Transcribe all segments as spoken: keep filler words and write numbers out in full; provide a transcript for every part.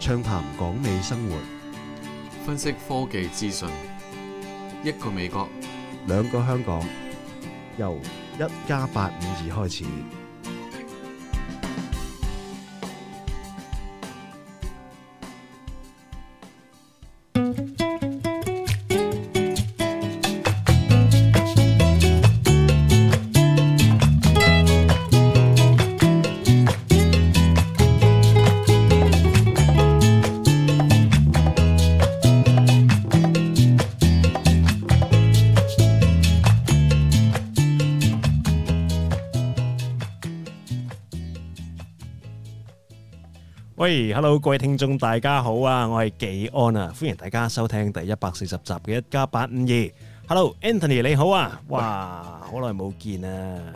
暢談港美生活， 分析科技資訊，一個美國， 兩個香港，由一加八五二開始。喂 ，Hello， 各位聽眾大家好啊，我係紀安啊，歡迎大家收聽第一百四十集嘅一加八五二。Hello，Anthony 你好啊，哇，好耐冇見啊，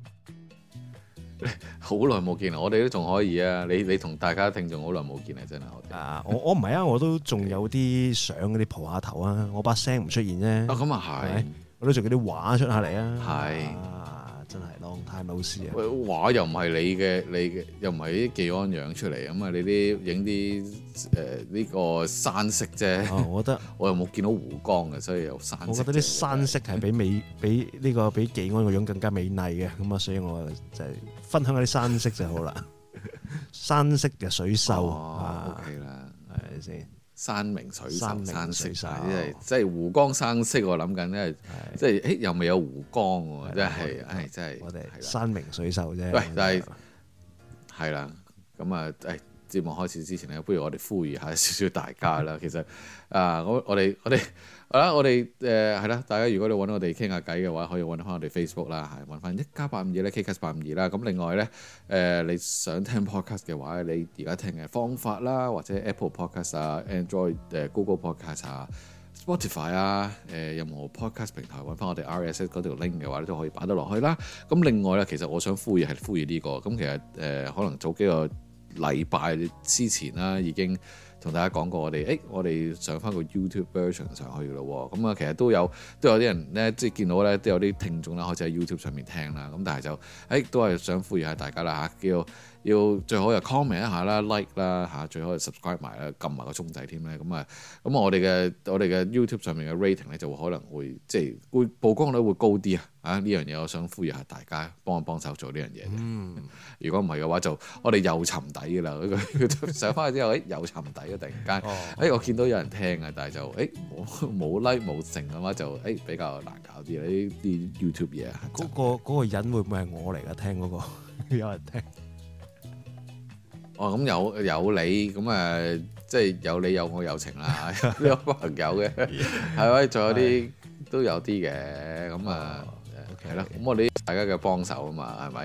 好耐冇見啊，我哋都仲可以啊，你你同大家聽眾好耐冇見啊，真係我啊，我我唔係啊，我都仲有啲相嗰啲蒲下頭啊，我把聲唔出現啫。啊， 咁啊係， 我都仲有啲畫出下嚟啊，係。真係 long time no see啊！ 畫又唔係你嘅，你嘅又唔係啲技安樣出嚟咁啊！你啲影啲誒呢個山色啫。哦，我覺得我又冇見到湖光嘅，所以有山色。我覺得啲山色係比美比呢個比技安個樣更加美麗嘅，咁啊，所以我就係分享下啲山色就好啦。山色嘅水秀啊 ，OK 啦，係咪先？山明水秀，山色，即係即係湖光山色。我諗緊咧，即係誒又未有湖光喎，真係，唉，真係。我哋山明水秀啫。喂，但係係啦，咁啊，誒節目開始之前咧，不如我哋呼籲下少少大家啦。其實啊，我我哋我哋好啦，我哋誒係啦，大家如果你揾我哋傾下偈嘅話，可以揾翻我哋 Facebook 啦，係揾翻一加八五二咧 ，K C A S 八五二啦。咁另外咧，誒、呃、你想聽 podcast 嘅話，你而家聽嘅方法啦，或者 Apple Podcast 啊、Android 誒 Google Podcast 啊、Spotify 啊，誒、呃、任何 podcast 平台揾翻我哋 R S S 嗰條 link 嘅話咧，都可以擺得落去啦。咁另外咧，其實我想呼籲係呼籲呢、這個，咁其實誒、呃、可能早幾個禮拜之前啦，已經同大家講過我哋，誒我哋上翻個 YouTube version 上去嘅咯，咁啊其實都有都有啲人咧，即係見到咧都有啲聽眾啦，開始喺 YouTube 上面聽啦，咁但係就誒都係想呼籲下大家啦嚇，叫要最好又 comment 一下啦 like 啦嚇，最好又 subscribe 埋啦，撳埋個鐘仔添咧，咁啊咁我哋嘅我哋嘅 YouTube 上面嘅 rating 咧就會可能會即係會曝光率會高啲啊！啊呢樣嘢我想呼籲下大家幫一幫手做呢樣嘢。嗯，如果唔係嘅話就我哋又沉底㗎啦，上翻去之後誒又沉底啊！突然間誒、哦哎、我見到有人聽啊，但係就誒冇冇 like 冇成嘅話就誒、哎、比較難搞啲啦，呢啲 YouTube 嘢。嗰、那個嗰、那個人會唔會係我嚟㗎？聽嗰、那個有人聽。哦，咁有有你咁誒，即係有你有我有情啦，有朋友嘅係咪？仲有啲都有啲嘅咁啊，係咯。咁我哋大家嘅幫手啊嘛，係咪？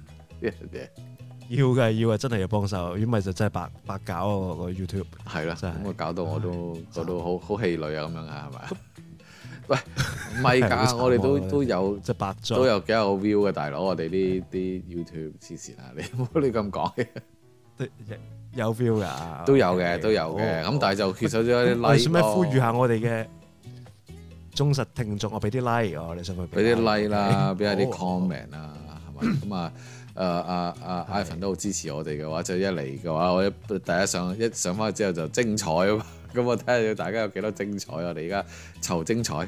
要嘅要嘅，真係要幫手，如果唔係就真係白白搞啊個 YouTube。係啦，咁啊搞到我都搞到好好氣餒啊咁樣啊，係咪？喂，唔係㗎，我哋都都有即係白都有幾有 view 嘅大佬，我哋呢啲 YouTube 黐線啊！你唔好你咁講嘅。有 feel 噶，都有嘅，都有嘅。咁但係就缺少咗啲 like。使唔使呼籲下我哋嘅忠實聽眾？我俾啲 like 我，你想佢俾啲 like 啦，俾下啲 comment 啦，係嘛？咁啊，誒阿阿 Ivan 都好支持我哋嘅話，就一嚟嘅話，我一第一上一上翻去之後就精彩啊嘛。咁我睇下大家有幾多精彩，我哋而家湊精彩。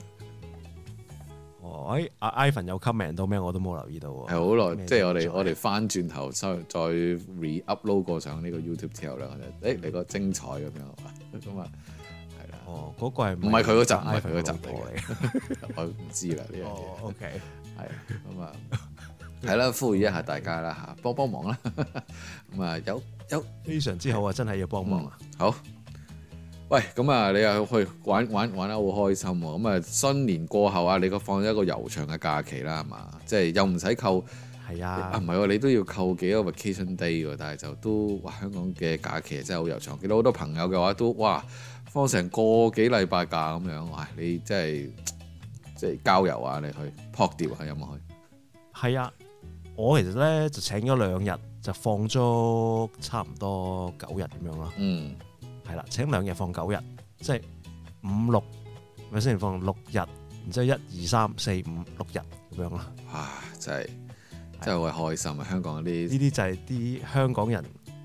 哦，誒，阿 Ivan 有 comment 到咩？我都冇留意到喎。係好耐，即係我哋我哋翻轉頭再再 re-upload 過上呢個 YouTube 之後咧，我就誒嚟個精彩咁樣，咁啊係啦。哦，嗰個係唔係佢嗰集？唔係佢嗰集嚟嘅，我唔知啦呢樣嘢。哦 ，OK，係咁啊，係啦，呼籲一下大家啦嚇，幫幫忙啦。咁啊，有有非常之好啊，真係要幫忙啊。好。喂，咁啊，你又去玩玩玩得好開心喎！咁啊，新年過後啊，你個放咗一個悠長嘅假期啦，係嘛？即係又唔使扣，係啊，啊唔係喎，你都要扣幾個 vacation day 喎，但係就都哇，香港嘅假期真係好悠長。見到好多朋友嘅話都哇，放成個幾禮拜假咁樣，哇！你真係即係郊遊啊，你去撲釣啊，有冇去？係啊，我其實咧就請咗兩日，就放咗差唔多九日咁樣咯。嗯。係啦，請兩日放九日，即係五六，咪先放六日，然之後一二三四五六日咁樣咯。哇！真係真係會開心啊！香港嗰啲呢啲就係啲香港人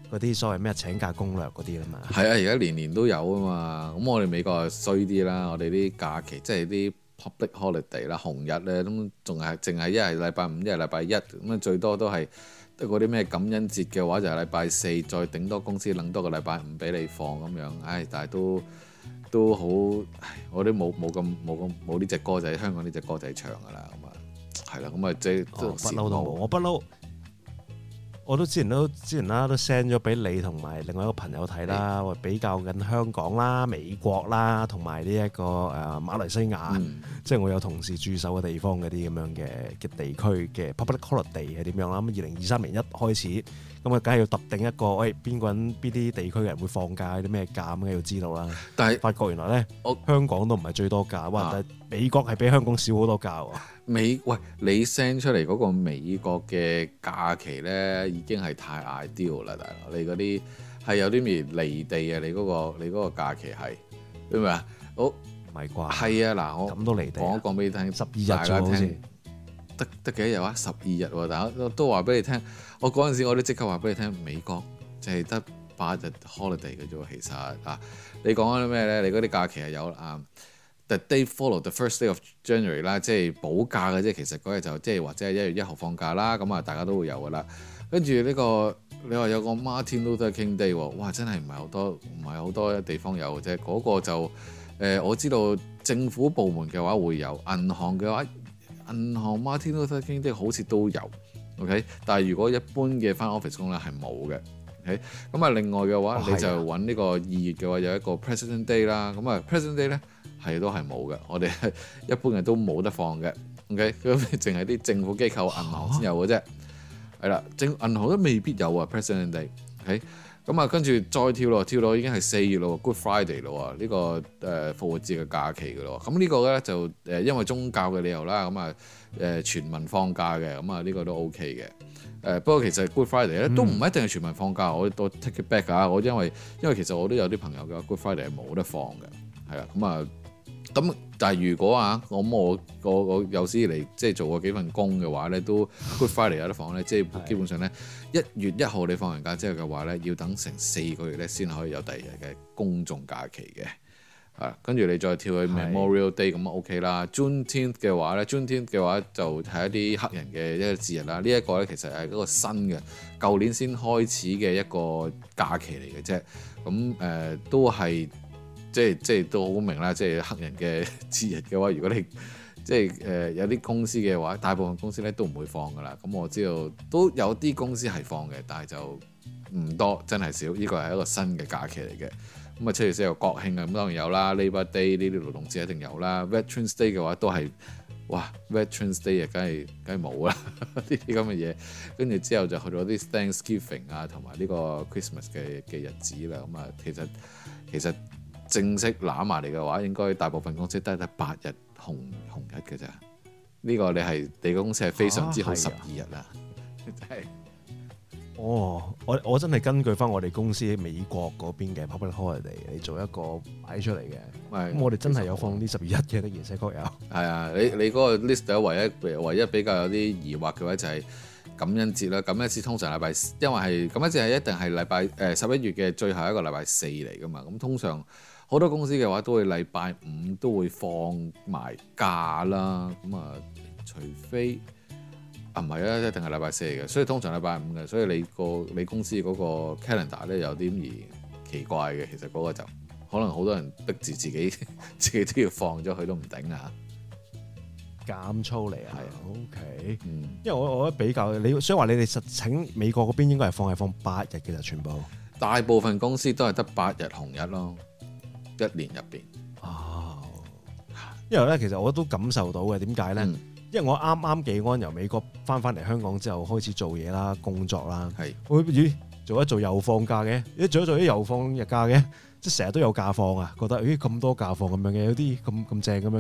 嗰啲所謂咩請假攻略嗰啲啦嘛。 係啊，而家年年都有啊嘛。咁我哋美國係衰啲啦，我哋啲假期即係啲 public holiday 啦，紅日咧咁仲係淨係一係禮拜五，一係禮拜一咁啊，最多都係得嗰啲咩感恩節嘅話就係禮拜四，再頂多公司撚多個禮拜五俾你放咁樣。唉，但係都都好，我啲冇冇咁冇咁冇呢隻歌仔，香港呢隻歌仔唱㗎啦。咁啊係啦，咁啊即係不嬲都冇，我不嬲。我都之前都之前啦，都 send 咗俾你同埋另外一個朋友睇啦，我比較緊香港啦、美國啦，同埋呢一個誒馬來西亞，嗯、即係我有同事駐守嘅地方嗰啲咁樣嘅嘅地區嘅 public holiday 係點樣啦？咁二零二三年一開始，咁啊梗係要特定一個，喂邊個人邊啲地區嘅人會放假，啲咩假咁要知道啦。但係發覺原來咧，我香港都唔係最多假，哇！啊、但係美國係比香港少好多假喎。 美喂，你 send 出嚟嗰個美國嘅假期咧，已經係太 ideal 啦，大佬！你嗰啲係有啲咩離地啊？你嗰、嗰個你嗰個假期係明唔明啊？好唔係啩？係啊，嗱，我咁都離地，講一講俾你聽，十二日大家聽，得得幾多日啊？十二日喎，大家都都話俾你聽。我嗰陣時我都即刻話俾你聽，美國就係得八日 holiday 嘅啫喎。其實啊，你講緊啲咩咧？你嗰啲假期係有啊。The day follow the first day of January 啦，即係補假嘅啫。其實嗰日就即係或者係一月一號放假啦。咁啊，大家都會有噶啦。跟住呢個你話有個 Martin Luther King Day 喎，哇！真係唔係好多，唔係好多地方有嘅啫。嗰、嗰個就誒、呃，我知道政府部門嘅話會有，銀行嘅話，銀行 Martin Luther King Day 好似都有。OK，但係如果一般嘅返 office 工咧係冇嘅。OK，咁啊，另外嘅話、哦、你就揾呢個二月嘅話有一個 President Day 啦。咁啊，President Day 咧。係都係冇嘅，我哋一般人都冇得放嘅。OK，咁淨係啲政府機構、銀行先有嘅啫。係啦，政銀行都未必有啊。President Day，OK，、okay? 咁啊，跟住再跳落，跳落已經係四月咯 ，Good Friday 咯，呢、這個誒、呃、復活節嘅假期嘅咯。咁呢個咧就誒、呃、因為宗教嘅理由啦，咁啊誒全民放假嘅，咁啊呢個都 OK 嘅。誒、呃、不過其實 Good Friday 咧、嗯、都唔一定係全民放假，我我 take it back 啊，我因為因為其實我都有啲朋友嘅 Good Friday 係冇得放嘅，係啦，咁啊。咁但係如果啊，我我我我有史以嚟即係做過幾份工嘅話咧，都 Good Friday 有得放咧，即係基本上咧一月一號你放完假之後嘅話咧，要等成四個月咧先可以有第二日嘅公眾假期嘅。啊，跟住你再跳去 Memorial Day 咁啊 OK 啦。Juneteenth 嘅話咧，Juneteenth 嘅話就係一啲黑人嘅一個節日啦。呢、這、一個咧其實係一個新嘅，舊年先開始嘅一個假期嚟嘅啫。咁誒、呃、都係。即係即係都好明啦，即係黑人嘅節日嘅話，如果你即係誒、呃、有啲公司嘅話，大部分公司咧都唔會放噶啦。咁我知道都有啲公司係放嘅，但係就唔多，真係少。呢個係一個新嘅假期嚟嘅。咁啊，七月四號國慶啊，咁當然有啦。Labor Day 呢啲勞動節一定有啦。Veterans Day 嘅話都係哇 ，Veterans Day 啊，梗係梗係冇啦呢啲咁嘅嘢。跟住之後就去到啲 Thanksgiving 啊，同埋呢個 Christmas 嘅嘅日子啦。咁啊，其實其實。正式攬埋嚟嘅話，應該大部分公司都係得八日紅紅日嘅咋。呢、這個你係你個公司係非常之好，十二日啦，真係。 哦，我我真係根據翻我哋公司喺美國嗰邊嘅 public holiday 嚟做一個擺出嚟嘅。咁我哋真係有放啲十二日嘅，的而且確有。係啊， 你你嗰個 list 唯一唯一比較有啲疑惑嘅話就係感恩節啦。感恩節通常禮拜，因為係感恩節係一定係禮拜誒十一月嘅最後一個禮拜四嚟噶嘛。咁通常。好多公司嘅話都會禮拜五都會放埋假啦，咁啊，除非啊唔係啊，一定係禮拜四嘅，所以通常禮拜五嘅，所以你個你公司嗰個 calendar 咧有啲而奇怪嘅，其實嗰個就可能好多人逼住自己自己都要放咗佢都唔頂啊， 減粗嚟啊，係 OK，嗯，因為我我覺得比較你，所以話你哋實情美國嗰邊應該係放係放八日嘅就全部， 大部分公司都係得八日紅日咯。一年入邊， 哦，因為咧，其實我都感受到嘅，點解咧？嗯、因為我啱啱幾安由美國翻翻嚟香港之後，開始做嘢啦、工作啦，係是，我咦做一做又放假嘅，一做一做又放日假嘅，即係成日都有假放啊！覺得咦咁多假放咁樣嘅，有啲咁咁正咁樣嘅，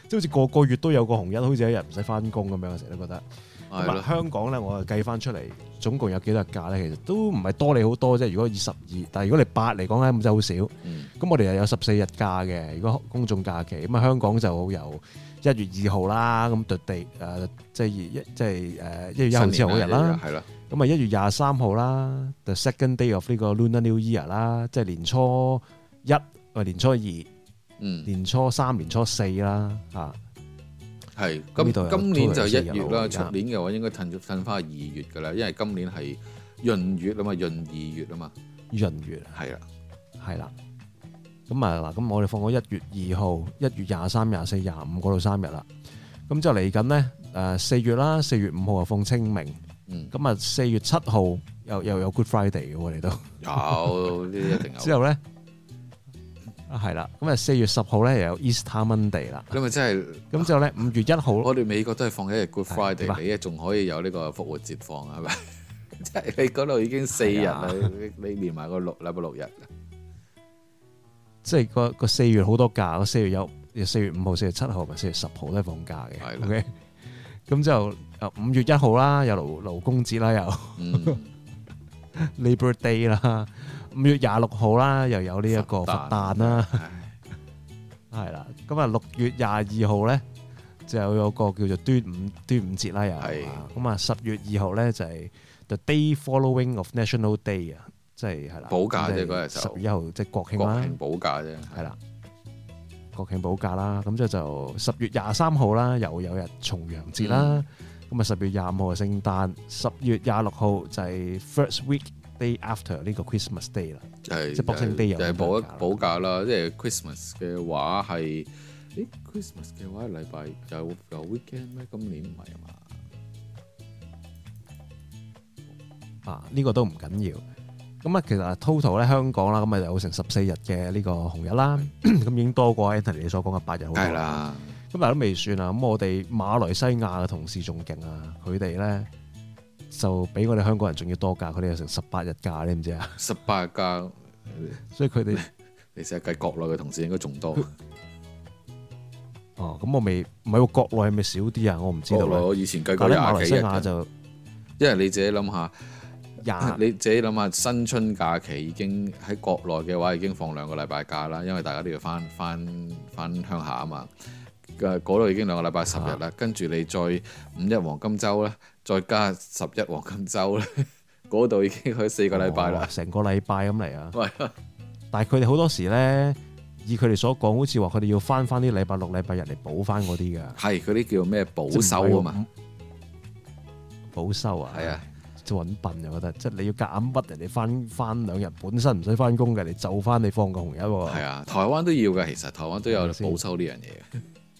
即係好似個個月都有個紅日，好似一日唔使翻工咁樣，我成日都覺得。咁啊，香港咧，我計翻出嚟，總共有幾多日假咧？其實都唔係多你好多啫。如果二十二，但係如果你八嚟講咧，咁真係好少。咁、嗯、我哋又有十四日假嘅。如果公眾假期，咁啊香港就由一月二號啦，咁對地誒，即係一即係誒一月一號之後嗰日啦。係啦。咁啊一月廿三號啦 ，the second day of 呢個 Lunar New Year 啦，即係年初一或年初二，嗯，年初三、年初四啦，嚇。 係，咁今年就一月啦，出年嘅話應該褪咗褪翻二月噶啦，因為今年係閏月啊嘛，閏二月啊嘛， 閏月係啦， 係啦。咁啊嗱，咁我哋放咗一月二號、一月廿三、廿四、廿五嗰度三日啦。咁就嚟緊咧，誒四月啦，四月五號啊放清明，咁啊四月七號又又有 Good Friday 嘅喎，你都有呢啲一定有。 之後咧。啊，係啦，咁啊四月十號咧又有 Easter Monday 啦， 咁啊真係，咁之後咧五月一號， 我哋美國都係放一日 Good Friday，你仲可以有呢個復活節放係咪？即係你嗰度已經四日啦，你你連埋個六禮拜六日，即係個個四月好多假，四月有四月五號、四月七號同四月十號都係放假嘅。OK，咁之後啊五月一號啦，有勞勞工節啦，又、嗯、Labor Day 啦。五月廿六號啦，又有呢一個佛誕啦，係啦。咁啊六月廿二號咧，就有個叫做端午端午節啦，又係。咁啊十月二號咧就係 the day following of National Day 啊，即係係啦。補假啫嗰日就。十月一號即係國慶啦。國慶補假啫，係啦。國慶補假啦，咁即係就十月廿三號啦，又有日重陽節啦。咁啊十月廿五號係聖誕，十月廿六號就係 first week day after 呢個 Christmas Day 啦，係即係 Boxing Day 又係補一補假啦。即係 Christmas 嘅話係，誒 Christmas 嘅話禮拜有有 weekend 咩？今年唔係啊嘛？啊呢個都唔緊要。咁啊其實 total 咧香港啦，咁啊有成十四日嘅呢個紅日啦，咁已經多過 Anthony 你所講嘅八日好多。係啦。咁但係都未算啊。咁我哋馬來西亞嘅同事仲勁啊，佢哋咧。就比我哋香港人仲要多假，佢哋有成十八日假，你唔知啊？十八日假，所以佢哋你成日計國內嘅同事應該仲多。哦，咁我未唔係喎，國內係咪少啲啊？我唔知道。我以前計過廿幾日。馬來西亞就，因為你自己諗下，廿你自己諗下，新春假期已經喺國內嘅話已經放兩個禮拜假啦，因為大家都要翻翻翻鄉下啊嘛。嗰度已經兩個禮拜十日啦，跟住你再五一黃金週咧。再加十一黃金週咧，嗰度已經去四個禮拜啦，成、哦、個禮拜咁嚟啊！但係佢哋好多時咧，以佢哋所講，好似話佢哋要翻翻啲禮拜六、禮拜日嚟補翻嗰啲㗎。係嗰啲叫咩補收啊嘛？補收啊，係啊，即係揾笨就覺得，即係你要夾硬屈人哋翻翻兩日，本身唔使翻工嘅，你就翻你放個紅日喎。係啊，台灣都要㗎，其實台灣都有補收呢樣嘢嘅。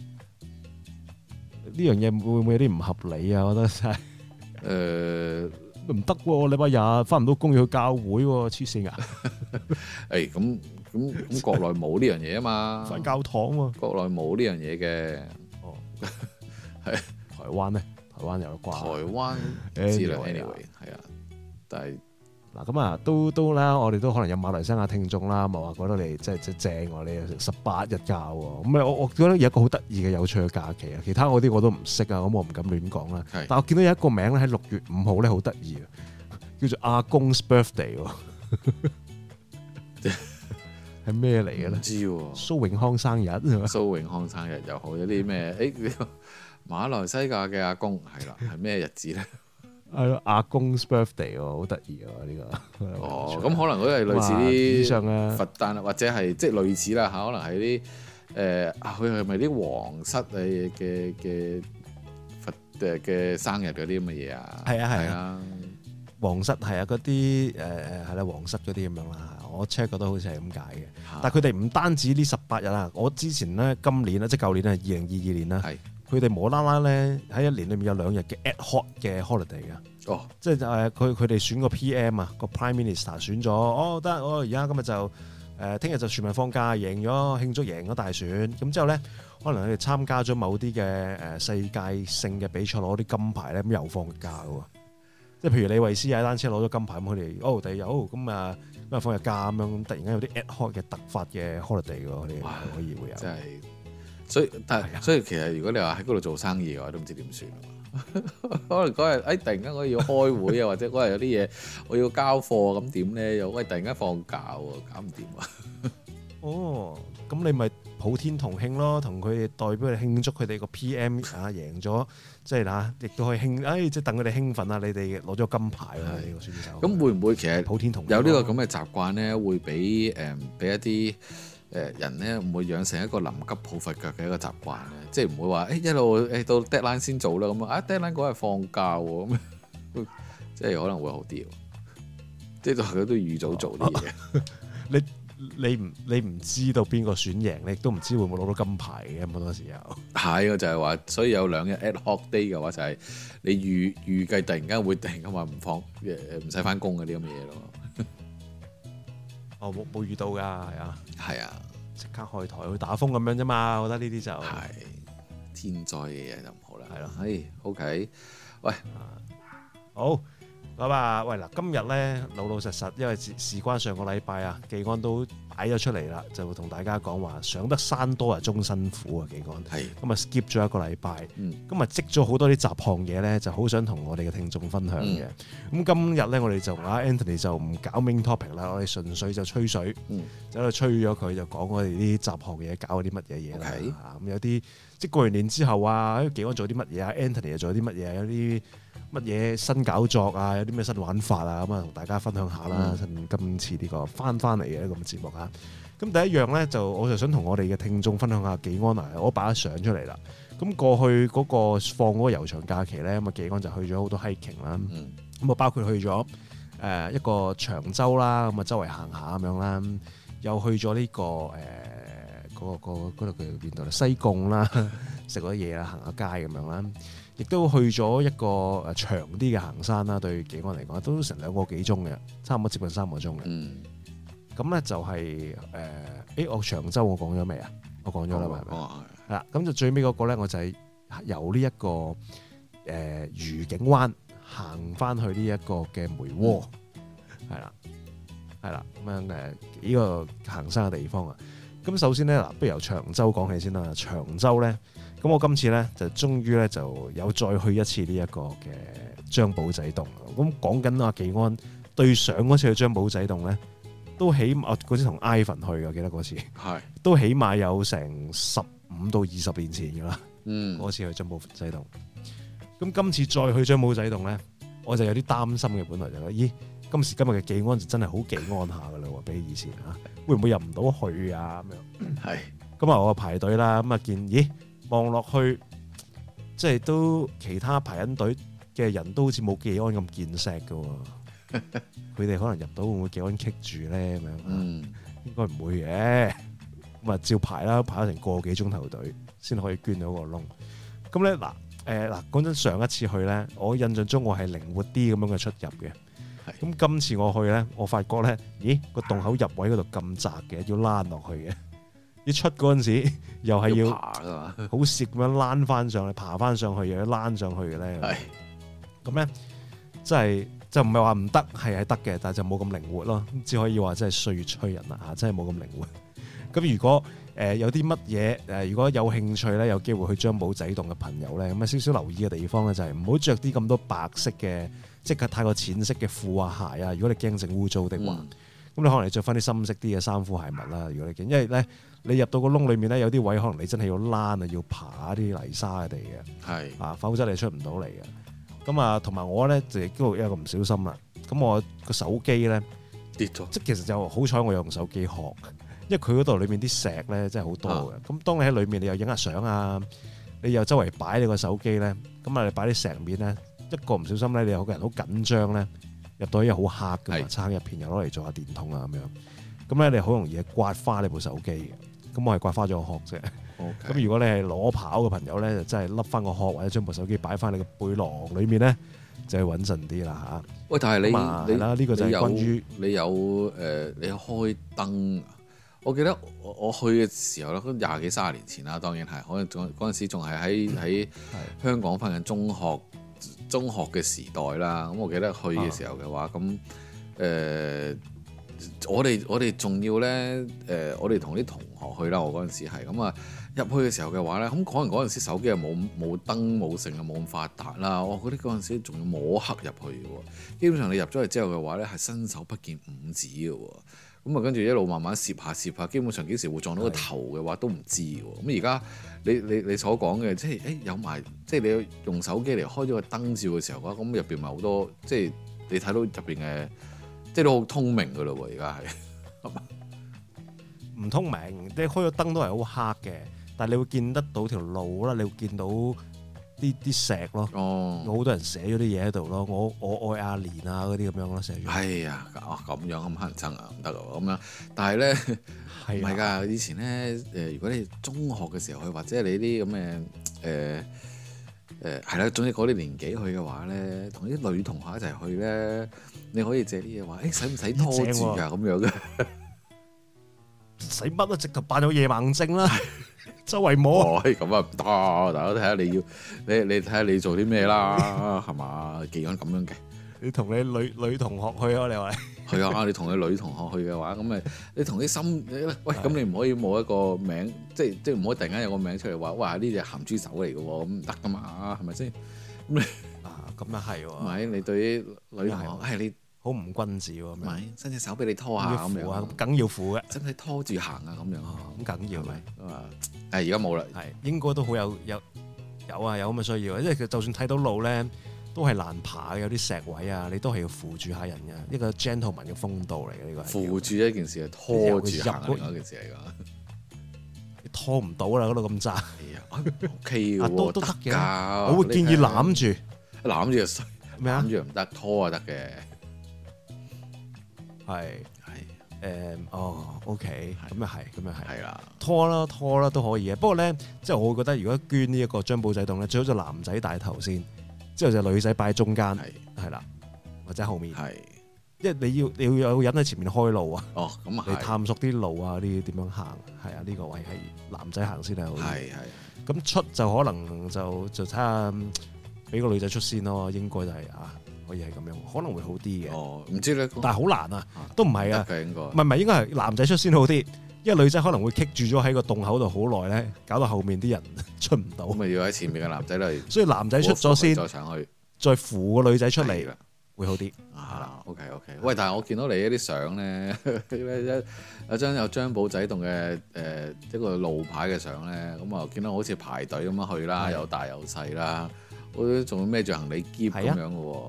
呢樣嘢會唔會有啲唔合理啊？我覺得真係。誒唔得喎！禮拜日翻唔到工要去教會喎，黐線啊！誒咁咁咁，國內冇呢樣嘢啊嘛，翻教堂喎，國內冇呢樣嘢嘅。哦，係台灣咧，台灣有啩？台灣知啦 ，anyway 係啊，但係嗱咁啊，都都啦，我哋都可能有馬來西亞聽眾啦，咪話覺得你即係即係正喎，你有成十八日假喎，咁啊我我覺得有一個好得意嘅有趣嘅假期啊，其他嗰啲我都唔識啊，咁我唔敢亂講啦。但我見到有一個名咧喺六月五號咧好得意啊，叫做阿公 's birthday 喎，係咩嚟嘅咧？唔知喎，蘇永康生日，蘇永康生日又好，有啲咩？誒，馬來西亞嘅阿公係啦，係咩日子咧？係咯，阿公 's birthday 喎，好得意啊！呢個哦，咁可能佢係類似啲佛誕啊，或者係即係類似啦嚇，可能係啲誒，佢係咪啲皇室嘅嘅嘅佛誒嘅生日嗰啲咁嘅嘢啊？係啊係啊，皇室係啊，嗰啲誒誒係啦，皇室嗰啲咁樣啦。我 check 覺得好似係咁解嘅，但係佢哋唔單止呢十八日啦。我之前咧今年咧即係舊年係二零二二年啦。係。佢哋無啦啦咧喺一年裏面有兩日嘅 ad hoc 嘅 holiday 嘅，哦，即係誒佢佢哋選個 P M 啊，個 Prime Minister 選咗，哦得，我而家今日就誒聽日就全民放假，贏咗慶祝贏咗大選，咁之後咧可能佢哋參加咗某啲嘅誒世界性嘅比賽攞啲金牌咧，咁又放假嘅喎，即係譬如李慧詩踩單車攞咗金牌，咁佢哋哦第日哦咁啊咁啊放日假咁樣，突然間有啲 ad hoc 嘅突發嘅 holiday 嘅喎，佢哋可以會有。真係所以但係所以其實如果你話喺嗰度做生意嘅話，都唔知點算。可能嗰日誒突然間我要開會啊，或者嗰日有啲嘢我要交貨咁點咧？又喂突然間放假喎，搞唔掂啊！哦， 咁你咪普天同慶咯，同佢哋代表嚟慶祝佢哋個 P M 啊贏咗，即係嗱，亦都可以慶，誒即係等佢哋興奮啊！你哋攞咗金牌啊！呢個選手咁會唔會其實普天同慶有呢個咁嘅習慣咧？會俾誒俾一啲誒人咧，唔會養成一個臨急抱佛腳嘅一個習慣咧？即係唔會話誒、欸、一路誒到 deadline 先做啦咁啊！deadline 嗰日放假喎，咁即係可能會好啲喎。即係佢都預早做啲嘢、哦。 你你唔你唔知道邊個選贏，你亦都唔知會唔會攞到金牌嘅好多時候。係啊，就係、是、話，所以有兩日 ad hoc day 嘅話，就係你預預計突然間會突然間話唔放誒唔使翻工嗰啲咁嘅嘢咯。 哦，冇冇遇到㗎，係啊， 係啊， 即刻開台去打風咁樣啫嘛。我覺得呢啲就係天災嘅嘢就唔好啦。 係咯， 係 OK，喂， 好。咁啊，喂嗱，今日咧老老實實，因為事事關上個禮拜啊，技安都擺咗出嚟啦，就會同大家講話上得山多啊，終辛苦啊，技安。係。咁啊 skip 咗一個禮拜，咁啊積咗好多啲雜項嘢咧，就好想同我哋嘅聽眾分享嘅。咁、嗯、今日咧，我哋就啊 Anthony 就唔搞 main topic 啦，我哋純粹就吹水，嗯、就喺度吹咗佢，就講我哋啲雜項嘢，搞啲乜嘢嘢啦。咁、okay. 有啲即係過完年之後啊，技安做啲乜嘢啊 ，Anthony 又做啲乜嘢，有啲乜嘢新搞作啊，有啲咩新玩法啊，咁啊同大家分享下啦。嗯、今次呢個翻翻嚟嘅一個節目啊，咁第一樣咧就我就想同我哋嘅聽眾分享下技安啊，我擺咗相出嚟啦。咁過去嗰個放嗰個悠長假期咧，咁啊技安就去咗好多 hiking 啦，咁、嗯、啊包括去咗誒一個長洲啦，咁啊周圍行下咁樣啦，又去咗呢、這個誒嗰、呃那個嗰度叫邊度咧？西貢啦，食咗嘢啦，行下街咁樣啦。亦都去咗一個誒長啲嘅行山啦，對技安嚟講都成兩個幾鐘嘅，差唔多接近三個鐘嘅。咁、嗯、咧就係、是、誒，誒、欸、我長洲我講咗未啊？我講咗啦，係咪？係啦，咁就最尾嗰個咧，我就係由呢、這、一個誒愉、呃、景灣行翻去呢一個嘅梅窩，係啦，係啦，咁樣誒幾個行山嘅地方啊。咁首先咧嗱，不如由長洲講起先啦。長洲咧。咁我今次咧就終於咧就有再去一次呢一個嘅張保仔洞。咁講緊阿技安對上嗰次去張保仔洞咧，都起碼嗰次同 Ivan 去嘅，記得嗰次係都起碼有成十五到二十年前㗎啦。嗯，嗰次去張保仔洞。咁今次再去張保仔洞咧，我就有啲擔心嘅。本來就覺得，咦，今時今日嘅技安就真係好技安下㗎啦喎，比起以前嚇，會唔會入唔到去啊？咁樣係。咁啊，我排隊啦，咁啊見，咦？望落去，即係都其他排緊隊嘅人都好似冇技安咁見識㗎喎。佢哋可能入到會唔會技安棘住咧？咁樣，嗯，應該唔會嘅。咁啊，照排啦，排咗成個幾鐘頭隊先可以捐到個窿。咁咧嗱，誒嗱，講真，上一次去咧，我印象中我係靈活啲咁樣嘅出入嘅。咁今次我去咧，我發覺咧，咦，個洞口入位嗰度咁窄嘅，要躝落去嘅。一出嗰陣時，又係要爬㗎嘛，好蝕咁樣躝翻上去，爬翻上去，又要躝上去嘅咧。係咁咧，即係就唔係話唔得，係係得嘅，但係就冇咁靈活咯。只可以話真係歲月催人啦嚇，真係冇咁靈活。咁如果誒、呃、有啲乜嘢誒，如果有興趣咧，有機會去張保仔洞嘅朋友咧，咁啊少少留意嘅地方咧，就係唔好着啲咁多白色嘅，即係太過淺色嘅褲啊鞋啊。如果你驚整污糟的話，咁、嗯、你可能你着翻啲深色啲嘅衫褲鞋襪啦。如果你驚，因為咧。你入到個窿裏面咧，有啲位可能你真係要躝啊，要爬啲泥沙嘅地嘅，係啊，否則你出唔到嚟嘅。咁啊，同埋我咧就亦都有一個唔小心啦。咁我個手機咧跌咗，即係其實就好彩我有用手機殼，因為佢嗰度裏面啲石咧真係好多嘅。咁、啊、當你喺裏面，你又影下相啊，你又周圍擺你個手機咧，咁啊你擺啲石面咧，一個唔小心咧，你有個人好緊張咧，入到去又好黑嘅嘛，撐入片又攞嚟做下電筒啊咁樣，咁咧你好容易刮花你部手機嘅。咁我係刮花咗個殼啫。咁、okay. 如果你係攞跑嘅朋友咧，就真係笠翻個殼或者將部手機擺翻你個背囊裏面咧，就係穩陣啲啦嚇。喂，但係你你啦，呢、呢個就係關於你有誒、呃，你有開燈。我記得我我去嘅時候咧，都廿幾三十年前啦，當然係，可能嗰嗰陣時仲係喺喺香港翻緊中學中學嘅時代啦。咁我記得去嘅時候嘅話，咁誒我哋我哋仲要咧誒、呃，我哋同啲同學去啦。我嗰陣時係咁啊，入去嘅時候嘅話咧，咁可能嗰陣時手機又冇冇燈冇成啊，冇咁發達啦。我覺得嗰陣時仲要摸黑入去嘅喎。基本上你入咗去之後嘅話咧，係伸手不見五指嘅喎。咁啊，跟住一路慢慢攝下攝下，基本上幾時會撞到個頭嘅話都唔知喎。咁而家你你你所講嘅，即係誒有埋，即係你用手機嚟開咗個燈照嘅時候嘅話，咁入邊咪好多，即係你睇到入邊嘅，即係都好通明嘅咯喎。而家係唔通明？你開咗燈都係好黑嘅，但係你會見得到條路啦，你會見到啲啲石咯，哦，好多人寫咗啲嘢喺度咯，我我愛阿蓮啊嗰啲咁樣咯，寫咗。哎呀，哦咁樣咁乞人憎啊，唔得啊咁樣。但係咧，唔係㗎，以前咧誒，如果你中學嘅時候去，或者你啲咁嘅誒誒係啦，總之嗰啲年紀去嘅話咧，同啲女同學一齊去咧，你可以借啲嘢話，誒使唔使拖住啊咁樣嘅？使乜啊？直頭扮有夜盲症啦！周圍摸，咁啊唔得，大家睇下你要，你你睇下你做啲咩啦，係嘛？既然咁樣嘅，你同你女女同學去啊？你話係啊？你同你女同學去嘅話，咁咪你同啲心，喂，咁你唔可以冇一個名，即係即係唔可以突然間有個名出嚟話，哇！呢隻鹹豬手嚟嘅喎，咁唔得噶嘛，係咪先？咁你啊，咁啊係喎，咪你對啲女同學係你。好唔君子喎，咪伸隻手俾你拖下咁樣，梗要扶嘅，使唔使拖住行啊？咁樣咁梗要咪啊？誒而家冇啦，係應該都好有有有啊，有咁嘅需要，因為佢就算睇到路咧，都係難爬嘅，有啲石位啊，你都係要扶住下人嘅，一個 gentleman 嘅風度嚟嘅呢個。扶住一件事係拖住行另一件事嚟㗎，你拖唔到啦，嗰度咁窄。O K 喎，都都得嘅，我會建議攬住，攬住就衰咩啊？攬住唔得，拖啊得嘅。係係誒哦 ，OK，咁又係，咁又係，係啦，拖啦拖啦都可以嘅。不過咧，即係我會覺得，如果捐呢一個張保仔洞咧，最好就男仔帶頭先，之後就女仔擺喺中間，係係啦，或者後面，係，因為你要你要有人喺前面開路啊。哦，咁啊，你探索啲路啊，啲點樣行，係啊，呢個位係男仔行先係好。係係。咁出就可能就就睇下俾個女仔出先咯，應該就係啊。可以係咁樣，可能會好啲嘅。哦，唔知咧，但係好難啊，都唔係啊，唔係唔係，應該係男仔出先好啲，因為女仔可能會棘住咗喺個洞口度好耐咧，搞到後面啲人出唔到。咁咪要喺前面嘅男仔嚟，所以男仔出咗先，再上去，再扶個女仔出嚟，會好啲。啊 ，OK OK。喂，但係我見到你一啲相咧，一有張有張保仔洞嘅誒一個路牌嘅相咧，咁啊見到好似排隊咁樣去啦，有大有細啦。我仲要孭住行李篋咁樣嘅喎，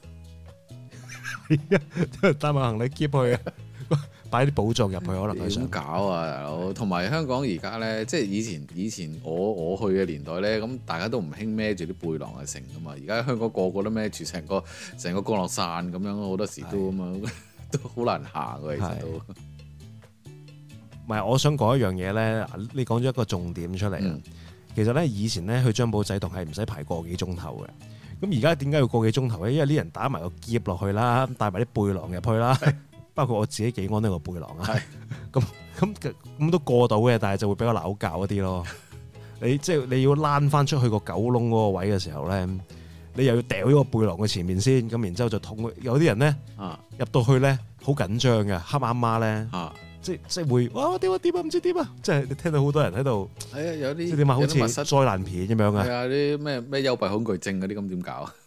係啊，帶埋行李篋去啊，擺啲寶藏入去可能係想搞啊，大佬。同埋香港而家咧，即係以前以前我我去嘅年代咧，咁大家都唔興孭住啲背囊去成噶嘛。而家香港個個都孭住成個成個降落傘咁樣，好多時都咁啊，都好難行嘅其實都。唔係，我想講一樣嘢咧，你講咗一個重點出嚟。嗯其實咧，以前咧去張保仔洞係唔使排個幾鐘頭嘅。咁而家點解要個幾鐘頭咧？因為啲人打埋個喼落去啦，帶埋啲背囊入去啦，包括我自己幾安都有個背囊啊。咁咁咁都過到嘅，但係就會比較拗教一啲咯。你即係你要躝翻出去個九窿嗰個位嘅時候咧，你又要掉咗個背囊嘅前面先，咁然之後就捅。有啲人咧入到去咧好緊張嘅，黑媽媽咧。啊即即會哇點啊點啊唔知點啊！即係你聽到好多人喺度，係啊有啲即點啊，好似災難片咁樣啊！係啊啲咩咩幽閉恐懼症嗰啲咁點搞啊？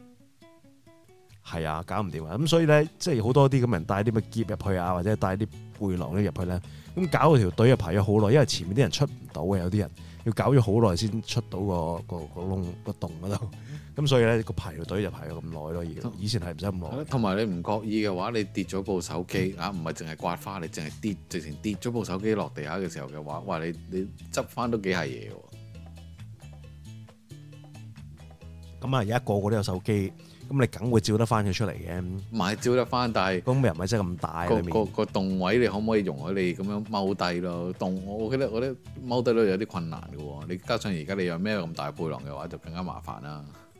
係啊，搞唔掂啊！咁所以咧，即係好多啲咁人帶啲咩喼入去啊，或者帶啲背囊咧入去咧，咁搞到條隊又排咗好耐，因為前面啲人出唔到嘅，有啲人要搞咗好耐先出到個個個窿個洞嗰度。咁所以咧個排條隊就排咗咁耐咯，而以前係唔使咁耐。同埋你唔覺意嘅話，你跌咗部手機啊，唔係淨係刮花，你淨係跌，直情跌咗部手機落地下嘅時候嘅話，哇！你你執翻都幾係嘢喎。咁啊，而家個個都有手機，咁你梗會照得翻佢出嚟嘅。唔係照得翻，但係咁又唔係真係咁大。個個個洞位你可唔可以容許你咁樣踎低咯？洞我記得我覺得踎低都有啲困難嘅喎。你加上而家你有咩咁大背囊嘅話，就更加麻煩啦。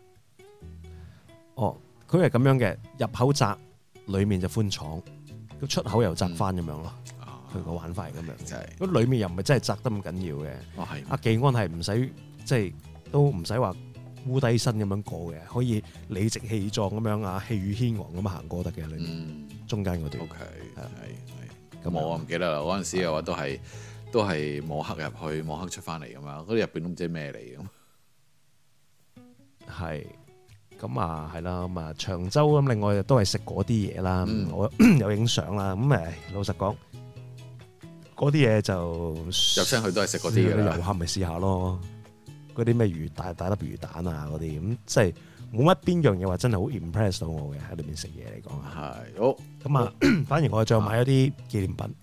哦，佢係咁樣嘅，入口窄，裡面就寬敞，個出口又窄翻咁樣咯。佢個、嗯、玩法係咁樣，真係。咁裡面又唔係真係窄得咁緊要嘅。哦，係。阿技安係唔使即係都唔使話烏低身咁樣過嘅，可以理直氣壯咁樣啊，氣宇軒昂咁行過得嘅裏面，嗯、中間嗰段。O K，係係。咁我唔記得啦，嗰陣時嘅話都係都係摸黑入去，摸黑出翻嚟咁樣，嗰啲入邊都唔知咩嚟咁。係。咁啊，係啦，咁啊，長洲咁，另外都係食嗰啲嘢啦，嗯、我有影相啦。咁誒，老實講，嗰啲嘢就入親去都係食嗰啲嘅啦。遊客咪試下咯，嗰啲咩魚大大粒魚蛋啊嗰啲，咁即係冇乜邊樣嘢話真係好 impress 到我嘅喺裏面食嘢嚟講。係好咁啊，反而我再買一啲紀念品。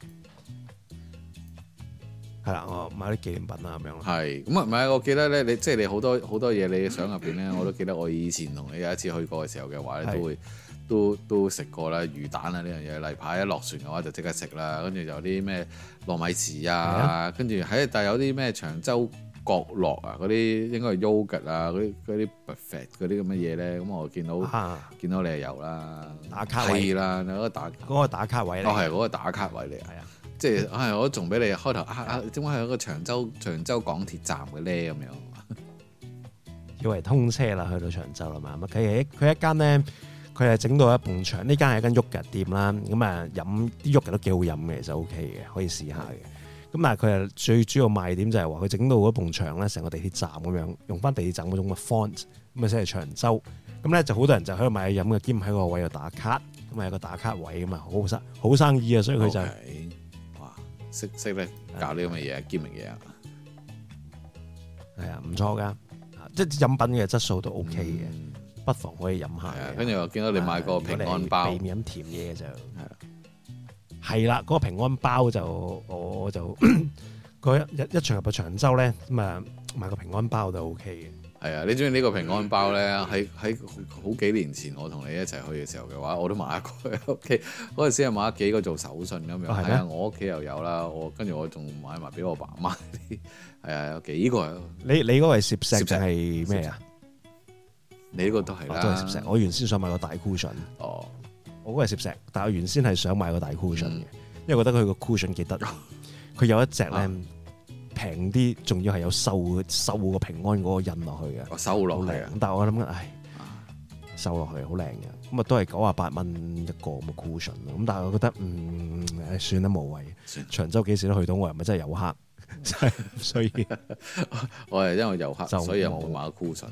係啦，我買啲紀念品啊咁樣。係咁啊，唔係我記得咧，你即係你好多好多嘢，你相入邊咧，我都記得我以前同你有一次去過嘅時候嘅話咧，都會都都食過啦，魚蛋啊呢樣嘢，例牌一落船嘅話就即刻食啦，跟住有啲咩糯米糍啊，跟住喺但係有啲咩長洲角落啊，嗰啲應該係 yogurt 啊，嗰啲嗰啲 buffet 嗰啲咁嘅嘢咧，咁我見到、啊、見到你係有啦，打卡位啦，嗰個打嗰個打卡位嚟，哦係嗰個打卡位嚟，係啊。即係，唉、哎！我仲俾你開頭啊啊！點解係一個長洲長洲港鐵站嘅咧？咁樣以為通車啦，去到長洲啦嘛。咁佢係佢一間咧，佢係整到一埲牆。呢間係一間 yogurt店啦。咁啊，飲啲 yogurt都幾好飲嘅，其實 O K 嘅，可以試下嘅。咁但係佢係最主要賣點就係話佢整到嗰埲牆咧，成個地鐵站咁樣，用翻地鐵站嗰種嘅 font，咁啊寫係長洲。咁咧就好多人就喺度買飲嘅，兼喺個位度打卡。咁啊有個打卡位咁啊，好生好生意啊，所以佢就。Okay. 識識咧搞呢咁嘅嘢，兼明嘢啊，係啊，唔錯噶，即係飲品嘅質素都 O K 嘅，嗯、不妨可以飲下。跟住我見到你買個平安包，避免飲甜嘢就係係啦，嗰、嗰個平安包就我就嗰一一一場入到長洲咧，咁啊買個平安包就 O K 嘅。係啊，你中意呢個平安包咧？喺喺好幾年前我同你一齊去嘅時候嘅話，我都買一個喺屋企。嗰陣時係買咗幾個做手信咁樣。係啊，我屋企又有啦。我跟住我仲買埋俾我爸媽啲。係啊，有幾個。你你嗰個係攝石定係咩啊？你呢個都係啦，都係攝石。我原先想買個大 cushion。哦，我嗰個係攝石，但係我原先係想買個大 cushion 嘅，因為覺得佢個 cushion 幾得意。佢有一隻咧。平啲，仲要係有繡繡個平安嗰個印落去嘅，我收落嚟啊！但係我諗緊，唉，收落去好靚嘅，咁啊都係九啊八蚊一個咁嘅 cushion 咯。咁但係我覺得，嗯，唉，算啦，無謂。長洲幾時都去到，我又咪真係遊客，所以我係因為遊客，所以又冇買 cushion。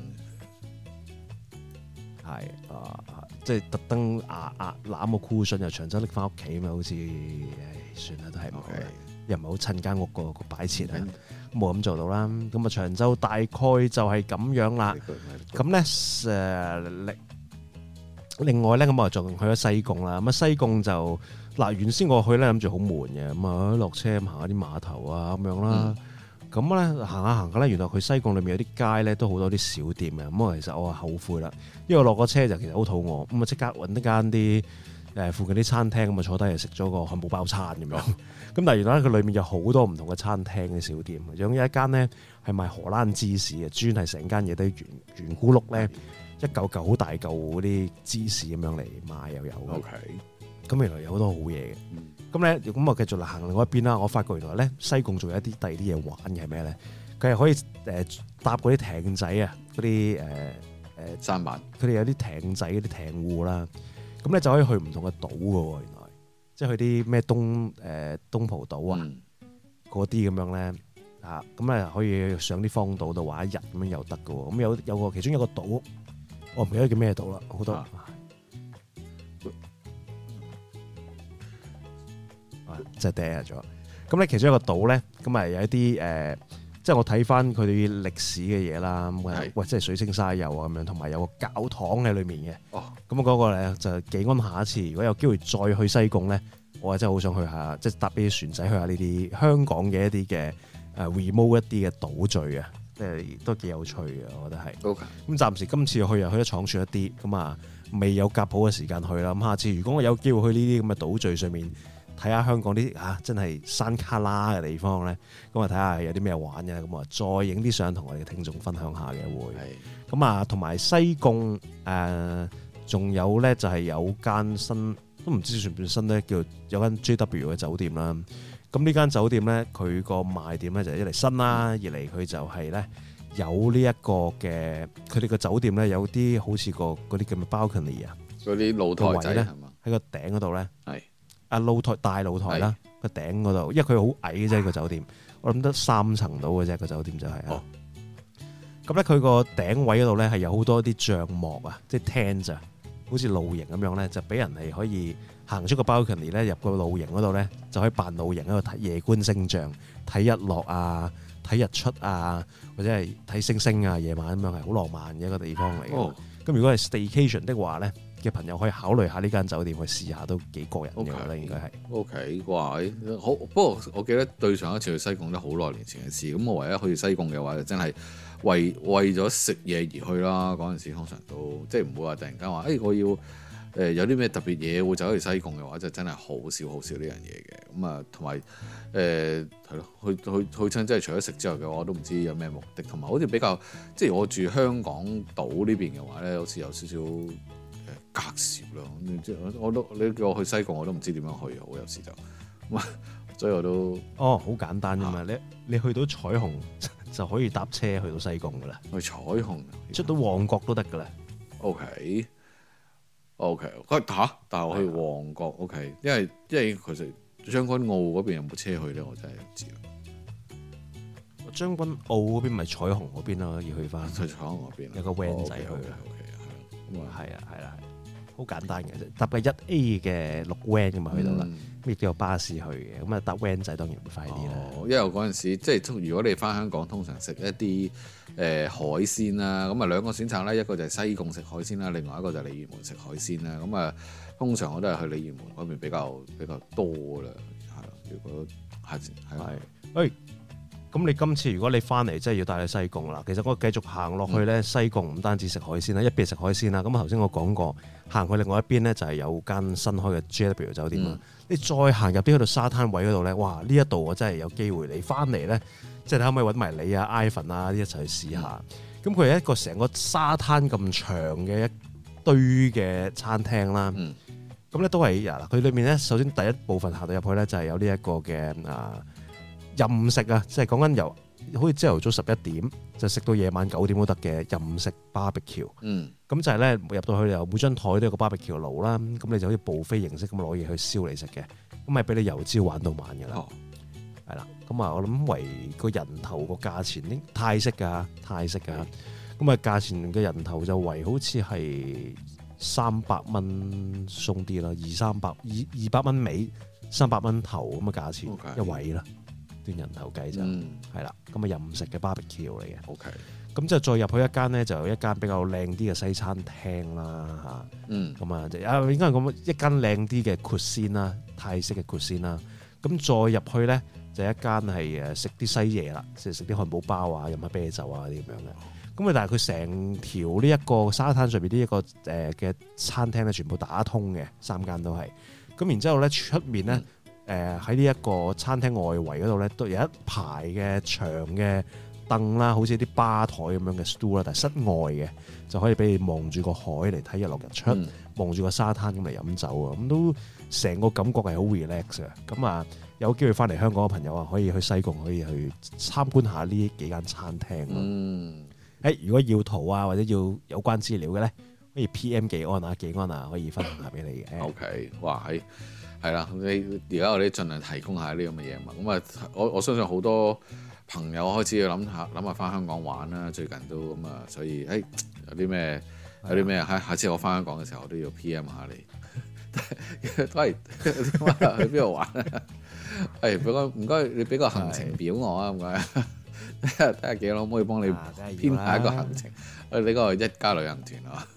係啊，即係特登壓壓攬個 cushion 由長洲拎翻屋企咁啊，好似唉，算啦，都係唔好。又唔係好襯間屋個個擺設啊，冇咁做到啦。咁啊，長洲大概就係咁樣啦。咁咧誒，另另外咧，咁我仲去咗西貢啦。咁啊，西貢就嗱，原先我去咧諗住好悶嘅，咁啊落車行下啲碼頭啊咁樣啦。咁咧行下行下咧，原來佢西貢裏面有啲街咧都好多啲小店嘅。咁啊，其實我啊後悔啦，因為我落個車就其實好肚餓，咁啊即刻揾一間啲誒附近啲餐廳咁啊坐低嚟食咗個漢堡包餐咁樣。咁但係原來佢裏面有好多唔同嘅餐廳嘅小店，有一間咧係賣荷蘭芝士嘅，專係成間嘢都圓圓咕碌咧，一嚿嚿好大嚿嗰啲芝士咁樣嚟賣又有。OK，咁原來有好多好嘢嘅。咁咧咁我繼續行另外一邊啦。我發覺原來咧西貢仲有一啲第二啲嘢玩嘅係咩咧？佢係可以誒搭嗰啲艇仔啊，嗰啲誒誒舢板。佢哋有啲艇仔嗰啲艇戶啦，咁咧就可以去唔同嘅島嘅喎。原來。即係去啲咩東誒東蒲島啊，嗰啲咁樣咧啊，咁咧可以上啲荒島度玩一日咁樣又得㗎喎。咁有有個其中有個島，我唔記得叫咩島啦，好多啊，即係跌咗。咁咧其中一個島咧，咁啊有一啲誒，即係我睇翻佢哋歷史嘅嘢啦。咁喂，即係水清沙幼啊咁樣，同埋有個教堂喺裏面嘅。哦，咁嗰個咧就幾安下一次，如果有機會再去西貢咧，我真係好想去下，即係搭啲船仔去下呢啲香港嘅一啲嘅誒 remote 一啲嘅島嶼啊，即係都幾有趣嘅，我覺得係。OK，咁暫時今次去又去咗闖船一啲，咁啊未有夾好嘅時間去啦。咁下次如果我有機會去呢啲咁嘅島嶼上面睇下香港啲啊真係山卡拉嘅地方咧，咁啊睇下有啲咩玩嘅，咁啊再影啲相同我哋嘅聽眾分享下嘅會。係。咁啊同埋西貢誒仲有咧就係有間新。都唔知算唔算新咧，叫有間 J W 嘅酒店啦。咁呢間酒店咧，佢個賣點咧就係一嚟新啦，二嚟佢就係咧有呢一個嘅，佢哋個酒店咧有啲好似個嗰啲叫咩 balcony 啊， 嗰啲露台仔咧， 喺個頂嗰度咧， 係啊露台大露台啦，個頂嗰度，因為佢好矮嘅啫個酒店，我諗得三層到嘅啫個酒店就係啊。咁咧佢個頂位嗰度咧係有好多啲帳幕啊，即係 tent 啊，好似露營咁樣咧，就俾人係可以行出個 balcony 咧，入個露營嗰度咧，就可以扮露營喺度睇夜觀星象、睇日落啊、睇日出啊，或者係睇星星啊，夜晚咁樣係好浪漫嘅一個地方嚟嘅。咁、哦、如果係 staycation 的話咧，嘅朋友可以考慮下呢間酒店去試下，都幾過癮嘅，我覺得應該係。O K，哇！好，不過我記得對上一次去西貢都好耐年前嘅事。咁我唯一去西貢嘅話，就真係為為咗食嘢而去啦。嗰陣時通常都即係唔會話突然間話，誒、哎、我要誒、呃、有啲咩特別嘢會走去西貢嘅話，就真係好少好少呢樣嘢嘅。咁啊，同埋誒係咯，去去去親，即係除咗食之外嘅話，我都唔知有咩目的。同埋好似比較即係我住香港島呢邊嘅話咧，好似有少少隔涉咯，即係我都你叫我去西貢，我都唔知點樣去好，有時就，所以我都哦好簡單啫嘛，啊、你你去到彩虹就可以搭車去到西貢噶啦， 去彩虹出到旺角都得噶啦。 O K O K，佢嚇，但係我去旺角 O K，因為因為其實將軍澳嗰邊有冇車去咧，我真係唔知啦。 將軍澳嗰邊咪彩虹嗰邊咯，要去翻去彩虹嗰邊有個 van 仔去。 O K O K，咁啊係啊係啦。好簡單嘅啫，搭嘅一 A 嘅綠 van 咁啊去到啦，咁亦都有巴士去嘅，咁啊搭 van 仔當然會快啲啦。 因為嗰陣時即係如果你翻香港，通常食一啲誒、呃、海鮮啦，咁啊兩個選擇咧，一個就係西貢食海鮮啦，另外一個就係鯉魚門食海鮮啦。咁啊通常我都係去鯉魚門嗰邊比較比較多啦，係咯。如果下次係， 誒。咁你今次如果你翻嚟，真係要帶你去西貢啦。其實我繼續行落去咧，嗯、西貢唔單止食海鮮啦，一邊食海鮮啦。咁頭先我講過，行去另外一邊咧就係有間新開嘅 J W 酒店啦。嗯、你再行入啲去到沙灘位嗰度咧，哇！呢一度我真係有機會你翻嚟咧，即係你可唔可以揾埋你啊、Ivan 啊啲一齊去試下？咁佢係一個成個沙灘咁長嘅一堆嘅餐廳啦。咁咧、嗯、都係嗱，佢裏面咧首先第一部分行到入去咧就係有呢一個嘅啊。任食啊，即係講緊由好似朝頭早十一點就食到夜晚九點都得嘅任食 barbecue。嗯，咁就係咧入到去又每張台都有個 barbecue 爐啦，咁你就好似buffet形式咁攞嘢去燒嚟食嘅，咁咪俾你由朝玩到晚㗎啦。係啦、哦，咁啊我諗為個人頭個價錢應泰式㗎，泰式㗎，咁啊價錢嘅人頭就為好似係三百蚊鬆啲啦，二三百二二百蚊尾三百蚊頭咁嘅價錢 Okay. 一位啦。段人頭計就係啦，咁啊任食嘅 barbecue 嚟嘅。OK，咁就再入去一間咧，就有一間比較靚啲嘅西餐廳啦嚇。嗯，咁啊，啊應該係咁一間靚啲嘅 cuisine啦，泰式嘅 cuisine啦。咁再入去咧，就一間係誒食啲西嘢啦，即係食啲漢堡包啊，飲下啤酒啊啲咁樣嘅。咁啊，但係佢成條呢一個沙灘上邊呢一個誒嘅餐廳咧，全部打通嘅，三間都係。咁然之後咧，出面咧。嗯誒喺呢一個餐廳外圍嗰度咧，都有一排嘅長嘅凳啦，好似啲吧台咁樣嘅 stool 啦，但係室外嘅就可以俾你望住個海嚟睇日落日出，望住個沙灘咁嚟飲酒啊！咁都成個感覺係好 relax 嘅。咁啊，有機會翻嚟香港嘅朋友啊，可以去西貢可以去參觀下呢幾間餐廳咯。嗯，誒，如果要圖啊或者要有關資料嘅咧，可以 P M 技安啊，技安啊可以分享下俾你嘅。OK，哇喺〜係啦，你而家我哋盡量提供下呢咁嘅嘢嘛。咁啊，我我相信好多朋友開始要諗下諗下翻香港玩啦。最近都咁啊，所以誒、欸、有啲咩有啲咩啊？下次我翻香港嘅時候，我都要 P M 下你。都係去邊度玩啊？係唔該唔該，你俾個行程表我啊，唔該。睇下睇下幾多可唔可以幫你編排一個行程？誒，呢個一家旅行團啊。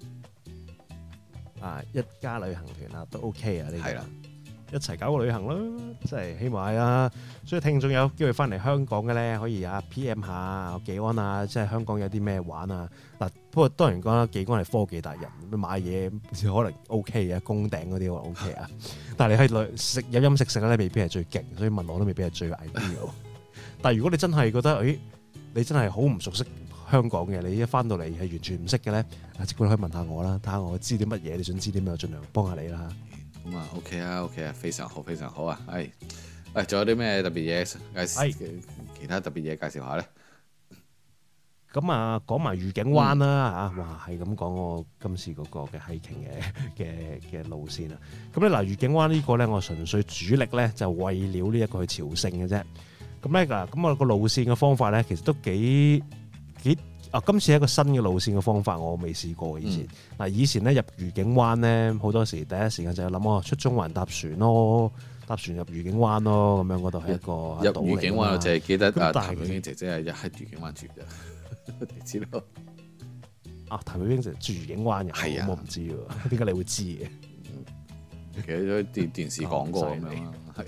啊！一家旅行團啊，都 OK 啊，呢個係啦，一齊搞個旅行咯，即係希望係啊！所以聽眾有機會翻嚟香港嘅咧，可以啊 P M 下技安啊，即係香港有啲咩玩啊！嗱，不過當然講啦，技安係科技達人，買嘢可能 OK 嘅，攻頂嗰啲可能 OK 啊，但係你去旅食飲飲食食咧，未必係最勁，所以問我都未必係最 ideal。但係如果你真係覺得，誒，你真係好唔熟悉香港嘅，你一翻到嚟係完全唔識嘅咧，啊，即管可以問下我啦，睇下我知啲乜嘢，你想知啲咩，我盡量幫下你啦。 咁啊，OK 啊，OK 啊，非常好，非常好啊，係，誒，仲有啲咩特別嘢介紹？其他特別嘢介紹下咧？ 咁啊，講埋愉景灣啦嚇，哇係咁講我今次嗰個嘅 hiking 嘅嘅嘅路線啊。咁咧嗱，愉景灣呢個咧，我純粹主力咧就為了呢一個去朝聖嘅啫。咁咧嗱，咁我個路線嘅方法咧，其實都幾幾啊！今次係一個新嘅路線嘅方法，我未試過以前。嗱、嗯，以前咧入愉景灣咧，好多時第一時間就係諗哦，出中環搭船咯，搭船入愉景灣咯，咁樣嗰度係一個入愉景灣，我淨係記得啊，譚玉英姐姐係一喺愉景灣住嘅，你知道？啊， 譚玉英姐住愉景灣嘅，係啊，我唔知喎，點解你會知嘅？ 其實都電電視講過咁樣啦，係。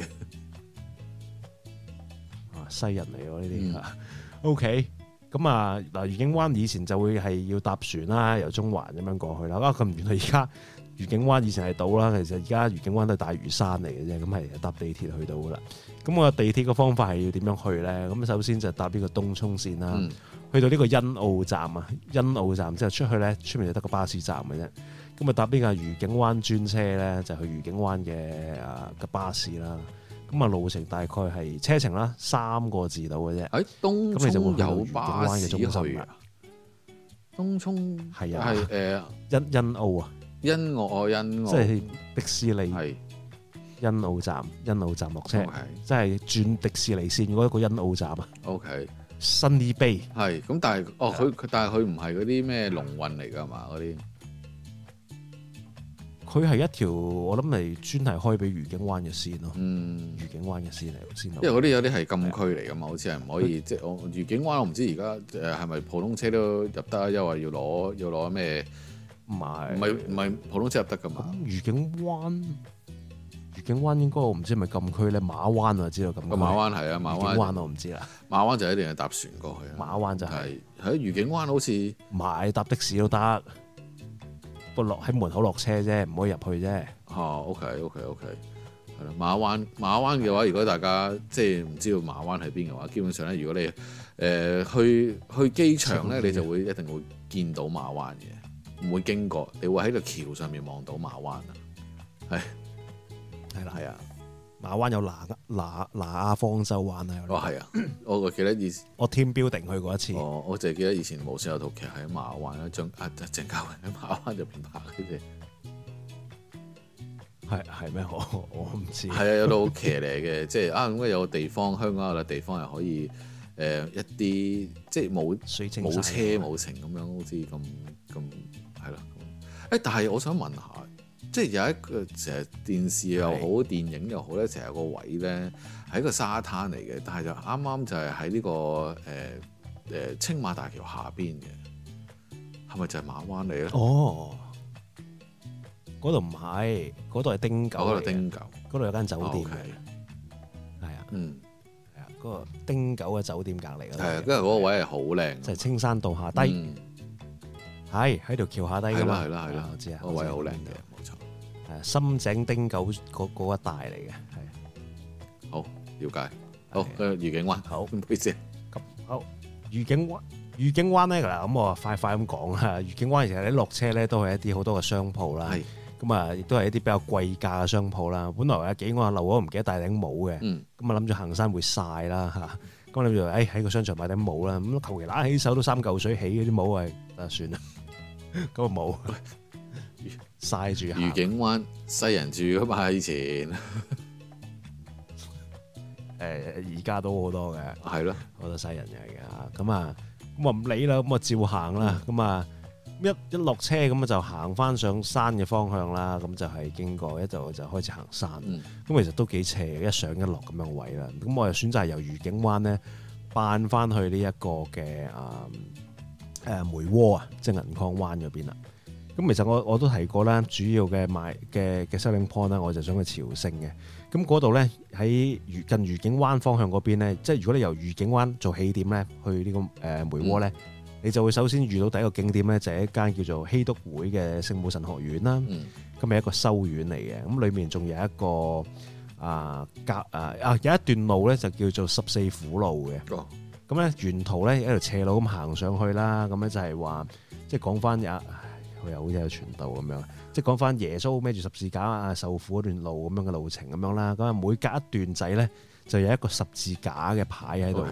西人嚟喎呢啲啊 ，OK，咁啊嗱，愉景灣以前就會係要搭船啦，由中環咁樣過去啦。啊，咁原來而家愉景灣以前係島啦，其實而家愉景灣都係大嶼山嚟嘅啫，咁係搭地鐵去到噶啦。咁我地鐵嘅方法係要點樣去咧？咁首先就搭呢個東涌線啦，嗯、去到呢個欣澳站啊，欣澳站之後出去咧，出面就得個巴士站嘅啫。咁啊搭呢個愉景灣專車咧，就去愉景灣嘅啊嘅巴士啦。咁啊路程大概係車程啦，三個字到嘅啫。 喺東涌有巴士去啊？東涌係啊， 係誒欣欣澳啊， 欣澳欣澳， 即係迪士尼係欣澳站，欣澳站落車，即係轉迪士尼線嗰一個欣澳站啊。 OK， Sunny Bay 係咁，但係哦佢佢但係佢唔係嗰啲咩龍運嚟㗎嘛嗰啲。 佢係一條我諗係專係開俾愉景灣嘅線咯， 嗯， 愉景灣嘅線嚟線路。 因為嗰啲有啲係禁區嚟㗎嘛，好似係唔可以即係我愉景灣，我唔知而家誒係咪普通車都入得，因為要攞要攞咩？唔係唔係唔係普通車入得㗎嘛？ 愉景灣愉景灣應該我唔知係咪禁區咧，馬灣我知道咁。個馬灣係啊，馬灣， 愉景灣我唔知啦。 馬灣就一定係搭船過去。 馬灣就係喺愉景灣好似買搭的士都得。不落喺門口落車啫，唔可以入去啫。 哦 ，OK OK OK，係啦。馬灣馬灣嘅話，如果大家即係唔知道馬灣喺邊嘅話，基本上咧，如果你誒、呃、去去機場咧，你就會一定會見到馬灣嘅，唔會經過，你會喺個橋上面望到馬灣啊。係係啦，係啊。 馬灣有嗱嗱嗱亞方舟灣啊！ 哦，係啊，我記得以前我 team building 去過一次。 哦，我就係記得以前無線有套劇喺馬灣，張啊鄭嘉穎喺馬灣入邊拍嘅啫。 係係咩？我我唔知。係啊，有套騎呢嘅，即係啊，咁有個地方，香港有個地方係可以誒、呃、一啲即係冇冇車冇程咁樣，好似咁咁係咯。誒，但係我想問下。即係有一個成日電視又好，是電影又好咧，成日有個位咧係一個沙灘嚟嘅，但係就啱啱就係喺呢個誒誒、呃、青馬大橋下邊嘅，係咪就係馬灣嚟咧？ 哦，嗰度唔係，嗰度係汀九， 嗰度汀九， 嗰度有間酒店嘅，係、 okay. 啊， 嗯， 係啊，嗰、嗰個汀九嘅酒店隔離嗰度， 係啊，跟住嗰個位係好靚， 就係青山道下低，係喺條橋下低㗎嘛， 係啦係啦， 我知啊， 嗰個位好靚嘅，冇錯。 深井汀九嗰嗰一帶嚟嘅，係好了解。好，跟住愉景灣， 好唔好意思。 咁好，愉景灣，愉景灣咧嗱，咁我快快咁講啦。愉景灣其實你落車咧都係一啲好多嘅商鋪啦，咁啊亦都係一啲比較貴價嘅商鋪啦。本來阿幾我漏咗唔記得戴頂帽嘅，咁啊諗住行山會曬啦嚇，咁諗住誒喺個商場買頂帽啦，咁求其揦起手都三嚿水起嗰啲帽係，啊算啦，咁啊冇。曬住愉景灣西人住噶嘛以前，誒而家都好多嘅， 係咯， 好多西人嚟嘅，咁啊咁啊唔理啦，咁啊照行啦，咁啊一一落車咁啊就行翻上山嘅方向啦，咁就係經過一度就開始行山，咁、嗯、其實都幾斜嘅，一上一落咁樣位啦，咁我又選擇由愉景灣咧扮翻去呢一個嘅啊誒梅窩啊，即係銀礦灣嗰邊啦。咁其實我我都提過啦，主要嘅賣嘅嘅 selling point 啦，我就想去朝聖嘅。咁嗰度咧喺近愉景灣方向嗰邊咧，即係如果你由愉景灣做起點咧，去呢個誒梅窩咧，嗯、你就會首先遇到第一個景點咧，就係一間叫做熙篤會嘅聖母神學院啦。咁係、嗯、一個修院嚟嘅，咁裏面仲有一個啊隔啊啊有一段路咧就叫做十四苦路嘅。咁咧、哦、沿途咧一條斜路咁行上去啦，咁咧就係話即係講翻有。佢又好似有傳道咁樣，即係講翻耶穌孭住十字架啊受苦嗰段路咁樣嘅路程咁樣啦。咁啊每隔一段仔咧就有一個十字架嘅牌喺度嘅。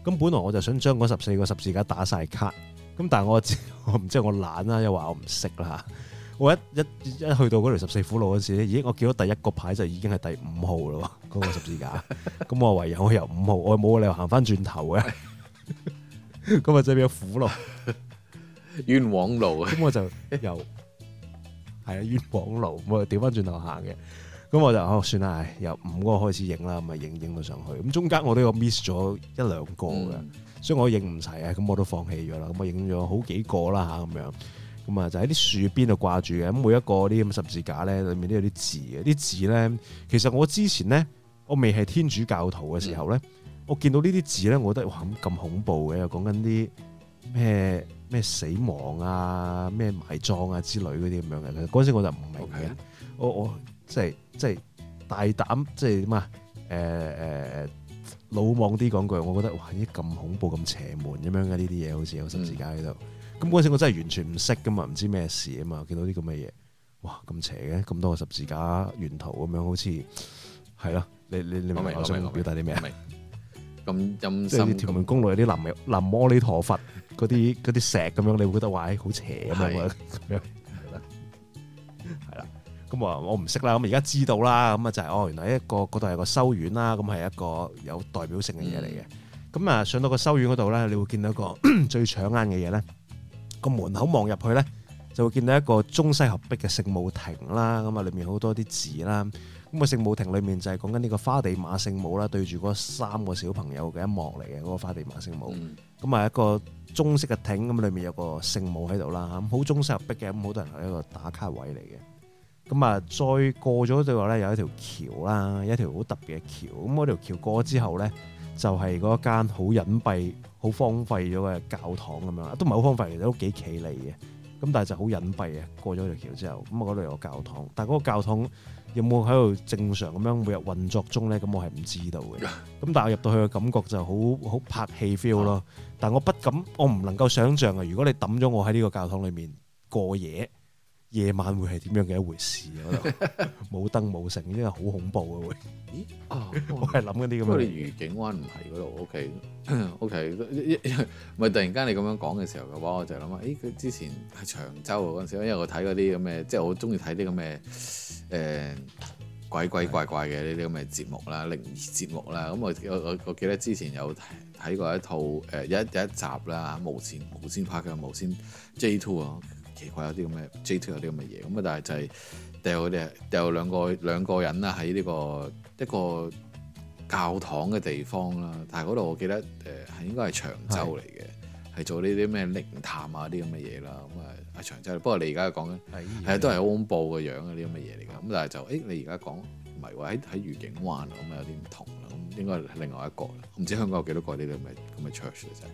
咁本來我就想將嗰十四個十字架打晒卡，咁但係我我唔知我懶啦，又話我唔識啦。我一一一去到嗰條十四苦路嗰時咧，咦！我見到第一個牌就已經係第五號咯，嗰、嗰個十字架。咁我唯有我由五號，我冇理由行翻轉頭嘅。咁啊，即係變咗苦路、 冤枉路。 咁我就由係啊冤枉路，我就調翻轉頭行嘅。咁我就哦算啦，由五嗰個開始影啦，咁啊影影到上去。咁中間我都有 miss 咗一兩個嘅，嗯、所以我影唔齊啊。咁我都放棄咗啦。咁我影咗好幾個啦嚇，咁樣。咁啊，就喺啲樹邊度掛住嘅。咁每一個啲咁十字架咧，裏面都有啲字嘅。啲字咧，其實我之前咧，我未係天主教徒嘅時候咧，嗯、我見到呢啲字咧，我覺得哇咁恐怖嘅，又講緊啲咩咩死亡啊、咩埋葬啊之類嗰啲咁樣嘅。嗰陣時我就唔明嘅 Okay.，我我即係即係大膽，即係點啊？誒誒魯莽啲講句，我覺得哇！啲咁恐怖、咁邪門咁樣嘅呢啲嘢，好似有十字架喺度。咁嗰陣時我真係完全唔識噶嘛，唔知咩事啊嘛，見到啲咁嘅嘢，哇咁邪嘅，咁多個十字架沿途咁樣，好似係咯，你你你明我想表達啲咩啊？ 咁陰森， 即係屯門公路有啲南無南無阿彌陀佛嗰啲嗰啲石咁樣，你會覺得哇，好邪咁樣咁樣，係啦。咁啊，我唔識啦，咁而家知道啦，咁啊就係哦，原來一個嗰度係個修院啦，咁係一個有代表性嘅嘢嚟嘅。咁啊、嗯，上到個修院嗰度咧，你會見到一個最搶眼嘅嘢咧。個門口望入去咧，就會見到一個中西合璧嘅聖母亭啦。咁啊，裏面好多啲字啦。咁個聖母亭裏面就係講緊呢個花地瑪聖母啦，對住嗰三個小朋友嘅一幕嚟嘅嗰個花地瑪聖母。咁啊、嗯，一個中式嘅亭，咁裏面有個聖母喺度啦。咁好中西合璧嘅，咁好多人係一個打卡位嚟嘅。咁啊，再過咗對話咧，有一條橋啦，一條好特別嘅橋。咁嗰條橋過咗之後咧，就係嗰一間好隱蔽、好荒廢咗嘅教堂咁樣，都唔係好荒廢，其實都幾企理嘅。咁但係就好隱蔽嘅。過咗條橋之後，咁啊嗰度有個教堂，但係嗰個教堂有冇喺度正常咁樣每日運作中咧？咁我係唔知道嘅。咁但係我入到去嘅感覺就好好拍戲 feel 咯。但係我不敢，我唔能夠想像啊！如果你抌咗我喺呢個教堂裏面過夜，夜晚會係點樣嘅一回事？嗰度冇燈冇成，真係好恐怖嘅會。咦？啊！我係諗緊啲咁嘅。不過你愉景灣唔係嗰度 ，OK OK。咪突然間你咁樣講嘅時候嘅話，我就諗啊，誒佢之前係長洲嗰陣時，因為我睇嗰啲咁嘅，即係我中意睇啲咁嘅誒鬼鬼怪怪嘅呢啲咁嘅節目啦、靈異節目啦。咁我我我我記得之前有睇過一套誒有一有一集啦，無線無線拍嘅無線 J Two 啊。奇怪有啲咁嘅 J Two 有啲咁嘅嘢，咁啊但係就係掉佢哋掉兩個兩個人啦喺呢個一個教堂嘅地方啦，但係嗰度我記得誒係應該係長洲嚟嘅，係是做呢啲咩靈探啊啲咁嘅嘢啦，咁啊喺長洲。不過你而家講緊係都係好恐怖嘅樣啊啲咁嘅嘢嚟㗎，咁但係就誒、欸、你而家講唔係喎，喺喺愉景灣咁啊有啲唔同啦，咁應該係另外一個啦，唔知香港有幾多個呢啲咁嘅咁嘅 church 嘅啫。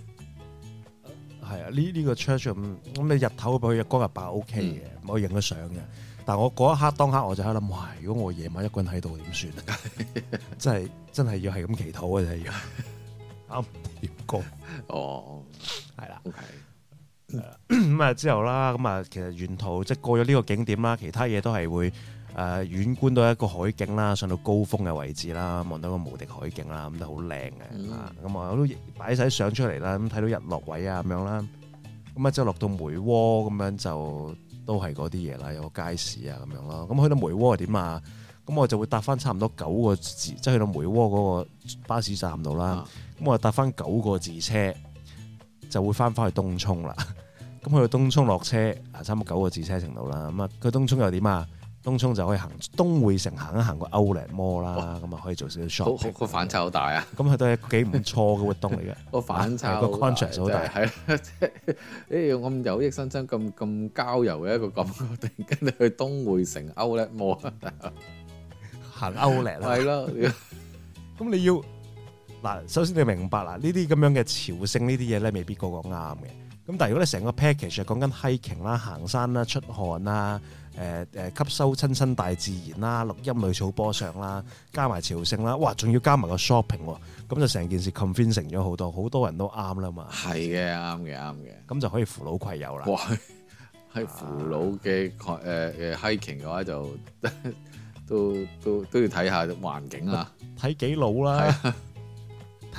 係啊，呢呢個 church 咁咁你日頭俾佢日光日白 O K 嘅，我影咗相嘅。但係我嗰一刻當刻我就喺度諗，哇！如果我夜晚一個人喺度點算啊？真係真係要係咁祈禱嘅真係要啱點過哦，係啦，OK。 咁啊之後啦，咁啊其實沿途即係過咗呢個景點啦，其他嘢都係會誒遠觀到一個海景啦，上到高峰嘅位置啦，望到個無敵海景啦，咁都好靚嘅。咁啊我都擺晒相出嚟啦，咁睇到日落位啊咁樣啦。咁啊之後落到梅窩咁樣就都係嗰啲嘢啦，有個街市啊咁樣咯。咁去到梅窩係點啊？咁我就會搭翻差唔多九個字，即係去到梅窩嗰個巴士站度啦。咁、啊、我就搭翻九個字車，就會翻返去東涌啦。咁去到東涌落車，啊差唔多九個字車程度啦。咁啊，去東涌又點啊？東涌就可以行東匯城行一行個 Outlet Mall 啦，咁啊可以做少少 shopping。個反差好大啊！ 咁佢都係幾唔錯嘅活動嚟嘅。 個反差個 contrast 好大，係啦， 即係誒咁有益身心、咁咁郊遊嘅一個感覺，突然間你去東匯城 Outlet Mall 行 Outlet 啦， 係咯。 咁你要嗱，首先你明白啦，呢啲咁樣嘅朝聖呢啲嘢咧，未必個個啱嘅。咁但係如果你成個 package 係講緊 hiking 啦、行山啦、出汗啦、誒誒吸收親親大自然啦、錄音類草坡上啦，加埋朝聖啦，哇！仲要加埋個 shopping 喎，咁就成件事 convincing 咗好多，好多人都啱啦嘛。係嘅，啱嘅，啱嘅。咁就可以扶老攜幼啦。哇！ 係扶老嘅誒誒 hiking 嘅話就都都都要睇下環境啊， 睇幾老啦。睇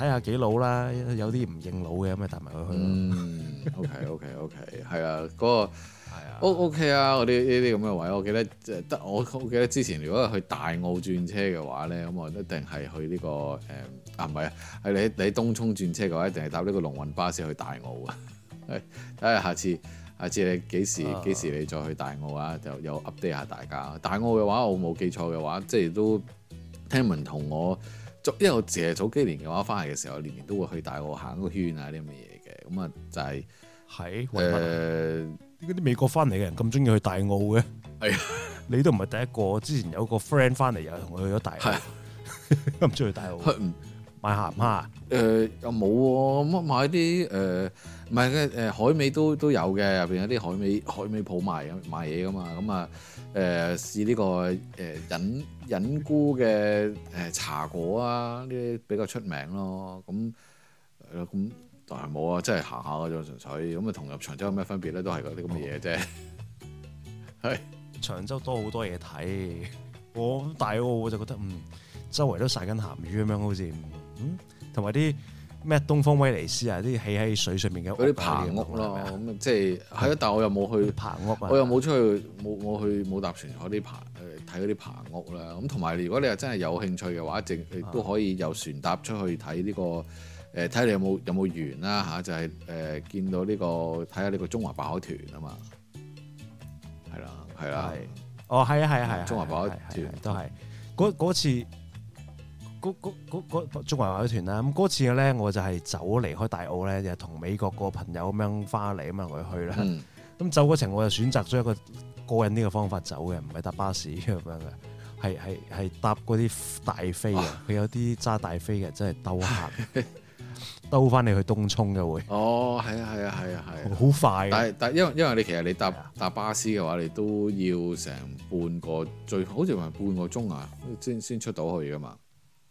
睇下幾老啦，有啲唔認老嘅咁咪帶埋佢去咯。 嗯，OK OK OK，係啊，嗰、嗰個。O O K 啊，嗰啲呢啲咁嘅位，我記得得我我記得之前如果係去大澳轉車嘅話咧，咁我一定係去呢、呢個誒、嗯、啊唔係啊，係你你喺東涌轉車嘅話，一定係搭呢個龍運巴士去大澳啊。睇下下次下次你幾時幾、啊、時你再去大澳啊？就又 update 下大家。大澳嘅話，我冇記錯嘅話，即係都聽聞同我，因為我自係早幾年嘅話翻嚟嘅時候，年年都會去大澳行個圈啊啲咁嘅嘢嘅，咁啊就係係誒。 嗰啲美國翻嚟嘅人咁中意去大澳嘅，係啊，你都唔係第一個。之前有個 friend 翻嚟又同佢去咗大澳，咁中意去大澳買鹹蝦。誒又冇喎，乜買啲誒唔係嘅誒海味都都有嘅，入邊有啲海味海味鋪賣賣嘢噶嘛。咁啊誒試呢個誒隱隱菇嘅誒茶果啊，呢啲比較出名咯。咁係咯咁。但係冇啊，真係行下嗰種純粹咁啊，同入長洲有咩分別咧？都係嗰啲咁嘅嘢啫。係長洲多好多嘢睇，我大澳我就覺得嗯，周圍都曬緊鹹魚咁樣，好似嗯，同埋啲咩東方威尼斯啊，啲起喺水上面嘅嗰啲棚屋咯，咁即係係啊，但係我又冇去棚屋，我又冇出去冇冇去冇搭船坐啲棚誒睇嗰啲棚屋啦。咁同埋如果你係真係有興趣嘅話，淨亦都可以由船搭出去睇呢個。誒睇你有冇有冇緣啦嚇，就係、是、誒、呃、見到呢、這個睇下呢個中華白海豚啊嘛，係啦係啦，哦係啊係啊係中華白海豚都係嗰次嗰中華白海豚啦。咁嗰次嘅咧，我就係走離開大澳咧，就同美國個朋友咁樣翻嚟咁樣同佢去啦。咁、嗯、走嗰程我就選擇咗一個過癮呢個方法走嘅，唔係搭巴士咁樣嘅。係係係搭嗰啲大飛啊！佢有啲揸大飛嘅，真係兜行。兜翻你去東涌嘅會哦，係啊係啊係啊係啊，好快。但係但係因為因為你其實你搭搭巴士嘅話，你都要成半個最好似話半個鐘啊，先先出到去噶嘛，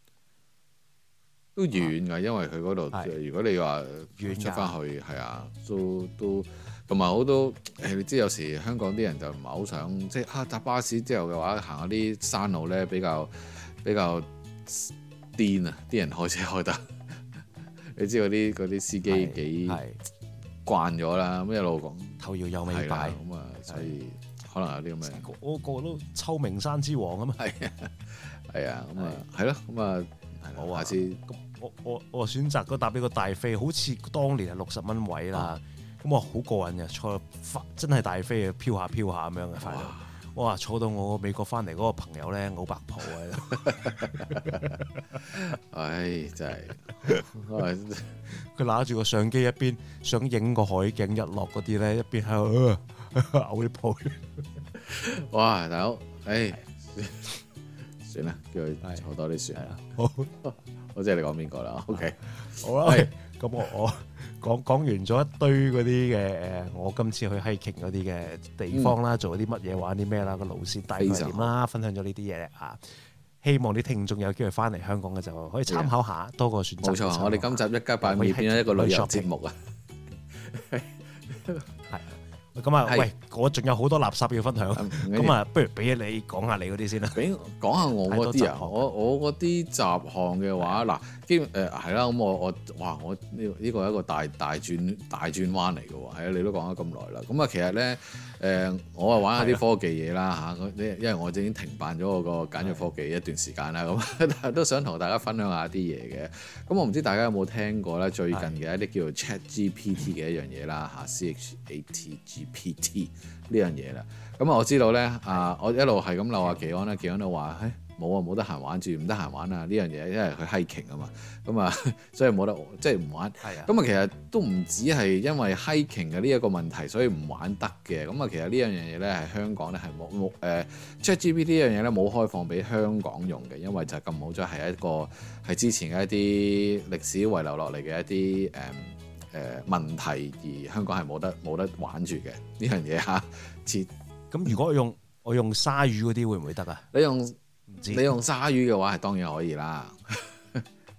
都遠㗎。因為佢嗰度如果你話出翻去係啊，都都同埋好多誒，你知有時香港啲人就唔係好想即係啊搭巴士之後嘅話行下啲山路咧，比較比較癲啊！啲人開車開得。你知嗰啲啲司機幾慣咗啦，咁一路講頭搖又尾擺，咁啊，所以可能有啲咁嘅。個個都秋名山之王啊嘛，係啊，係啊，咁啊，係咯，咁啊，好啊，下次咁我我我選擇嗰搭呢個大飛，好似當年係六十蚊位啦，咁我好過癮嘅，坐真係大飛啊，飄下飄下咁樣嘅快樂。哇！坐到我美國翻嚟嗰個朋友咧，好白袍喺度。唉，真係，佢拿住個相機一邊想影個海景日落嗰啲咧，一邊喺度嘔啲泡。哇！大佬，唉，算啦，叫佢坐多啲船。好，我知你講邊個啦。OK，好啦，咁我我。講講完咗一堆嗰啲嘅誒，我今次去 hiking 嗰啲嘅地方啦，嗯、做啲乜嘢玩啲咩啦，個路線大概點啦，分享咗呢啲嘢啊，希望啲聽眾有機會翻嚟香港嘅就可以參考下，多個選擇。冇錯，我哋今集一家8米變咗一個旅遊節目啊！係。咁啊，喂，我仲有好多垃圾要分享，咁啊，不如俾你講下你嗰啲先啦。俾講下我嗰啲啊，我我嗰啲雜項嘅話，嗱，基本誒係啦，咁我我哇，我呢呢個係一個大大轉大轉彎嚟嘅喎，係啊，你都講咗咁耐啦。咁啊，其實咧誒，我啊玩下啲科技嘢啦嚇，因為我已經停辦咗我個簡約科技一段時間啦，咁但係都想同大家分享下啲嘢嘅。咁我唔知大家有冇聽過咧，最近嘅一啲叫做 ChatGPT 嘅一樣嘢啦嚇 ，C H A T G P T 呢樣嘢啦，咁啊我知道咧，啊我一路係咁鬧阿技安啦，技安都話，誒冇啊，冇得閒玩住，唔得閒玩啊呢樣嘢，因為佢 hiking 啊嘛，咁啊所以冇得即係唔玩。係啊，咁啊其實都唔止係因為 hiking 嘅呢一個問題，所以唔玩得嘅。咁啊其實呢樣嘢咧係香港咧係冇冇誒 ChatGPT 呢樣嘢咧冇開放俾香港用嘅，因為就咁好咗係一個係之前嘅一啲歷史遺留落嚟嘅一啲誒。嗯誒、呃、問題而香港係冇得冇得玩住嘅呢樣嘢嚇，切咁如果我用我用鯊魚嗰啲會唔會得啊？你用你用鯊魚嘅話係當然可以啦，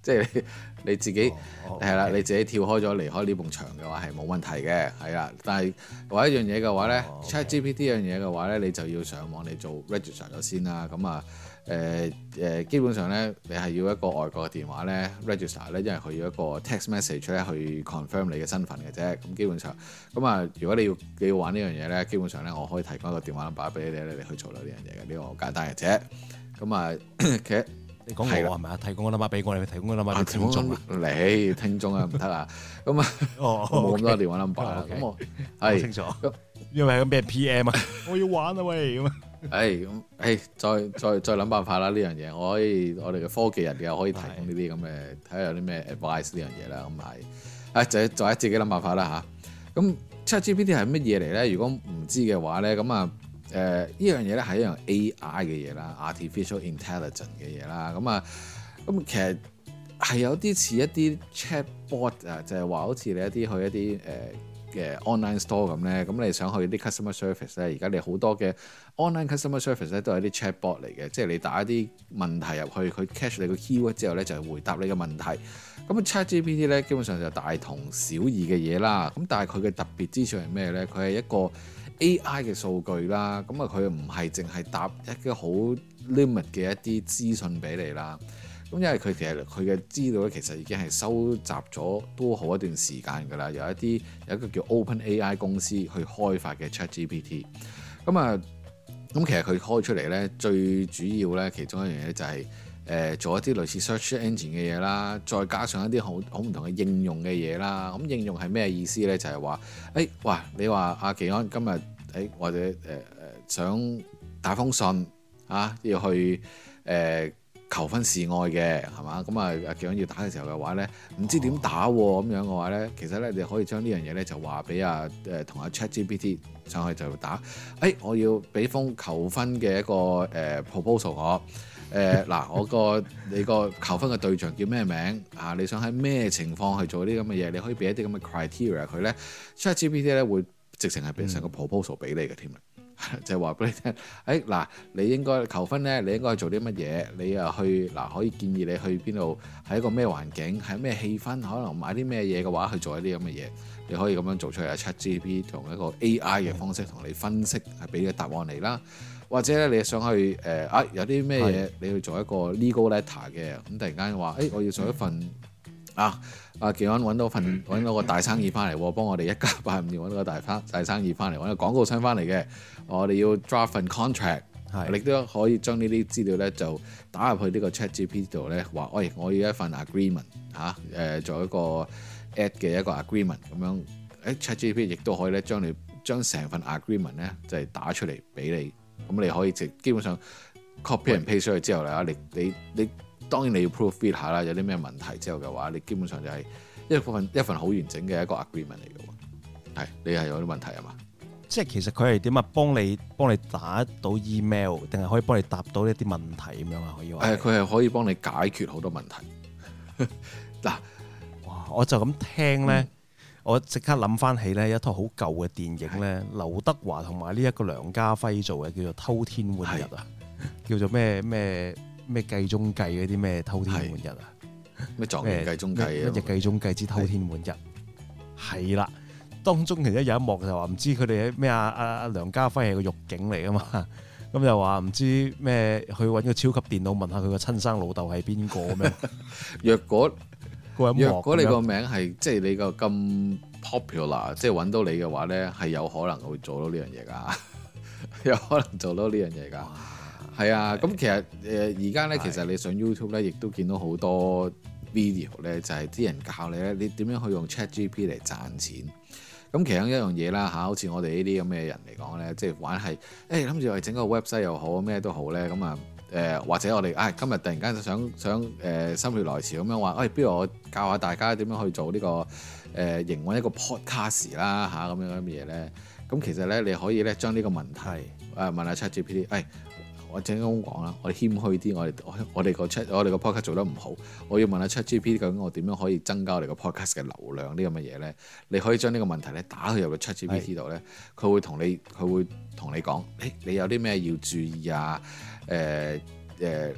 即係你，你自己係啦，你自己跳開咗離開呢埲牆嘅話係冇問題嘅，係啦。但係話一樣嘢嘅話咧、oh, okay.，ChatGPT 一樣嘢嘅話咧，你就要上網你做 register 咗先啦。咁啊誒誒，基本上咧你係要一個外國嘅電話咧 register 咧，因為佢要一個 text message 咧去 confirm 你嘅身份嘅啫。咁基本上咁啊，如果你要你要玩呢樣嘢咧，基本上咧我可以提供一個電話 number 俾你哋，你哋去做到呢樣嘢嘅，呢、呢個好簡單嘅啫。咁啊，其實你講我係咪啊？提供個 number 俾我，你提供個 number 俾聽眾啊？你聽眾啊，唔得啊！咁啊，我冇咁多電話 number 啦。咁我係清楚，因為係咁俾人 P M 啊！我要玩啊喂！咁啊，誒咁誒，再再再諗辦法啦！呢樣嘢我可以，我哋嘅科技人又可以提供呢啲咁嘅，睇下有啲咩 advice 呢樣嘢啦。咁係，誒就就喺自己諗辦法啦嚇。咁 ChatGPT 係乜嘢嚟咧？如果唔知嘅話咧，咁啊〜誒、呃、呢樣嘢咧係一樣 A I 嘅嘢啦 ，artificial intelligence 嘅嘢啦，咁啊，咁其實係有啲似一啲 chatbot 啊，就係話好似你一啲去一啲誒嘅 online store 咁咧，咁你想去啲 customer service 咧，而家你好多嘅 online customer service 咧都係啲 chatbot 嚟嘅，即係你打一啲問題入去，佢 catch 你個 keyword 之後咧就係回答你嘅問題。咁 ChatGPT 咧基本上就大同小異嘅嘢啦，咁但係佢嘅特別之處係咩咧？佢係一個A I 嘅數據啦，咁啊佢唔係淨係答一個好 limit 嘅一啲資訊俾你啦。咁因為佢其實佢嘅資料咧其實已經係收集咗都好一段時間㗎啦。有一啲有一個叫 OpenAI 公司去開發嘅 ChatGPT。咁啊，咁其實佢開出嚟咧最主要咧其中一樣嘢就係、是、誒、呃、做一啲類似 search engine 嘅嘢啦，再加上一啲好好唔同嘅應用嘅嘢啦。咁應用係咩意思咧？就係、是、話，誒、欸，哇！你話阿技安今日誒、欸、或者誒誒、呃、想打封信啊，要去誒、呃、求婚示愛嘅係嘛？咁啊阿技安要打嘅時候嘅話咧，唔知點打喎、啊、咁、哦、樣嘅話咧，其實咧你可以將呢樣嘢咧就話俾阿誒同阿 ChatGPT 上去就打，誒、欸、我要俾封求婚嘅一個誒、呃、proposal 我。誒、呃、嗱，我個你個求婚嘅對象叫咩名啊？你想喺咩情況去做啲咁嘅嘢？你可以俾一啲咁嘅 criteria 佢咧，ChatGPT 咧會直情係變成個 proposal 俾你嘅添啦，就係話俾你聽。誒、哎、嗱，你應該求婚咧，你應該做啲乜嘢？你啊去嗱，可以建議你去邊度？喺一個咩環境？喺咩氣氛？可能買啲咩嘢嘅話去做一啲咁嘅嘢，你可以咁樣做出嚟。ChatGPT 同一個 A I 嘅方式同你分析，係俾個答案你啦。或者咧，你想去誒啊？有啲咩嘢你去做一個 legal letter 嘅？咁突然間話誒，我要做一份啊！阿技安揾到份揾到個大生意翻嚟，幫我哋一家八五年揾到個大生大生意翻嚟，揾個廣告商翻嚟嘅。我哋要 draft 份 contract，你都可以將呢啲資料咧就打入去呢個 ChatGPT 度咧，話喂，我要一份 agreement 嚇、啊、誒、呃，做一個 ad 嘅一個 agreement 咁樣。誒 ChatGPT 亦都可以咧將你將成份 agreement 咧就係打出嚟俾你。咁你可以直基本上 copy and paste 出去之後咧，你你你當然你要 proofread 下啦，有啲咩問題之後嘅話，你基本上就係一份一份好完整嘅一個 agreement 嚟嘅喎。係，你係有啲問題係嘛？即係其實佢係點啊？幫你幫你打到 email，定係可以幫你答到一啲問題咁樣啊？可以話誒，佢係可以幫你解決好多問題。嗱，哇！我就咁聽咧。嗯我即刻諗翻起咧一套好舊嘅電影咧，劉德華同埋呢一個梁家輝做嘅，叫做《偷天換日》啊，叫做咩咩咩計中計嗰啲咩偷天換日啊，咩狀元計中計啊，乜嘢計中計之偷天換日，係啦。當中其實有一幕就話唔知佢哋咩啊啊啊梁家輝係個獄警嚟噶嘛，咁就話唔知咩去揾個超級電腦問下佢個親生老豆係邊個咁樣。若果若果你個名係即係你個咁 popular，即係揾到你嘅話咧，係有可能會做到呢樣嘢㗎，有可能做到呢樣嘢㗎。係啊，咁其實誒而家咧，其實你上 YouTube 咧，亦都見到好多 video 咧，就係啲人教你咧，你點樣去用 ChatGPT 嚟賺錢。咁其中一樣嘢啦嚇，好似我哋呢啲咁嘅人嚟講咧，即係玩係誒諗住係整個 website 又好，咩都好咧，咁啊。誒、呃、或者我哋啊、哎、今日突然間就想想誒、呃、心血來潮咁樣話，喂、哎，不如我教下大家點樣去做呢、這個誒、呃、營運一個 podcast 啦嚇，咁樣咁嘅嘢咧。咁其實咧你可以咧將呢個問題誒、呃、問下 ChatGPT，誒、哎、我正咁講啦，我哋謙虛啲，我哋我哋個 chat 我哋個 podcast 做得唔好，我要問下 ChatGPT 究竟我點樣可以增加我哋個 podcast 嘅流量呢？咁嘅嘢咧，你可以將呢個問題咧打去入個 ChatGPT 度咧，佢會同你佢會同你講，誒、哎、你有啲咩要注意啊？誒誒、呃呃，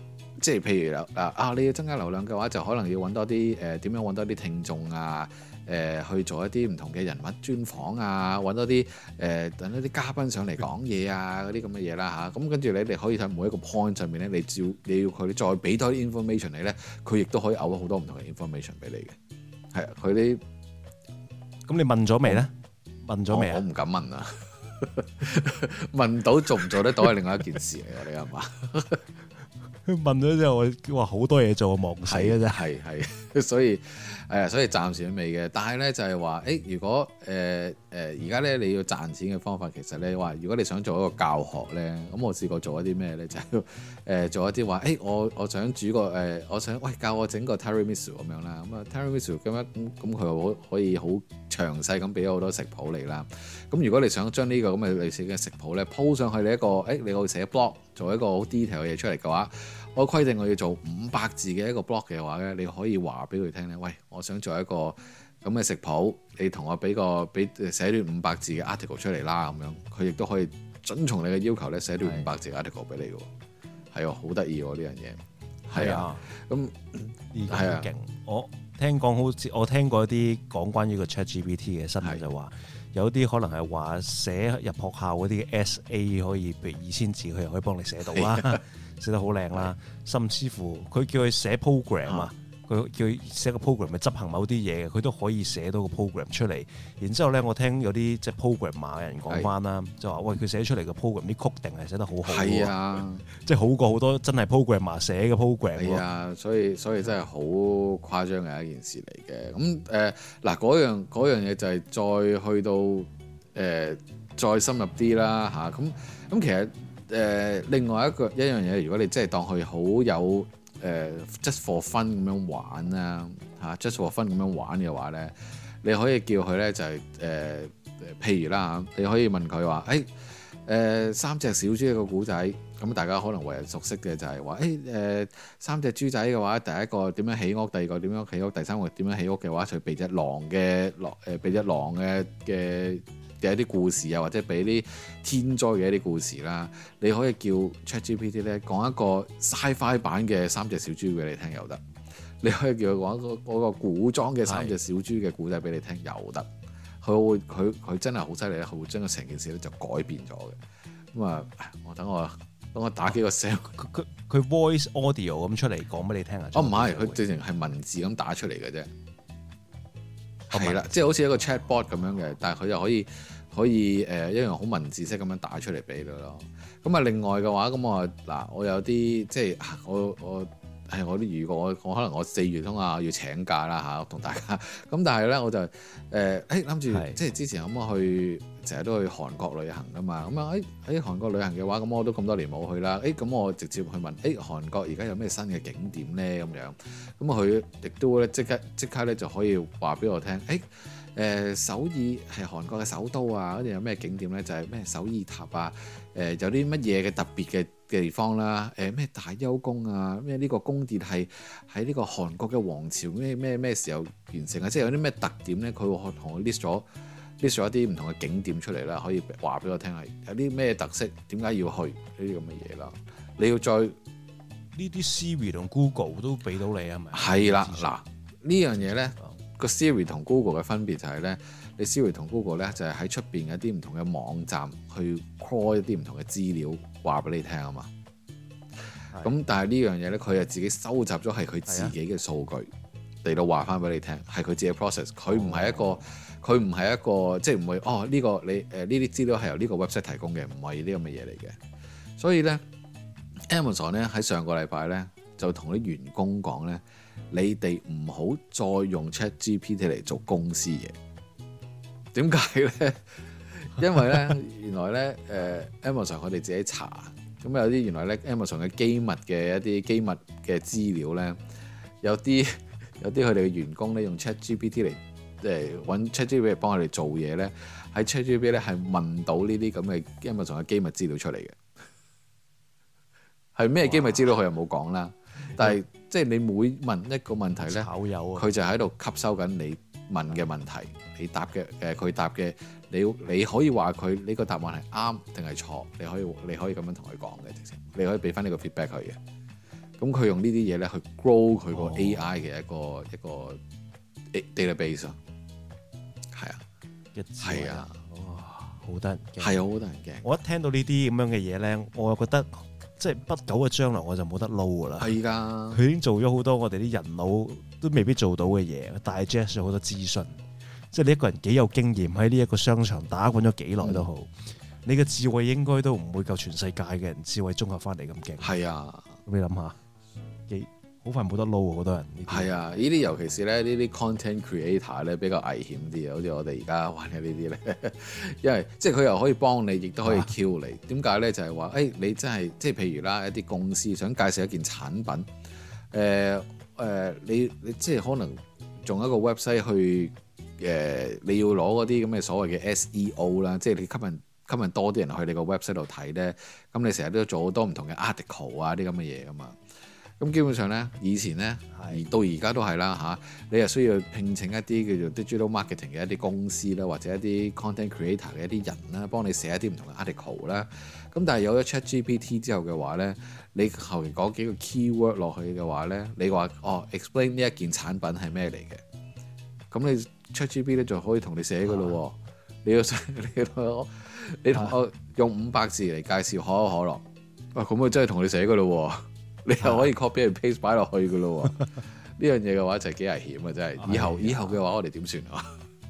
即係譬如啊啊，你要增加流量嘅話，就可能要揾多啲誒點樣揾多啲聽眾啊，誒、呃、去做一啲唔同嘅人物專訪啊，揾多啲誒等一啲嘉賓上嚟講嘢啊，嗰啲咁嘅嘢啦嚇。咁跟住你哋可以睇每一個 point 上面咧，你照你要佢再俾多啲 information 你咧，佢亦都可以嘔好多唔同嘅 information 俾你嘅。係啊，佢啲咁你問咗未咧？問咗未啊？ 我唔敢問啊。問到做唔做得到係另外一件事嚟嘅，你係嘛？ 問咗之後，我話好多嘢做，忙死嘅啫。 係係，所以誒，所以暫時都未嘅。但係咧就係話，誒，如果誒誒而家咧你要賺錢嘅方法，其實咧話，如果你想做一個教學咧，咁我試過做一啲咩咧，就係、是、誒、呃、做一啲話，誒我我想煮個誒、呃，我想喂教我整個 tiramisu 咁樣啦。咁啊 tiramisu 咁樣咁咁佢可可以好詳細咁俾好多食譜你啦。咁如果你想將呢個咁嘅類似嘅食譜咧鋪上去你一個，誒你可以寫 blog 做一個好 detail 嘅嘢出嚟嘅話，我規定我要做五百字嘅一個 blog 嘅話咧，你可以話俾佢聽咧，喂，我想做一個咁嘅食譜，你同我俾個俾寫段五百字嘅 article 出嚟啦，咁樣佢亦都可以遵從你嘅要求咧，寫段五百字嘅 article 俾你嘅，係啊，好得意喎呢樣嘢，係啊，咁係啊，勁， 我聽講好似我聽過一啲講關於個 ChatGPT 嘅新聞就話。有啲可能係話寫入學校嗰啲 S A 可以，譬如二千字，佢又可以幫你寫到啦，寫得好靚啦。甚至乎佢叫佢寫 program 啊，佢叫佢寫個 program 咪執行某啲嘢嘅，佢都可以寫到個 program 出嚟。然之後咧，我聽有啲即係 programmer 嘅人講翻啦，就話喂，佢寫出嚟嘅 program 啲曲定係寫得好好，係啊，即係好過好多真係 programmer 寫嘅 program。 係啊，所以所以真係好誇張嘅一件事嚟嘅。咁誒嗱，嗰樣嗰樣嘢就係再去到誒、呃、再深入啲啦嚇。咁、啊、咁其實誒、呃、另外一個一樣嘢，如果你真係當佢好有誒、呃、just for fun 咁樣玩啦嚇、啊、just for fun 咁樣玩嘅話咧，你可以叫佢咧就係、是、誒、呃、譬如啦嚇，你可以問佢話誒誒三隻小豬一個古仔。咁大家可能為人熟悉嘅就係話，誒誒三隻豬仔嘅話，第一個點樣起屋，第二個點樣起屋，第三個點樣起屋嘅話，就俾隻狼嘅狼誒，俾隻狼嘅嘅嘅一啲故事啊，或者俾啲天災嘅一啲故事啦。你可以叫 ChatGPT 咧講一個 Sci-Fi 版嘅三隻小豬俾你聽又得，你可以叫佢講一個嗰個古裝嘅三隻小豬嘅故仔俾你聽又得。佢會佢佢真係好犀利咧，佢會將個成件事咧就改變咗嘅。咁啊，我等我。等我打幾個聲， 佢佢佢 voice audio 咁出嚟講俾你聽啊！ 哦，唔係，佢直情係文字咁打出嚟嘅啫。係啦，即係好似一個 chatbot 咁樣嘅，但係佢又可以可以誒、呃、一樣好文字式咁樣打出嚟俾你咯。咁啊，另外嘅話，咁我嗱，我有啲即係我我係我啲如果我我可能我四月通啊要請假啦嚇，同大家。咁但係咧，我就誒誒諗住即係之前咁我去。成日都去韓國旅行噶嘛，咁啊喺喺韓國旅行嘅話，咁我都咁多年冇去啦。誒、欸、咁我直接去問，誒、欸、韓國而家有咩新嘅景點咧？咁樣，咁佢亦都咧即刻即刻咧就可以話俾我聽，誒、欸、誒、呃、首爾係韓國嘅首都啊，跟住有咩景點咧？就係、是、咩首爾塔啊，誒、呃、有啲乜嘢嘅特別嘅地方啦，誒、呃、咩大邱宮啊，咩呢個宮殿係喺呢個韓國嘅王朝咩咩咩時候完成啊？即係有啲咩特點咧？佢會同我 list 咗。list 咗一啲唔同嘅景點出嚟啦，可以話俾我聽係有啲咩特色，點解要去呢啲咁嘅嘢啦？你要再呢啲 Siri 同 Google 都俾到你係咪？ 係啦，嗱呢樣嘢咧個 Siri 同 Google 嘅分別就係咧，你 Siri 同 Google 咧就係喺出邊一啲唔同嘅網站去 call 一啲唔同嘅資料話俾你聽啊嘛。咁但係呢樣嘢咧，佢係自己收集咗係佢自己嘅數據嚟到話翻俾你聽，係佢自己 process，佢唔係一個。佢唔係一個即係唔會哦呢、呢個你誒呢啲資料係由呢個 website 提供嘅，唔係呢咁嘅嘢嚟嘅。所以咧 Amazon 咧喺上個禮拜咧就同啲員工講咧，你哋唔好再用 ChatGPT 嚟做公司嘢。點解咧？因為咧原來咧誒、呃、Amazon 佢哋自己查，咁有啲原來咧 Amazon 嘅機密嘅一啲機密嘅資料咧，有啲有啲佢哋嘅員工咧用 ChatGPT 嚟。即係揾 ChatGPT 嚟幫我哋做嘢咧，喺 ChatGPT 咧係問到呢啲咁嘅 Amazon嘅機密資料出嚟嘅，係咩機密資料佢又冇講啦。但係即係你每問一個問題咧，佢就喺度吸收緊你問嘅問題，你答嘅誒佢答嘅，你你可以話佢呢個答案係啱定係錯，你可以你可以咁樣同佢講嘅，直情你可以俾翻呢個 feedback 佢嘅。 咁佢用呢啲嘢咧去 grow 佢個 A I 嘅一個、哦、一個 database 啊，係啊，係啊， 哇，好得人驚， 係啊，好得人驚。 我一聽到呢啲咁樣嘅嘢咧，我又覺得即係不久嘅將來我就冇得撈噶啦。係㗎，佢已經做咗好多我哋啲人腦都未必做到嘅嘢，大 digest 咗好多資訊。即係你一個人幾有經驗喺呢一個商場打滾咗幾耐都好，嗯、你嘅智慧應該都唔會夠全世界嘅人智慧綜合翻嚟咁勁。係啊，咁你諗下，幾好快冇得撈啊！好多人。係啊，呢啲尤其是咧呢啲 content creator 咧比較危險啲啊，好似我哋而家玩嘅呢啲咧，因為即係佢又可以幫你，亦都可以 kill 你。點解咧？就係話誒，你真係即係譬如啦，一啲公司想介紹一件產品，誒、呃、誒、呃，你你即係可能用一個 website 去。誒、呃，你要攞嗰啲咁嘅所謂嘅 S E O 啦，即係你吸引吸引多啲人去你個 website 度睇咧，咁你成日都做好多唔同嘅 article 啊啲咁嘅嘢噶嘛，咁基本上咧，以前咧，而到而家都係啦嚇，你又需要聘請一啲叫做 digital marketing 嘅一啲公司啦，或者一啲 content creator 嘅一啲人啦，幫你寫一啲唔同嘅 article 啦，咁但係有咗 ChatGPT 之後嘅話咧，你後面講幾個 keyword 落去嘅話咧，你話哦 explain 呢一件產品係咩嚟嘅，咁你ChatGPT 咧就可以同你寫噶咯，你要你同你同我用五百字嚟介紹可口可樂，哇咁佢真係同你寫噶咯，你又可以 copy and paste 擺落去噶咯，呢樣嘢嘅話就係幾危險啊！真係，以後以後嘅話我哋點算啊？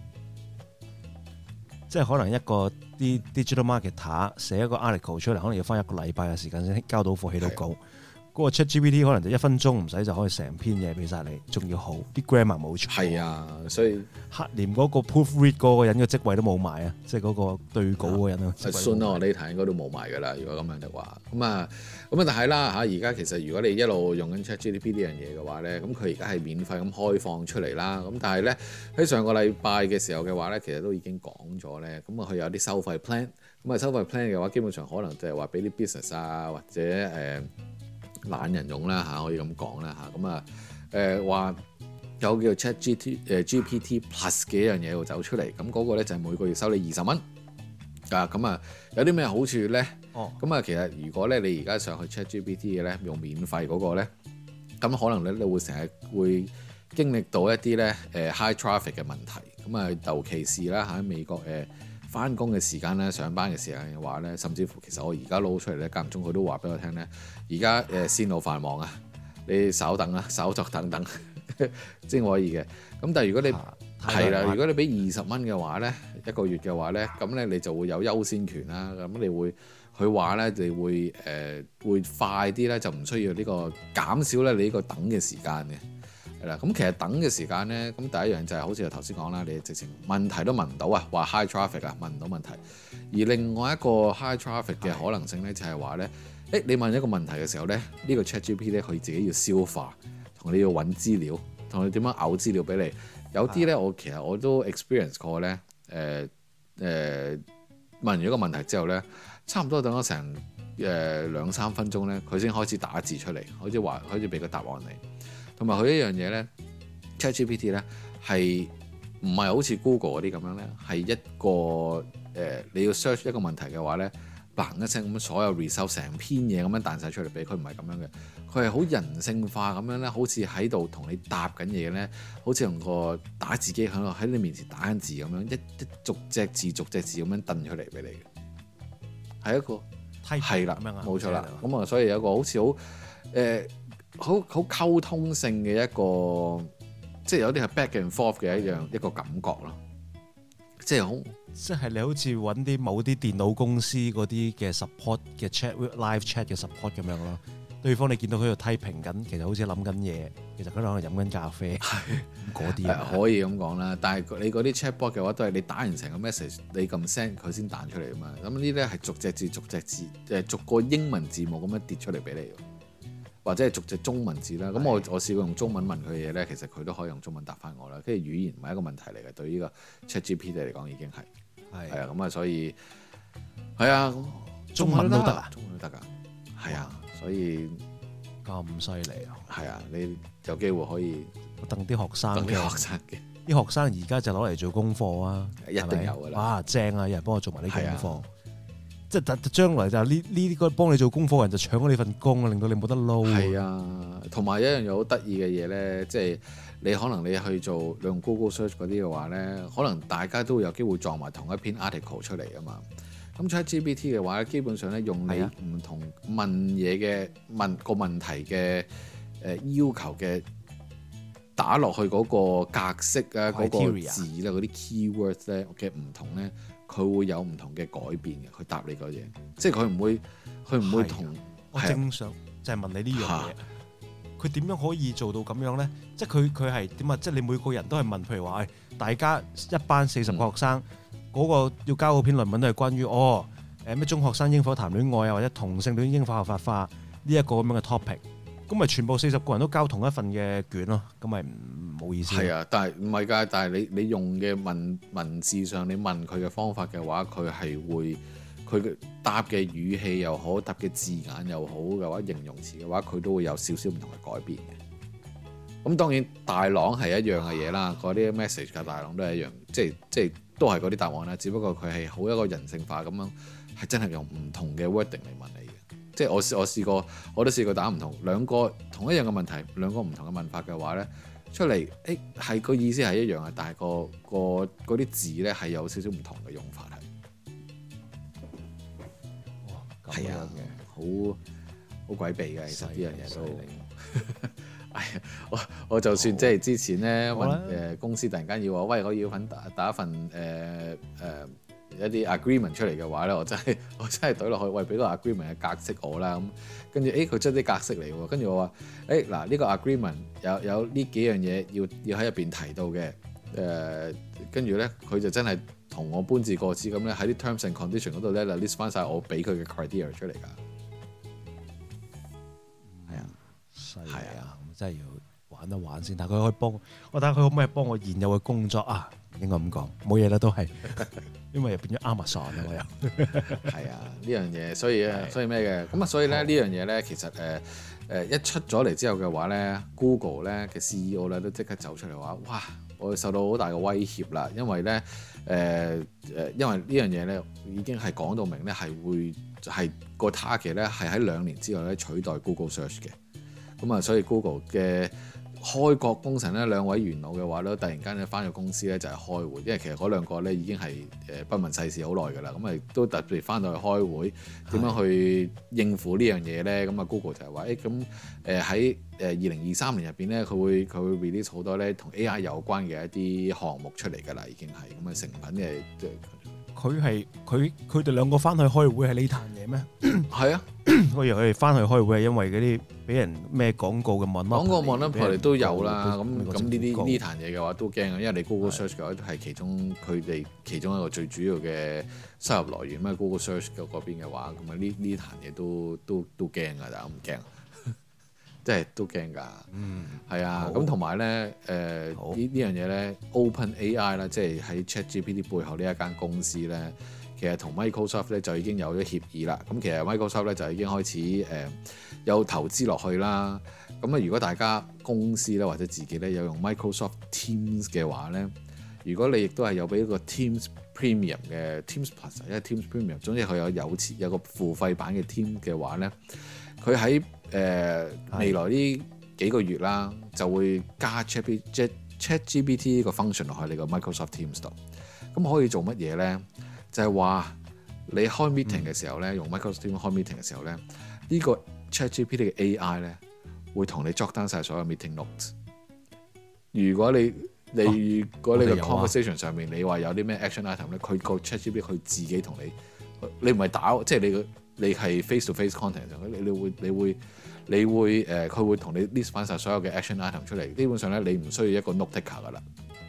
即係可能一個啲 digital marketer 寫一個 article 出嚟，可能要花一個禮拜嘅時間先交到貨起到稿。嗰個 ChatGPT 可能就一分鐘唔使就可以成篇嘢俾晒你，仲要好啲 grammar 冇錯。係啊，所以黑連嗰個 proofread 嗰個人嘅職位都冇埋啊，即係嗰個對稿嗰個人啊。Sooner or later應該都冇埋㗎啦。如果咁樣嘅話，咁啊咁啊，但係啦嚇，而家其實如果你一路用緊 ChatGPT 呢樣嘢嘅話咧，咁佢而家係免費咁開放出嚟啦。咁但係咧喺上個禮拜嘅時候嘅話咧，其實都已經講咗咧，咁啊佢有啲收費 plan，咁啊收費 plan 嘅話，基本上可能就係話俾啲 business 啊或者誒。呃懶人用啦嚇，可以咁講啦嚇，咁啊誒話有叫 ChatGPT 誒 G P T Plus 嘅一樣嘢會走出嚟，咁嗰個咧就係每個月收你二十蚊啊，咁啊有啲咩好處咧？哦，咁啊其實如果咧你而家上去 ChatGPT 嘅咧用免費嗰個咧，咁可能咧你會成日會經歷到一啲咧誒 high traffic 嘅問題，咁啊尤其是啦喺美國誒翻工嘅時間咧，上班嘅時間嘅話咧，甚至乎其實我而家撈出嚟咧，間唔中佢都話俾我聽咧。而家誒線路繁忙啊，你稍等啦，稍作等等先可以嘅。咁但係如果你係啦、啊，如果你俾二十蚊嘅話咧，一個月嘅話咧，咁咧你就會有優先權啦。咁你會佢話咧，你會誒、呃、會快啲咧，就唔需要呢、呢個減少咧你呢個等嘅時間嘅。係啦，咁其實等嘅時間咧，咁第一樣就係好似我頭先講啦，你直情問題都問唔到啊，話 high traffic 啊，問唔到問題。而另外一個 high traffic 嘅可能性咧，就係話咧，誒你問一個問題嘅時候咧，呢、呢個 ChatGPT 咧佢自己要消化，同你要揾資料，同你點樣嘔資料俾你。有啲咧，我其實我都 experience 過咧，誒、呃、誒、呃、問完一個問題之後咧，差唔多等咗成誒兩三分鐘咧，佢先開始打字出嚟，好似話開始俾個答案你。同埋佢一樣嘢咧 ChatGPT 咧係唔係好似 Google 嗰啲咁樣咧？係一個誒、呃，你要 search 一個問題嘅話咧，嘭一聲咁所有 result 成篇嘢咁樣彈晒出嚟俾佢，唔係咁樣嘅。佢係好人性化咁樣咧，好似喺度同你答緊嘢咧，好似用個打字機喺度喺你面前打緊字咁樣，一一逐隻字逐隻字咁樣掟出嚟俾你嘅，係一個係啦，冇錯啦。咁啊，所以有一個好似好誒。呃好好溝通性嘅一個，即係有啲係 back and forth 嘅一樣一個感覺咯，即係好，即係你好似揾啲某啲電腦公司嗰啲嘅 support 嘅 chat live chat 嘅 support 咁樣咯。對方你見到佢喺度 typing 緊，其實好似諗緊嘢，其實佢可能飲緊咖啡，嗰啲啊可以咁講啦。但係你嗰啲 chatbot 嘅話，都係你打完成個 message，你撳 send 佢先彈出嚟啊嘛。咁呢啲咧係逐隻字逐隻字，誒逐個英文字母咁樣跌出嚟俾你。或者係逐隻中文字啦，咁我我試過用中文問佢嘅嘢咧，其實佢都可以用中文答翻我啦。跟住語言唔係一個問題嚟嘅，對於呢個 ChatGPT 嚟講已經係係啊，咁啊，所以係啊，中文都得啊，中文都得㗎，係啊，所以咁犀利啊，係啊，你有機會可以等啲學生，等啲學生嘅啲學生而家就攞嚟做功課啊，一定有㗎啦，哇，正啊，有人幫我做埋啲功課。 即係將來就呢呢個幫你做功課嘅人就搶咗你份工，令到你冇得撈。 係啊，同埋一樣嘢好得意嘅嘢咧，即係你可能你去做你用 Google Search 嗰啲嘅話咧，可能大家都會有機會撞埋同一篇 article 出嚟啊嘛。咁 ChatGPT 嘅話咧，基本上咧用你唔同問嘢嘅問個問題嘅誒要求嘅打落去嗰個格式啊，嗰個字啦，嗰啲 keywords 咧嘅唔同咧。佢會有唔同嘅改變嘅，佢答你嗰嘢，即係佢唔會，佢唔會同我正想就係問你呢樣嘢，佢點樣可以做到咁樣咧？即係佢佢係點啊？即係你每個人都係問，譬如話，誒，大家一班四十個學生，嗰、嗯、個要交嗰篇論文都係關於哦，誒咩中學生應否談戀愛啊，或者同性戀應否合法化呢一個咁樣嘅 topic。咁咪全部四十個人都交同一份嘅卷咯，咁咪唔冇意思。係啊， 但係唔係㗎？但係你你用嘅文文字上，你問佢嘅方法嘅話，佢係會佢嘅答嘅語氣又好，答嘅字眼又好嘅話，形容詞嘅話，佢都會有少少唔同嘅改變嘅。咁當然大朗係一樣嘅嘢啦，嗰啲 message 嘅大朗都係一樣，即係即係都係嗰啲答案啦。只不過佢係好一個人性化咁樣，係真係用唔同嘅 wording 嚟問你嘅。即係我我試過，我都試過打唔同兩個同一樣嘅問題，兩個唔同嘅問法嘅話咧，出嚟誒係個意思係一樣嘅，但係個個嗰啲字咧係有少少唔同嘅用法係。哇，係啊，好好詭秘嘅，其實呢樣嘢都。哎呀，我我就算即係之前咧問誒公司突然間要我，喂，我要份打打一份誒誒。呃呃一啲 agreement 出嚟嘅話咧，我真係我真係懟落去，喂，俾個 agreement 嘅格式我啦，咁跟住誒佢出啲格式嚟喎，跟住我話誒嗱呢個 agreement 有有呢幾樣嘢要要喺入邊提到嘅，誒跟住咧佢就真係同我搬字過紙咁咧喺啲 terms and condition 嗰度咧就 list 翻晒我俾佢嘅 criteria 出嚟㗎。係啊，係啊， 咁真係要玩一玩先，但係佢可以幫我睇下佢可唔可以幫我現有嘅工作啊？應該咁講，冇嘢啦都係。因為又變咗 Amazon 啊，我又係啊呢樣嘢，所以啊，所以咩嘅咁啊，所以咧呢樣嘢咧，其實誒誒、呃、一出咗嚟之後嘅話咧 ，Google 咧嘅 C E O 咧都即刻走出嚟話：哇，我受到好大嘅威脅啦！因為咧誒誒，因為呢樣嘢咧已經係講到明咧係會係個 target 咧係喺兩年之內咧取代 Google Search 嘅。咁啊，所以 Google 嘅開國功臣咧，兩位元老嘅話咧，突然間咧翻咗公司咧就係開會，因為其實嗰兩個咧已經係誒不問世事好耐㗎啦，咁啊都特別翻到去開會，點樣去應付呢樣嘢咧？咁啊 Google 就係話誒咁誒喺誒二零二三年入邊咧，佢會佢會 release 好多咧同 A I 有關嘅一啲項目出嚟㗎啦，已經係咁啊成品嘅即係。 佢係佢佢哋兩個翻去開會係呢壇嘢咩？ 係啊， 我以為佢哋翻去開會係因為嗰啲俾人咩廣告嘅 monopoly 廣告 monopoly 都有啦。咁咁呢啲呢壇嘢嘅話都驚啊，因為你 Google Search 嘅話係其中佢哋其中一個最主要嘅收入來源咩 Google Search 嘅嗰邊嘅話，咁啊呢呢壇嘢都都都驚㗎，大家唔驚？即係都驚㗎，嗯，係啊，咁同埋咧，誒呢呢樣嘢咧 OpenAI 啦，即係喺 ChatGPT 背後呢一間公司咧，其實同 Microsoft 咧就已經有咗協議啦。咁其實 Microsoft 咧就已經開始誒、呃、有投資落去啦。咁啊，如果大家公司咧或者自己咧有用 Microsoft Teams 嘅話咧，如果你亦都係有俾一個 Teams Premium 嘅 Teams Plus，因為 Teams Premium 總之佢有有錢有個付費版嘅 Teams 嘅話咧，佢喺誒、呃、未來呢幾個月啦，就會加 ChatGPT 呢個 function 落去你個 Microsoft Teams 度。咁可以做乜嘢咧？就係、是、話你開 meeting 嘅時候咧，嗯、用 Microsoft Teams 開 meeting 嘅時候咧，呢、呢個 ChatGPT 嘅 A I 咧會同你 jot down 晒所有 meeting notes。如果你你、哦、如果你個 conversation 上面你話有啲咩 action item 咧，佢個 ChatGPT 佢自己同你，你唔係打，即係你個你係 face to face content 上，你你會你會。你會誒，佢、呃、會同你 list 翻晒所有嘅 action item 出嚟。基本上咧，你唔需要一個 note taker 噶啦。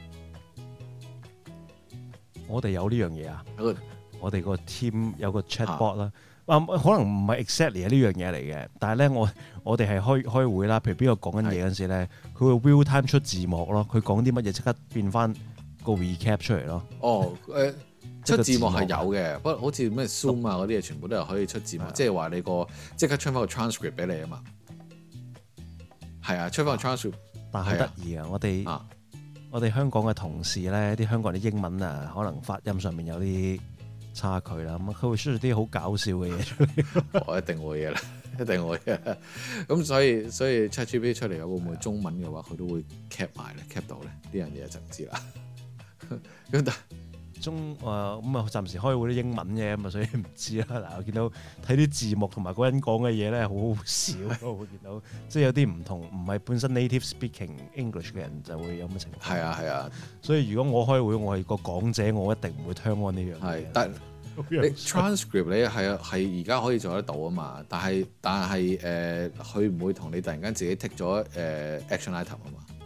我哋有呢樣嘢啊！我哋個 team 有個 chatbot 啦、啊，啊可能唔係 exactly 係呢樣嘢嚟嘅，但係咧我我哋係開開會啦。譬如邊個講緊嘢嗰陣時咧，佢會 real time 出字幕咯。佢講啲乜嘢即刻變翻個 recap 出嚟咯。哦，誒、呃。出字幕係有嘅，不過好似咩 Zoom 啊嗰啲嘢，全部都係可以出字幕，即係話你個即刻出翻個 transcript 俾你啊嘛。係啊，出翻個 transcript，但係好得意啊！我哋、啊、我哋香港嘅同事咧，啲香港啲英文啊，可能發音上面有啲差距啦。咁佢會出啲好搞笑嘅嘢出嚟。 我一定會嘅啦，一定會嘅。咁所以所以 ChatGPT 出嚟會唔會中文嘅話，佢都會 cap 埋咧 cap 到咧？呢樣嘢就唔知啦。咁但中誒咁啊，暫時開會啲英文嘅咁啊，所以唔知啦。嗱，我見到睇啲字幕同埋嗰個人講嘅嘢咧，好好笑咯。會見到即係有啲唔同，唔係本身 native speaking English 嘅人就會有咁嘅情況。係啊係啊， 所以如果我開會，我係個講者，我一定唔會 turn on 呢樣嘢。係， 但你 transcript 你係啊係而家可以做得到啊嘛。但係但係誒，佢唔會同你突然間自己 tick 咗誒 action item 啊嘛。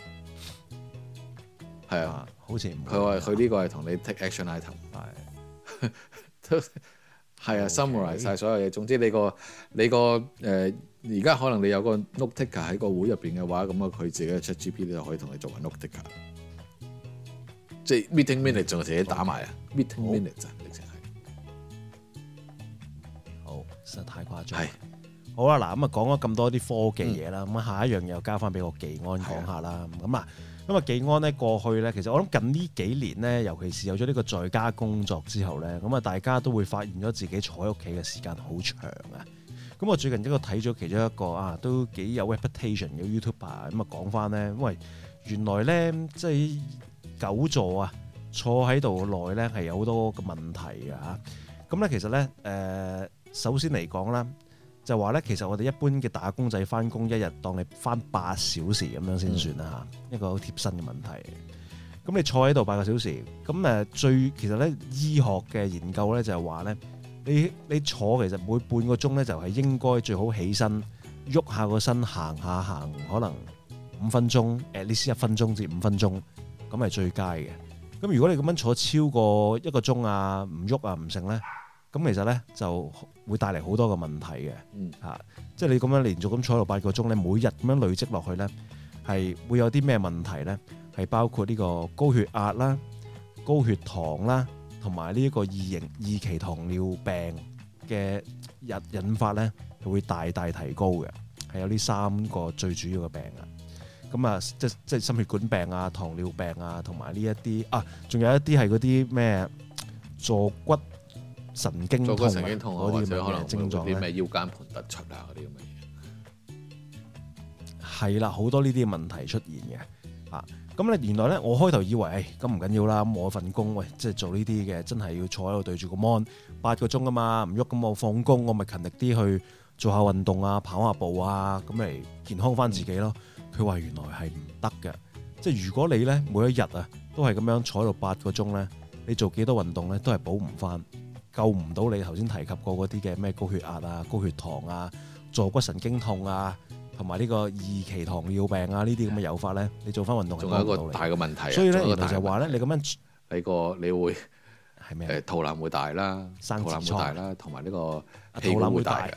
係啊，好似佢話佢呢個係同你 take action item，係都係啊 summarize 晒所有嘢。總之你個你個誒而家可能你有個 note taker 喺個會入邊嘅話，咁啊佢自己嘅 ChatGPT 就可以同你做個 note taker，即係 meeting minute 仲自己打埋啊 meeting minute 啊，直情係好，實在太誇張。係好啦，嗱咁啊講咗咁多啲科技嘢啦，咁、嗯、下一樣又交翻俾個技安講下啦。咁啊。咁啊，技安咧過去咧，其實我諗近呢幾年咧，尤其是有咗呢個在家工作之後咧，咁啊，大家都會發現咗自己坐喺屋企嘅時間好長啊。咁我最近一個睇咗其中一個啊，都幾有 reputation 嘅 YouTuber 咁啊，講翻咧，因為原來咧即係久坐啊，坐喺度耐咧係有好多嘅問題嘅嚇。咁咧其實咧誒、呃，首先嚟講啦。就話咧，其實我哋一般嘅打工仔翻工，一日當你翻八小時咁樣先算啦嚇，嗯、一個好貼身嘅問題。咁你坐喺度八個小時，咁誒最其實咧醫學嘅研究咧就係話咧，你你坐其實每半個鐘咧就係應該最好起身喐下個身行下行，可能五分鐘，at least一分鐘至五分鐘，咁係最佳嘅。咁如果你咁樣坐超過一個鐘啊，唔喐啊唔成咧。咁其實咧就會帶嚟好多個問題嘅，嚇、嗯啊，即係你咁樣連續咁坐喺度八個鐘咧，每日咁樣累積落去咧，係會有啲咩問題咧？係包括呢個高血壓啦、高血糖啦，同埋呢一個二型二期糖尿病嘅引引發咧，係會大大提高嘅，係有呢三個最主要嘅病啊。咁啊，即即係心血管病啊、糖尿病啊，同埋呢一啲啊，仲有一啲係嗰啲咩坐骨神經痛啊，嗰啲咁嘅症狀咧， 啲咩腰間盤突出啊，嗰啲咁嘅嘢， 係啦，好多呢啲問題出現嘅啊。咁咧原來咧，我開頭以為誒咁唔緊要啦，咁我份工喂，即係做呢啲嘅，真係要坐喺度對住個 mon 八個鐘啊嘛，唔喐咁我放工，我咪勤力啲去做下運動啊，跑下步啊，咁嚟健康翻自己咯。佢話、嗯、原來係唔得嘅，即係如果你咧每一日啊都係咁樣坐喺度八個鐘咧，你做幾多運動咧都係補唔翻。救唔到你頭先提及過嗰啲嘅咩高血壓啊、高血糖啊、坐骨神經痛啊，同埋呢個二期糖尿病啊呢啲咁嘅誘發咧，你做翻運動係幫唔到你。仲有一個大嘅問題，所以咧原來就話咧，你咁樣你個你會係咩？誒肚腩會大啦，肚腩會大啦，同埋呢個屁股會大嘅。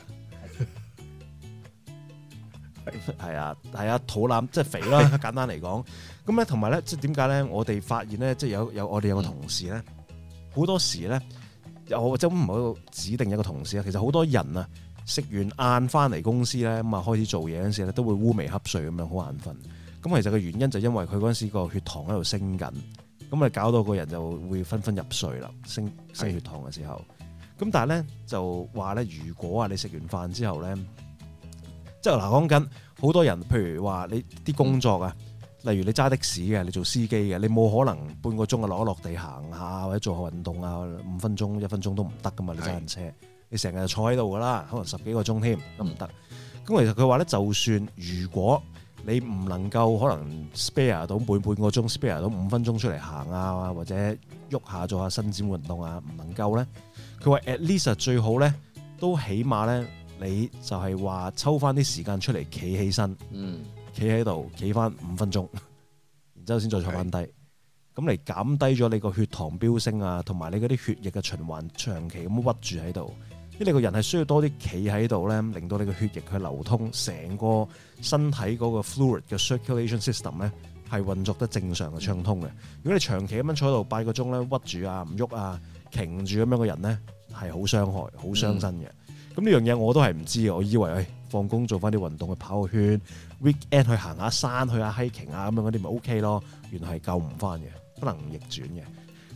係啊，係啊，肚腩即係肥啦，簡單嚟講。咁咧同埋咧，即係點解咧？我哋發現咧，即係有有我哋有個同事咧，好、嗯、多時咧。又即係唔好指定一個同事啊，其實好多人啊，食完晏翻嚟公司咧，咁啊開始做嘢嗰陣時咧，都會烏眉瞌睡咁樣，好眼瞓。咁其實個原因就因為佢嗰陣時個血糖喺度升緊，咁啊搞到個人就會紛紛入睡啦，升升血糖嘅時候。咁但係咧就話咧，如果啊你食完飯之後咧，即係嗱講緊好多人，譬如話你啲工作啊。嗯例如你揸的士嘅，你做司機嘅，你冇可能半個鐘啊落一落地行下或者做下運動啊，五分鐘一分鐘都唔得噶嘛。你揸緊車，你成日就坐喺度噶啦，可能十幾個鐘添都唔得。咁其實佢話咧，就算如果你唔能夠可能 spare 到半半個鐘 spare 到五分鐘出嚟行啊，或者喐下做下伸展運動啊，唔能夠咧，佢話 at least 最好咧都起碼咧，你就係話抽翻啲時間出嚟企起身。嗯。企喺度，企翻五分鐘，然之後先再坐翻低，咁嚟減低咗你個血糖飆升啊，同埋你嗰啲血液嘅循環長期咁屈住喺度，因為你個人係需要多啲企喺度咧，令到你個血液去流通，成個身體嗰個 fluid 嘅 circulation system 咧係運作得正常嘅暢通嘅。如果你長期咁樣坐喺度八個鐘咧，屈住啊，唔喐啊，擎住咁樣嘅人咧，係好傷害、好傷身嘅。咁呢、嗯、樣嘢我都係唔知嘅，我以為誒放工做翻啲運動去跑個圈 ，weekend 去行下山、去下 hiking 啊咁樣嗰啲咪 OK 咯。原來係救唔翻嘅，不能逆轉嘅。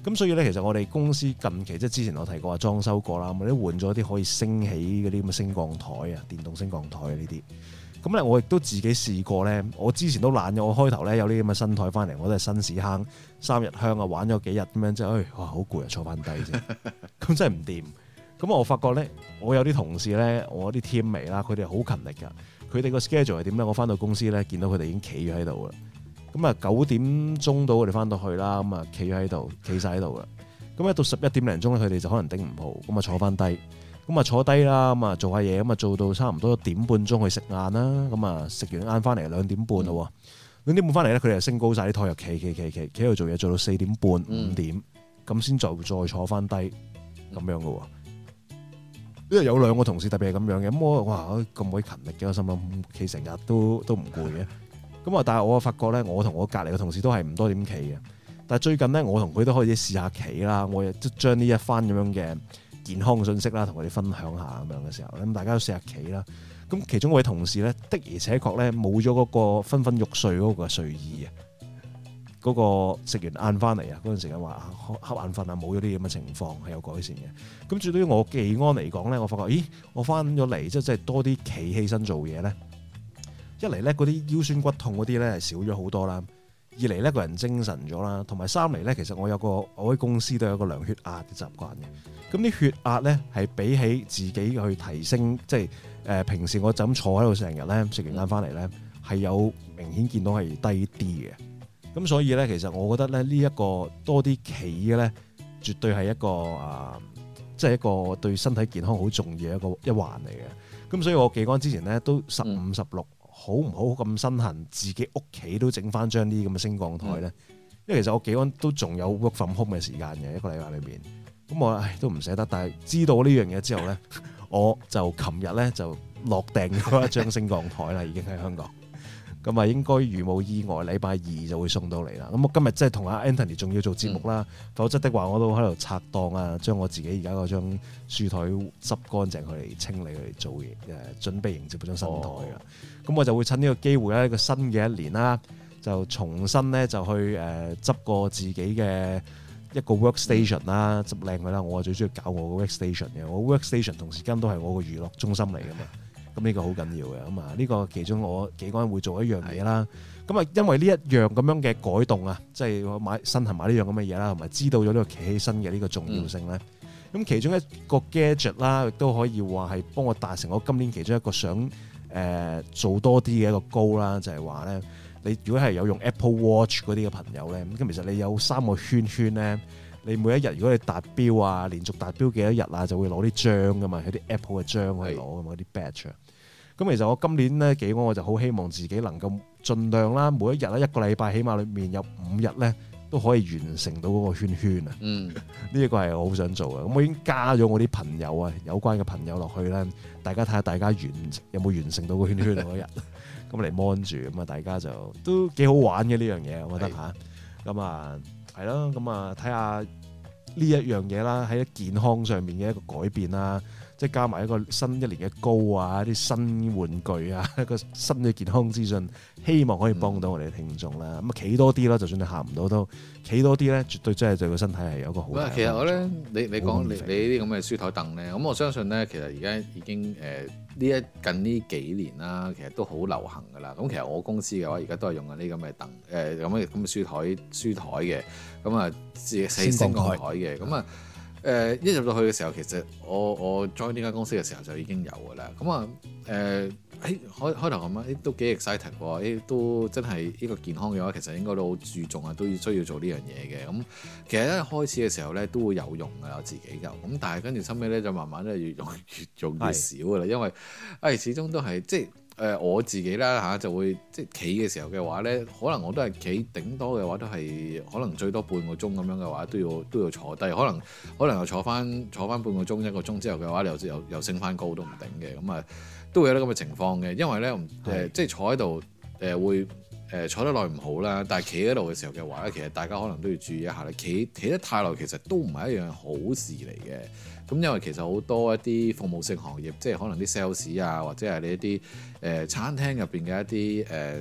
咁所以咧，其實我哋公司近期即係之前我提過話裝修過啦，我哋都換咗啲可以升起嗰啲咁嘅升降台啊，電動升降台啊呢啲。咁咧，我亦都自己試過咧。我之前都懶咗，我開頭咧有啲咁嘅新台翻嚟，我都係新屎坑三日香啊，玩咗幾日咁樣，之後，唉，哇，好攰啊，坐翻低啫。咁真係唔掂。咁我發覺咧，我有啲同事咧，我啲 teammate 啦，佢哋好勤力㗎。佢哋個 schedule 係點咧？我翻到公司咧，見到佢哋已經企咗喺度啦。咁啊，九點鐘到我哋翻到去啦，咁啊，企咗喺度，企晒喺度啦。咁一到十一點零鐘咧，佢哋就可能頂唔好，咁啊坐翻低。咁啊坐低啦，咁啊做下嘢，咁啊做到差唔多點半鐘去食晏啦，咁啊食完晏翻嚟兩點半咯，兩點半翻嚟咧，佢哋就升高晒啲台，又企企企企企喺度做嘢，做到四點半五點，咁先再再坐翻低咁樣噶。因為有兩個同事特別係咁樣嘅，咁我哇咁鬼勤力嘅，我心諗企成日都都唔攰嘅。咁啊，但係我發覺咧，我同我隔籬嘅同事都係唔多點企嘅。但係最近咧，我同佢都開始試下企啦，我亦都將呢一番咁樣嘅健康信息啦，同佢哋分享下咁樣嘅時候，咁大家都試下企啦。咁其中一位同事咧，的而且確咧冇咗嗰個昏昏欲睡嗰個睡意啊，嗰、嗰個食完晏翻嚟啊，嗰陣時間話瞌眼瞓啊，冇咗啲咁嘅情況係有改善嘅。咁至於我技安嚟講咧，我發覺咦，我翻咗嚟即係即係多啲企起身做嘢咧，一嚟咧嗰啲腰酸骨痛嗰啲咧係少咗好多啦。二嚟咧個人精神咗啦，同埋三嚟咧，其實我有個我喺公司都有個量血壓嘅習慣嘅。咁啲血壓咧係比起自己去提升，即係誒、呃、平時我就咁坐喺度成日咧，食完晏翻嚟咧係有明顯見到係低啲嘅。咁所以咧，其實我覺得咧呢一個多啲企嘅咧，絕對係一個啊，即、呃、係、就是、一個對身體健康好重要嘅一個一環嚟嘅。咁所以我技安之前咧都十五十六。好唔好咁身痕？自己屋企都整翻張啲咁嘅升降台咧，嗯、因為其實我技安都仲有 work from home 嘅時間嘅一個禮拜裏邊，咁我唉都唔捨得。但係知道呢樣嘢之後咧，我就琴日咧就落訂咗一張升降台啦，已經喺香港。咁啊，應該如無意外，禮拜二就會送到嚟啦。咁我今日即係同阿 Anthony 仲要做節目啦，嗯、否則的話我都喺度拆檔啊，將我自己而家嗰張書台執乾淨，佢嚟清理，佢嚟做嘢，誒準備迎接嗰張新台啦。咁、哦、我就會趁呢個機會咧，一個新嘅一年啦，就重新咧就去誒執過自己嘅一個 workstation 啦，執靚佢啦。我最中意搞我個 workstation 嘅，我 workstation 同時間都係我個娛樂中心嚟㗎嘛。咁呢個好緊要嘅，咁啊呢個其中我技安會做一樣嘢啦。咁啊的，因為呢一樣咁樣嘅改動啊，即係我買身痕買呢樣咁嘅嘢啦，同埋知道咗呢個企起身嘅呢個重要性咧。咁、嗯、其中一個 gadget 啦，亦都可以話係幫我達成我今年其中一個想誒、呃、做多啲嘅一個 goal 啦，就係話咧，你如果係有用 Apple Watch 嗰啲嘅朋友咧，咁其實你有三個圈圈咧，你每一日如果你達標啊，連續達標幾多日啊，就會攞啲章噶嘛，有啲 Apple 嘅章去攞噶嘛，啲 badge。咁其實我今年咧技安我就好希望自己能夠盡量啦，每一日咧一個禮拜起碼裏面有五日咧都可以完成到嗰個圈圈啊。嗯，呢一個係我好想做嘅。咁我已經加咗我啲朋友啊，有關嘅朋友落去咧，大家睇下大家完有冇完成到個圈圈嗰日，咁嚟 mon 住，咁啊大家就都幾好玩嘅呢樣嘢，我覺得嚇。咁啊係咯，咁啊睇下呢一樣嘢啦，喺健康上面嘅一個改變啦。即係加埋一個新一年嘅高啊，一啲新玩具啊，一個新嘅健康資訊，希望可以幫到我哋嘅聽眾啦。咁啊、嗯，企多啲啦，就算你行唔到都企多啲咧，絕對真係對個身體係有一個好大嘅幫助。其實我咧，你你講你你呢啲咁嘅書台凳咧，咁我相信咧，其實而家已經誒呢一近呢幾年啦，其實都好流行噶啦。咁其實我公司嘅話，而家都係用緊呢咁嘅凳誒咁嘅咁嘅書台書台嘅，咁啊四升降台嘅，咁啊。誒、呃、一入到去嘅時候，其實我我 join 呢間公司嘅時候就已經有㗎啦。咁啊誒喺開開頭咁啊，都幾 excited 喎！誒都真係呢個健康嘅話，其實應該都好注重啊，都要需要做呢樣嘢嘅。咁其實一開始嘅時候咧，都會有用㗎，我自己就咁，但係跟住後尾咧就慢慢咧越用越用越少㗎啦，是因為誒、哎、始終都係即係。誒、呃、我自己啦嚇、啊、就會即係企嘅時候嘅話咧，可能我都係企頂多嘅話都係可能最多半個鐘咁樣嘅話都要都要坐低，可能可能又坐翻坐翻半個鐘一個鐘之後嘅話，你又又又升翻高都唔頂嘅，咁啊都會有啲咁嘅情況嘅，因為咧誒的、呃、即係坐喺度誒會誒、呃、坐得耐唔好啦，但係企喺度嘅時候嘅話咧，其實大家可能都要注意一下咧，企企得太耐其實都唔係一樣好事嚟嘅。咁因為其實好多一啲服務性行業，即係可能啲 sales 啊，或者係你一啲誒、呃、餐廳入邊嘅一啲誒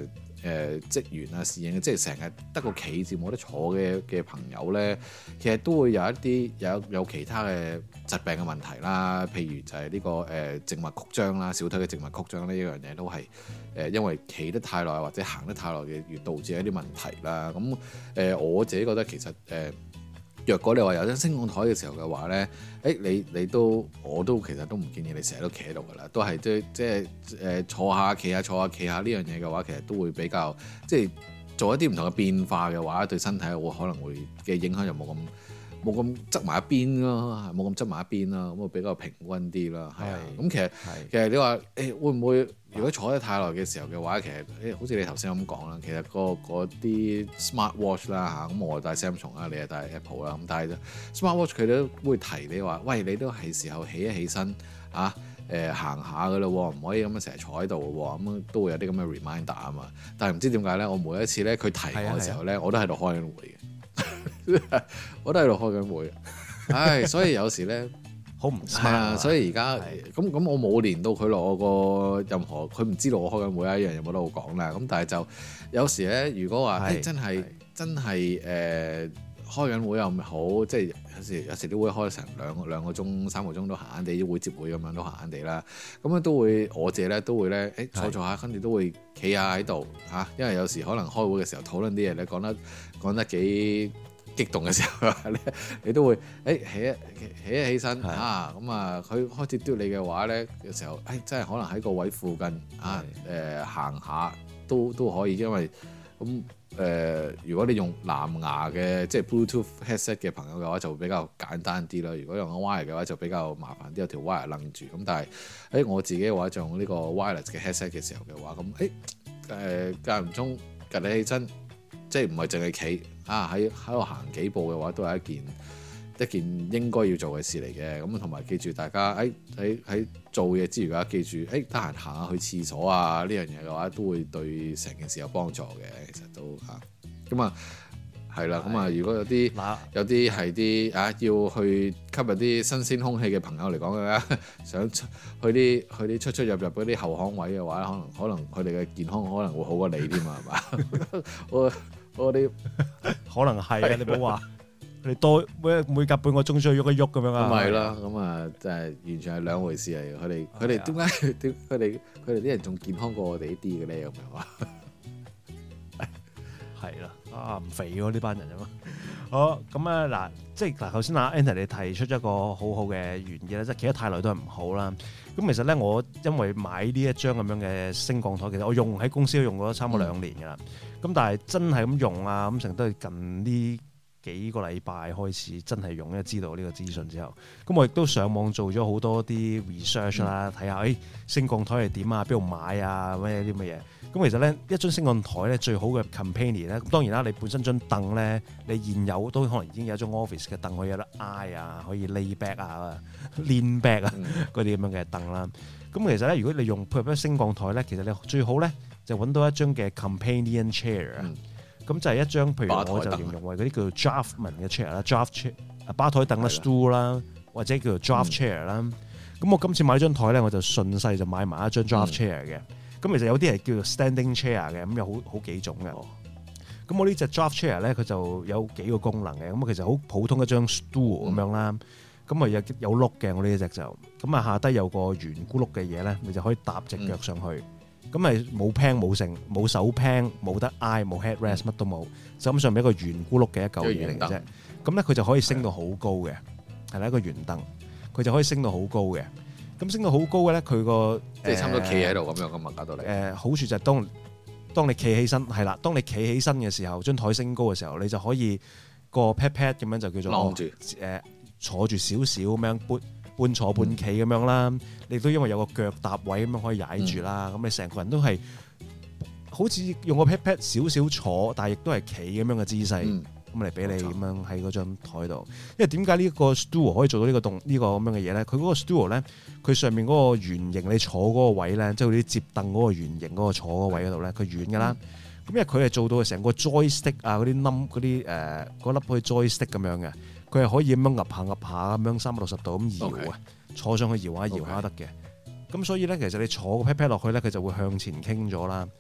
誒職員啊、侍應，即係成日得個企字冇得坐嘅嘅朋友咧，其實都會有一啲有有其他嘅疾病嘅問題啦。譬如就係呢、這個誒靜脈曲張啦，小腿嘅靜脈曲張呢一樣嘢都係誒、呃、因為企得太耐或者行得太耐嘅，而導致一啲問題啦。咁誒、呃、我自己覺得其實誒。呃若果你話有張升降台嘅時候嘅話咧，誒你你都我都其實都唔建議你成日都企喺度噶啦，都係即即係誒坐下企下坐下企下呢樣嘢嘅話，其實都會比較即係做一啲唔同嘅變化嘅話，對身體會可能會嘅影響就冇咁冇咁側埋一邊咯，冇咁側埋一邊啦，咁啊比較平均啲啦，係啊，咁其實其實你話誒、欸、會唔會？如果坐得太耐嘅時候嘅話，其實誒好似你頭先咁講啦，其實嗰啲 smart watch 啦嚇，咁我戴 Samsung 啦，你係戴 Apple 啦，咁但係 smart watch 佢都會提你話，喂，你都係時候起一起身嚇，誒行下噶啦，唔可以咁樣成日坐喺度嘅喎，咁都會有啲咁嘅 reminder 啊嘛。但係唔知點解咧，我每一次咧佢提我嘅時候咧，我都喺度開緊會嘅，我都喺度開緊會，唉，所以有時咧。好唔係啊！所以而家咁咁，我冇連到佢落我個任何，佢唔知道我開緊會一樣嘢冇得好講啦。咁但係就有時咧，如果話誒、欸、真係真係誒、呃、開緊會又唔好，即係有時有時都會開成兩兩個鐘、三個鐘都閒閒地，會接會咁樣都閒閒地啦。咁樣都會我自己咧都會咧誒、欸、坐坐下，跟住都會企下喺度嚇，因為有時可能開會嘅時候討論啲嘢咧講得講得幾激動嘅時候咧，你都會誒、欸、起一起一起身啊，咁啊佢開始嘟你嘅話咧嘅時候，誒、欸、真係可能喺個位附近啊誒、呃、行下都都可以，因為咁誒、呃、如果你用藍牙嘅即係 Bluetooth headset 嘅朋友嘅話，就會比較簡單啲啦。如果用 wire 嘅話，就比較麻煩啲，有條 wire 擸住。咁但係誒、欸、我自己嘅話，就用呢個 wireless 嘅 headset 嘅時候嘅話，咁誒誒間唔中趌你起身。即係唔係淨係企啊？喺喺度行幾步嘅話，都係一件一件應該要做嘅事嚟嘅。咁同埋記住，大家喺喺喺做嘢之餘嘅話，記住誒得閒行下去廁所啊！呢樣嘢嘅話，都會對成件事有幫助嘅。其實都嚇咁啊，係啦。咁啊，如果有啲有啲係啲啊，要去吸入啲新鮮空氣嘅朋友嚟講嘅話，想去啲去啲出出入入嗰啲後巷位嘅話，可能可能佢哋嘅健康可能會好過你添啊，係嘛？我我哋可能係啊，你唔好話佢哋多每每隔半個鐘需要喐一喐咁樣啊。 咁咪啦，咁啊，真係完全係兩回事嚟。佢哋佢哋點解點佢哋佢哋啲人仲健康過我哋呢啲嘅咧？咁樣話係啦，啊唔肥喎呢班人啊嘛。好咁啊嗱，即係嗱頭先阿 Anthony 你提出咗一個好好嘅原意咧，即係企得太耐都係唔好啦。咁其實咧，我因為買呢一張咁樣嘅升降台，其實我用喺公司都用咗差唔多兩年㗎啦。咁、嗯、但係真係咁用啊，咁成都係近呢幾個禮拜開始真係用，因為知道呢個資訊之後，咁我亦都上網做咗好多啲 research 啦，睇下誒升降台係點啊，邊度買啊，咩啲乜嘢。咁其實咧，一張升降台咧最好嘅 companion 咧，當然啦，你本身張凳咧，你現有都可能已經有一張 office 嘅凳可以有得挨啊，可以 lay back 啊、lean back 啊嗰啲咁樣嘅凳啦。咁其實咧，如果你用譬如升降台咧，其實你最好咧就揾到一張嘅 companion chair 啊、嗯。咁就係一張，譬如我就形容為嗰啲叫做 draftman 嘅 chair 啦，draft chair 啊，吧台凳啦 stool 啦，或者叫做 draft chair 啦。咁我今次買張台咧，我就順勢就買埋一張 draft chair 嘅。咁、嗯、其實有啲係叫做 standing chair 嘅，咁有好好幾種嘅。咁、哦、我呢隻 draft chair 咧，佢就有幾個功能嘅。咁其實好普通一張 stool 咁樣啦。咁啊有有碌嘅，我呢隻就咁啊下低有個圓咕碌嘅嘢咧，你就可以搭隻腳上去。咁咪冇 pan 冇剩冇手 pan 冇得挨冇 headrest 乜都冇，就咁上面一個圓咕碌嘅一嚿嘢嚟嘅啫。咁咧佢就可以升到好高嘅，係啦一個圓凳，佢就可以升到好高嘅。咁升到好高嘅咧，佢個即係差唔多企喺度咁樣咁啊，搞到你。 誒好處就係當當你企起身係啦，當你企起身嘅時候，張台升高嘅時候，你就可以個 pat pat 咁樣就叫做晾住誒坐住少少咁樣半半坐半企咁樣啦。你都因為有個腳踏位咁樣可以踩住啦。咁、嗯、你成個人都係好似用個 pat pat 少少坐，但係亦都係企咁樣嘅姿勢咁嚟俾你咁樣喺嗰張台度。因為點解呢個 stool 可以做到呢個動呢個咁樣嘅嘢咧？佢嗰個 stool 咧，佢上面嗰個圓形你坐嗰個位咧，即係啲接凳嗰個圓形嗰個坐嗰位嗰度咧，佢軟㗎啦。咁、嗯、因為佢係做到成個 joystick 啊嗰啲 num 嗰啲誒嗰粒好似 joystick 咁樣嘅，佢係可以咁樣揼下揼下咁樣三百六十度咁搖啊。Okay. 坐上去搖下搖下得嘅，咁、okay. 所以咧，其實你坐個 pat pat 落去咧，佢就會向前傾咗啦。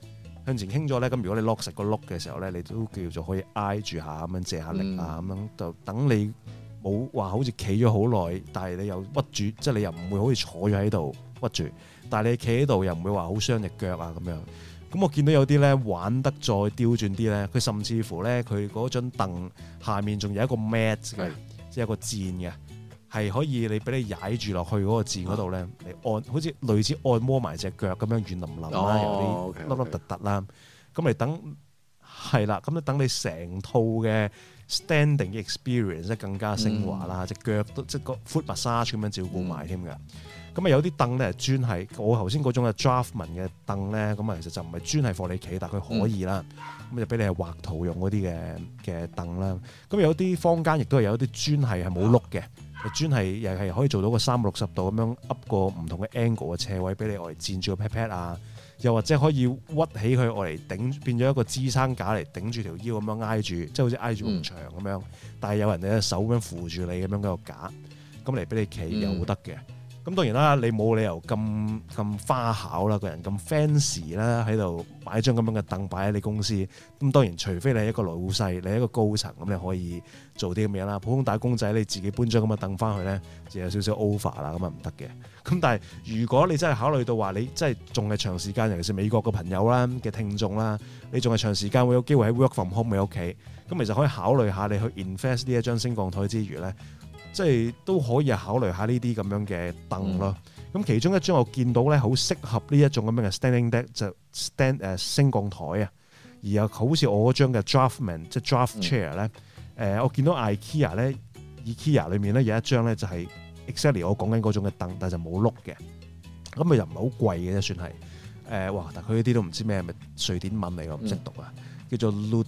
向前傾咗咧，咁如果你 lock 實個碌嘅時候咧，你都叫做可以挨住下咁樣借下力啊，咁、嗯、樣就等你冇話好似企咗好耐，但係你又屈住，即係你又唔會好似坐咗喺度屈住，但係你企喺度又唔會話好傷隻腳啊咁樣。咁我見到有啲咧玩得再刁鑽啲咧，佢甚至乎咧佢嗰張凳下面仲有一個 mat 嘅，即係有個墊嘅。係可以你俾你踩住落去嗰個墊嗰度咧，你按好似類似按摩埋隻腳咁樣軟腍腍啦， 哦、 有啲凹凹凸凸啦。咁你等係啦，咁你等你成套嘅 standing experience 即係更加昇華啦，隻、嗯、腳都即係個 foot massage 咁樣照顧埋添㗎。咁啊、嗯、有啲凳咧專係我頭先嗰種嘅 Draftman 嘅凳咧，咁啊其實就唔係專係放你企，但係佢可以啦。咁、嗯、就俾你係畫圖用嗰啲嘅嘅凳啦。咁有啲坊間亦都係有啲專係係冇碌嘅。專係又係可以做到個三百六十度咁樣 up 個唔同嘅 angle 嘅斜位俾你我嚟墊住個 pat pat 啊，又或者可以屈起佢我嚟頂變咗一個支撐架嚟頂住條腰咁樣挨住，即係好似挨住埲牆咁樣，嗯、但係有人哋嘅手咁樣扶住你咁樣嗰個架，咁嚟俾你企又得嘅。咁、嗯、當然啦，你冇理由咁咁花巧啦，個人咁 fancy 啦，喺度擺張咁樣嘅凳擺喺你公司。咁當然，除非你係一個老細，你係一個高層，咁你可以做啲咁嘢啦。普通打工仔，你自己搬張咁嘅凳翻去咧，就有少少 over 啦，咁啊唔得嘅。咁但係如果你真係考慮到話，你真係仲係長時間，尤其是美國嘅朋友啦嘅聽眾啦，你仲係長時間會有機會喺 work from home 喺屋企，咁其實可以考慮下你去 invest 呢一張升降台之餘咧。即係都可以考慮下呢啲咁樣嘅凳咯。咁、嗯、其中一張我見到咧，好適合呢一種咁樣嘅 standing deck 就 stand 誒、uh, 升降台啊。而又好似我嗰張嘅 Draftman 即係 draft chair 咧、嗯，誒、呃、我見到 IKEA 咧 IKEA 裏面咧有一張咧就係 exactly 我講緊嗰種嘅凳，但係就冇碌嘅。咁咪又唔係好貴嘅啫，算係誒、呃、哇！但係佢呢啲都唔知咩，係咪瑞典文嚟㗎？唔識讀啊，嗯、叫做 Lud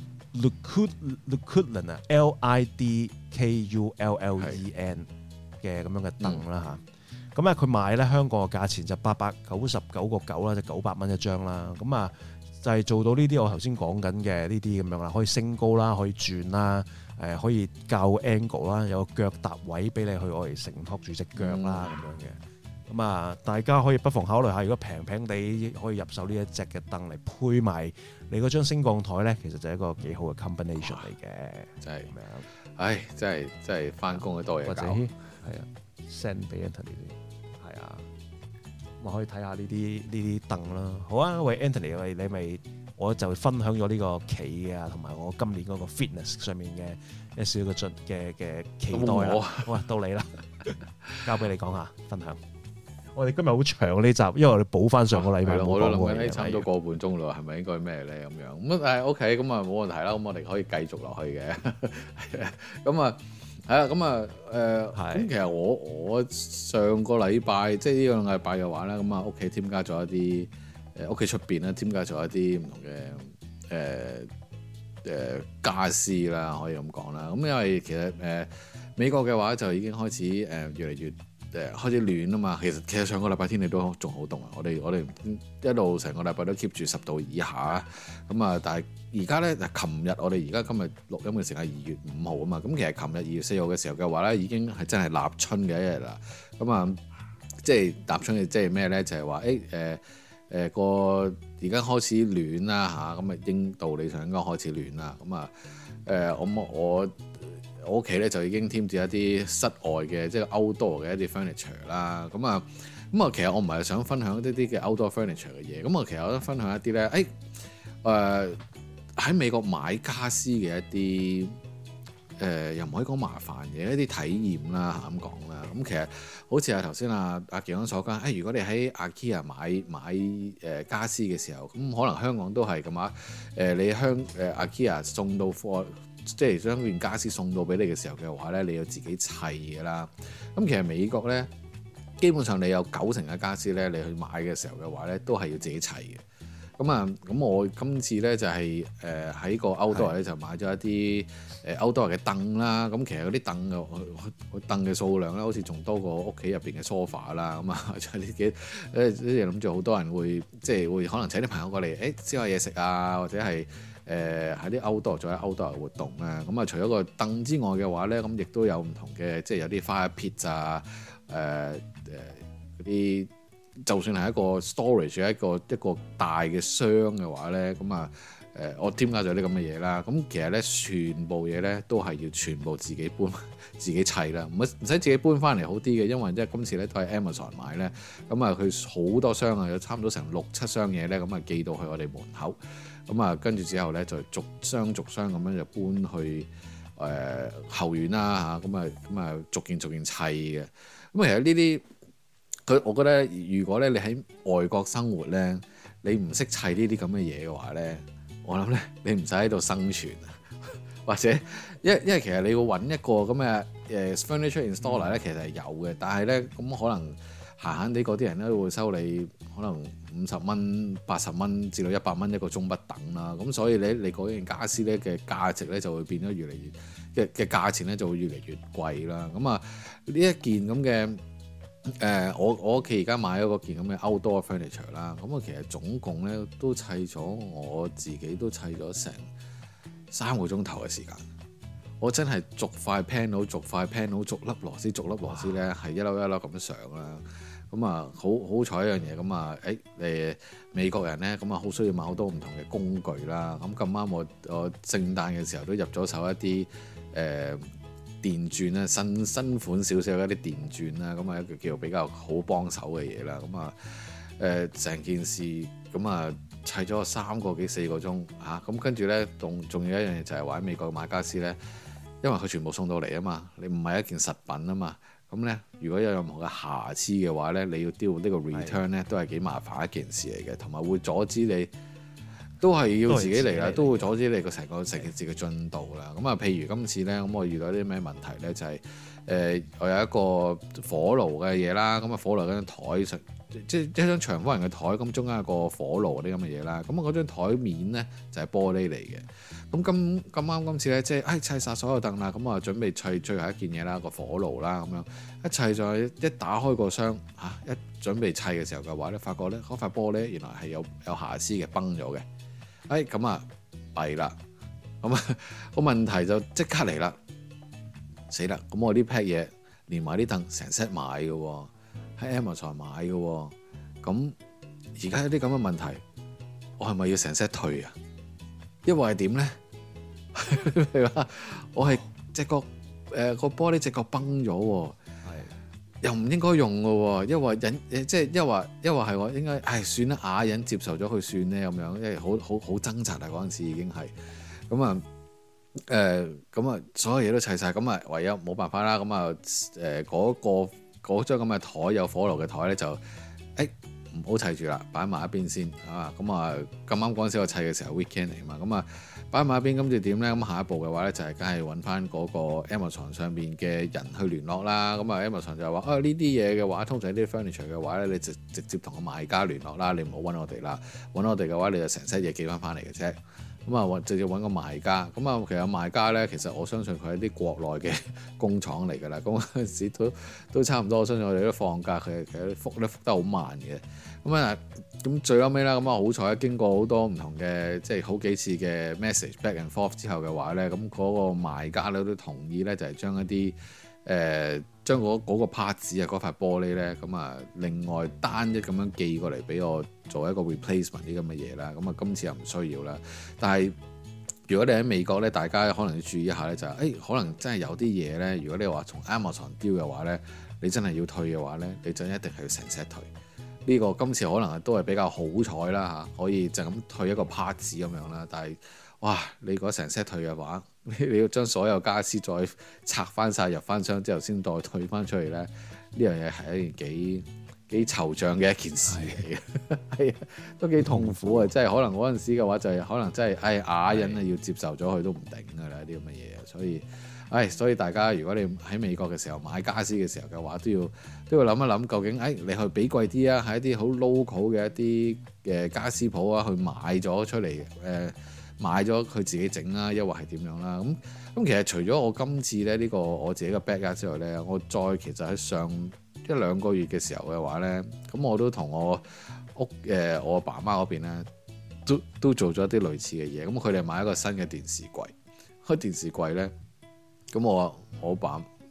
Lidkullen 啊 ，L I D K U L L E N 嘅咁樣嘅凳啦嚇，咁咧佢賣咧香港嘅價錢就八百九十九個九啦，就九百蚊一張啦。咁啊就係做到呢啲我頭先講緊嘅呢啲咁樣啦，可以升高啦，可以轉啦，誒可以校 angle 啦，有個腳踏位俾你去我嚟承托住隻腳啦咁、嗯、樣嘅。咁啊，大家可以不妨考慮下，如果平平地可以入手呢一隻嘅凳嚟配埋你嗰張升降台咧，其實就係一個幾好嘅 combination 嚟嘅。真係咁樣，唉，真係真係翻工都多嘢搞。係啊 ，send 俾 Anthony 啲，係啊，咁可以睇下呢啲呢啲凳啦。好啊，喂 Anthony，喂你咪我就分享咗呢個企啊，同埋我今年嗰個 fitness 上面嘅一少嘅進嘅嘅期待啦。好啊，到你啦，交俾你講下分享。我哋今日好長呢集，因為我哋補翻上個禮拜。我都諗緊，差唔多個半鐘咯，係咪應該咩咧咁樣？咁誒 OK，咁啊冇問題啦。咁我哋可以繼續落去嘅。咁啊係啊，咁啊誒，咁其實我我上個禮拜即係呢兩個禮拜嘅話咧，咁啊屋企添加咗一啲誒屋企出邊咧添加咗一啲唔同嘅誒誒傢俬啦，可以咁講啦。咁因為其實誒、呃、美國嘅話就已經開始誒、呃、越嚟越。誒開始暖啊嘛，其實其實上個禮拜天氣都仲好凍啊，我哋我哋一路成個禮拜都 keep 住十度以下咁啊，但係而家咧，琴日我哋而家今日錄音嘅時間係二月五號啊嘛，咁其實琴日二月四號嘅時候嘅話咧，已經係真係立春嘅一日啦，咁啊，即係立春嘅即係咩咧？就係話誒誒誒個而家開始暖啦嚇，咁啊應道理上應該開始暖啦，咁啊誒我我。我屋企咧就已經添置一啲室外嘅即係 outdoor 嘅一啲 furniture 啦，咁啊咁啊其實我唔係想分享一啲啲嘅 outdoor furniture 嘅嘢，咁啊其實我都分享一啲咧，誒誒喺美國買家私嘅一啲誒、呃、又唔可以講麻煩嘅一啲體驗啦嚇咁講啦，咁其實好似啊頭先啊阿健安所講，誒、哎、如果你喺 IKEA 買買誒家私嘅時候，咁可能香港都係咁啊，誒、呃、你香誒 IKEA 送到貨。即係將件家私送到俾你嘅時候嘅話咧，你要自己砌嘅啦。咁其實美國咧，基本上你有九成嘅家私咧，你去買嘅時候嘅話咧，都係要自己砌嘅。咁啊，咁我今次咧就係誒喺個 outdoor 咧就買咗一啲誒 outdoor 嘅凳啦。咁其實嗰啲凳嘅凳嘅數量咧，好似仲多過屋企入邊嘅 sofa 啦。咁啊，仲有啲幾誒啲諗住好多人會即係會可能請啲朋友過嚟誒燒下嘢食啊，或者係。誒喺啲 outdoor 做啲 outdoor 嘅活動咧，咁啊除咗個凳之外嘅話咧，咁亦都有唔同嘅，即係有啲 fire pit 啊，誒誒嗰啲就算係一個 storage 一個一個大嘅箱嘅話咧，咁啊誒我添加咗啲咁嘅嘢啦。咁其實咧全部嘢咧都係要全部自己搬自己砌啦，唔唔使自己搬翻嚟好啲嘅，因為即係今次咧都係 Amazon 買咧，咁啊佢好多箱啊，有差唔多成六七箱嘢咧，咁啊寄到去我哋門口，咁啊跟住之後咧就逐箱逐箱咁樣就搬去誒、呃、後院啦嚇，咁啊咁啊逐件逐件砌嘅。咁其實呢啲佢，我覺得如果咧你喺外國生活咧，你唔識砌呢啲咁嘅嘢嘅話咧，我諗咧你唔使喺度生存啊，或者因為因為其實你要揾一個咁嘅誒 furniture installer 咧，其實係有嘅，但係咧咁可能閒閒地嗰啲人咧會收你可能五十蚊、八十蚊至到一百蚊一個鐘不等啦，咁所以咧你嗰件傢俬咧嘅價值咧就會變得越嚟越嘅嘅價錢咧就會越嚟越貴啦。咁啊呢一件咁嘅。誒、呃，我我屋企而家買咗嗰件咁嘅 outdoor furniture 啦，咁啊其實總共咧都砌咗，我自己都砌咗成三個鐘頭嘅時間。我真係逐塊 panel、逐塊 panel、逐粒螺絲、逐粒螺絲咧，係一粒一粒咁上啦。咁啊，好好彩一樣嘢，咁啊，誒誒美國人咧，咁啊好需要買好多唔同嘅工具啦。咁咁啱我我聖誕嘅時候都入咗手一啲誒。呃電鑽啦，新新款少少一啲電鑽啦，咁啊一個叫比較好幫手嘅嘢啦，咁啊誒成件事咁啊砌咗三個幾四個鐘嚇，咁跟住咧仲仲有一樣嘢就係話喺美國買家私咧，因為佢全部送到嚟啊嘛，你唔係一件實品啊嘛，咁咧如果有任何嘅瑕疵嘅話咧，你要 deal 呢個 return 咧都係幾麻煩一件事嚟嘅，同埋會阻止你。都係要自己嚟啦，都會阻止你個成個成件事嘅進度啦。咁啊，譬如今次咧，咁我遇到啲咩問題咧？就係、是、誒、呃，我有一個火爐嘅嘢啦。咁啊，火爐嗰張台上，即係一張長方形嘅台，咁中間有個火爐嗰啲咁嘅嘢啦。咁啊，嗰張台面咧就係、是、玻璃嚟嘅。咁咁咁啱今次咧，即係誒砌晒所有凳啦。咁啊，準備砌最後一件嘢啦，個火爐啦，咁樣一砌咗，一打開個箱嚇、啊，一準備砌嘅時候嘅話咧，發覺咧嗰塊玻璃原來係有有瑕疵嘅，崩咗嘅。誒咁啊弊啦，咁啊個問題就即刻嚟啦，死啦！咁我呢批嘢連埋啲凳成 set 買嘅喎，喺 Amazon 買嘅喎，咁而家有啲咁嘅問題，我係咪要成 set 退啊？因為係點咧？譬如話我係隻角誒個玻璃隻角崩咗喎。又唔應該用嘅喎，因為忍即係因為因為係我應該唉算啦，啞忍接受咗佢算咧咁樣，因為好好好掙扎啊嗰陣時已經係咁啊誒咁啊所有嘢都砌晒，咁啊唯有冇辦法啦，咁啊誒嗰個嗰張咁嘅台有火爐嘅台咧就誒唔好砌住啦，擺埋一邊先啊，咁啊咁啱嗰陣時我砌嘅時候 weekend 嚟嘛，咁啊擺埋一邊，跟住點咧？咁下一步嘅話咧，就係梗係揾翻嗰個 Amazon 上邊嘅人去聯絡啦。咁啊 Amazon 就話啊呢啲嘢嘅話，通常呢啲 furniture 嘅話咧，你直直接同個賣家聯絡啦，你唔好揾我哋啦。揾我哋嘅話，你就成 set 嘢寄翻翻嚟嘅啫。咁啊，直接揾個賣家。咁啊，其實賣家咧，其實我相信佢係啲國內嘅工廠嚟㗎啦。咁嗰陣時都都差唔多，我相信我哋都放假，佢其實復咧復得好慢嘅。咁啊，咁最後尾啦，咁啊好彩經過好多唔同嘅即係好幾次嘅 message back and forth 之後嘅話咧，咁嗰個賣家咧都同意咧，就係將一啲誒將嗰嗰個 parts 啊嗰塊玻璃咧，咁啊另外單一咁樣寄過嚟俾我做一個 replacement 啲咁嘅嘢啦。咁啊今次又唔需要啦。但係如果你喺美國咧，大家可能要注意一下咧，就係、是、誒、欸、可能真係有啲嘢咧，如果你話從 Amazon 丟嘅話咧，你真係要退嘅話咧，你就一定係要成 set 退。呢、這個今次可能都係比較好彩啦嚇，可以就咁退一個 part 咁樣啦。但係哇，你如果成 set 退嘅話，你要將所有家私再拆翻晒入翻箱之後先再退翻出嚟咧，呢樣嘢係一件幾幾惆悵嘅一件事嚟嘅，係啊，都幾痛苦啊！即係可能嗰陣時嘅話就係可能真係唉啞忍啊，要接受咗佢都唔頂㗎啦啲咁嘅嘢，所以。唉，所以大家如果你喺美國嘅時候買家私嘅時候嘅話，都要都要諗一諗，究竟誒你去俾貴啲啊，喺一啲好 local 嘅一啲嘅家私鋪啊，去買咗出嚟，誒、呃、買咗佢自己整啦，抑或係點樣啦？咁咁其實除咗我今次咧呢、呢個我自己嘅 backyard 之外咧，我再其實喺上一兩個月嘅時候嘅話咧，咁我都同我屋誒、呃、我爸媽嗰邊咧，都都做咗一啲類似嘅嘢。咁佢哋買一個新嘅電視櫃，開電視櫃咧。咁我我爸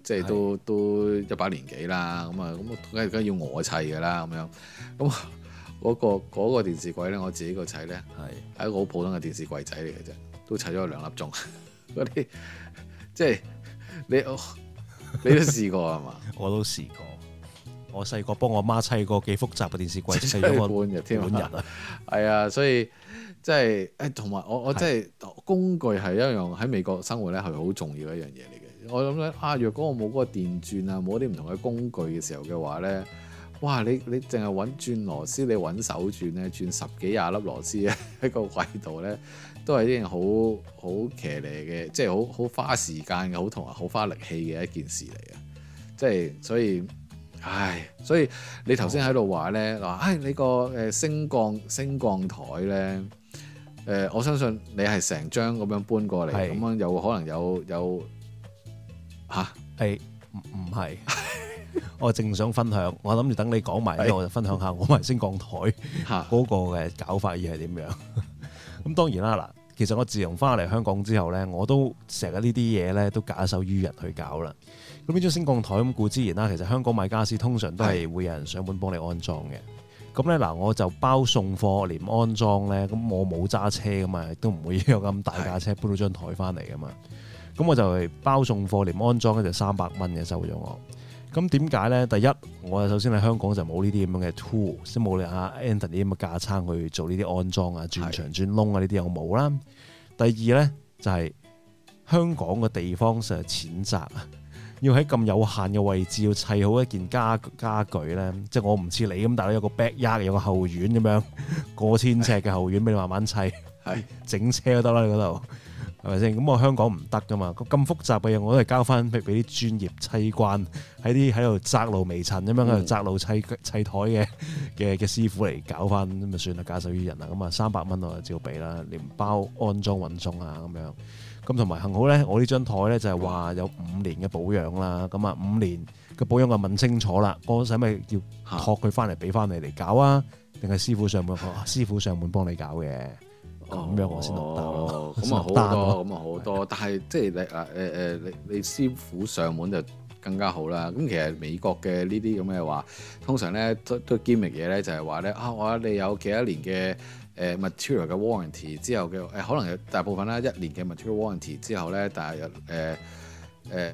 即係都都一把年紀啦，咁啊咁梗係梗係要我砌㗎啦，咁樣咁嗰個嗰個電視櫃咧，我自己個砌咧係係一個好普通嘅電視櫃仔嚟嘅啫，都砌咗兩粒鐘嗰啲，即係你你都試過係嘛？ 我都試過。我細個幫我媽砌過幾複雜嘅電視櫃，砌咗我半日添半日啊！ 係啊，所以即係誒，同埋我我即係工具係一樣喺美國生活咧係好重要一樣嘢嚟嘅。我諗咧啊，若果我冇嗰個電鑽啊，冇啲唔同嘅工具嘅時候嘅話咧，哇！你你淨係揾轉螺絲，你揾手轉咧，轉十幾廿粒螺絲咧喺個櫃度咧，都係一件好好騎呢嘅，即係好好花時間嘅，好同埋好花力氣嘅一件事嚟嘅。即係所以。唉，所以你頭先喺度話咧，話唉你個誒升降升降台咧，誒、呃、我相信你係成張咁樣搬過嚟，咁是樣有可能有有嚇係唔唔係？我正想分享，我諗住等你講埋咧，我就分享下我埋升降台嗰個嘅搞法而係點樣。咁當然啦，嗱，其實我自從翻嚟香港之後咧，我都成日呢啲嘢咧都假手於人去搞啦。咁呢張升降台咁固之然啦，其實香港買傢俬通常都係會有人上門幫你安裝嘅。咁咧嗱，我就包送貨連安裝咧，咁我冇揸車㗎嘛，亦都唔會有咁大架車搬到張台翻嚟㗎嘛。咁我就係包送貨連安裝咧就三百蚊嘅收咗我。咁點解咧？第一，我首先喺香港就冇呢啲咁樣嘅 tool，即係冇你阿 Anthony 啲咁嘅架撐去做呢啲安裝啊、轉牆轉窿啊呢啲又冇啦。第二咧就係、是、香港嘅地方實在淺窄啊。要喺咁有限嘅位置要砌好一件家家具咧，即係我唔似你咁，大佬有個 backyard 有個後院咁樣過千尺嘅後院俾你慢慢砌，係整車都得啦，你嗰度係咪先？咁我香港唔得噶嘛，咁複雜嘅嘢我都係交翻俾俾啲專業砌慣喺啲喺度窄路微塵咁樣喺度窄路砌砌台嘅嘅嘅師傅嚟搞翻咁咪算啦，假手於人啦。咁啊三百蚊我就照俾啦，連包安裝運送啊咁樣。咁同埋幸好咧，我呢張台咧就係話有五年嘅保養啦。咁啊五年嘅保養我問清楚啦，我使咪要託佢翻嚟俾翻你嚟搞啊？定係師傅上門？師傅上門幫你搞嘅，咁、哦、樣我先落單咯。 咁啊好多，咁啊好多。但係即係你啊誒誒，你你師傅上門就更加好啦。咁其實美國嘅呢啲咁嘅話，通常咧都都 gimmick 嘢咧，就係話咧啊，我話你有幾多年嘅。誒 material 嘅 warranty 之後嘅誒、呃、可能有大部分啦，一年嘅 material warranty 之後咧，但係誒誒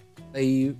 lab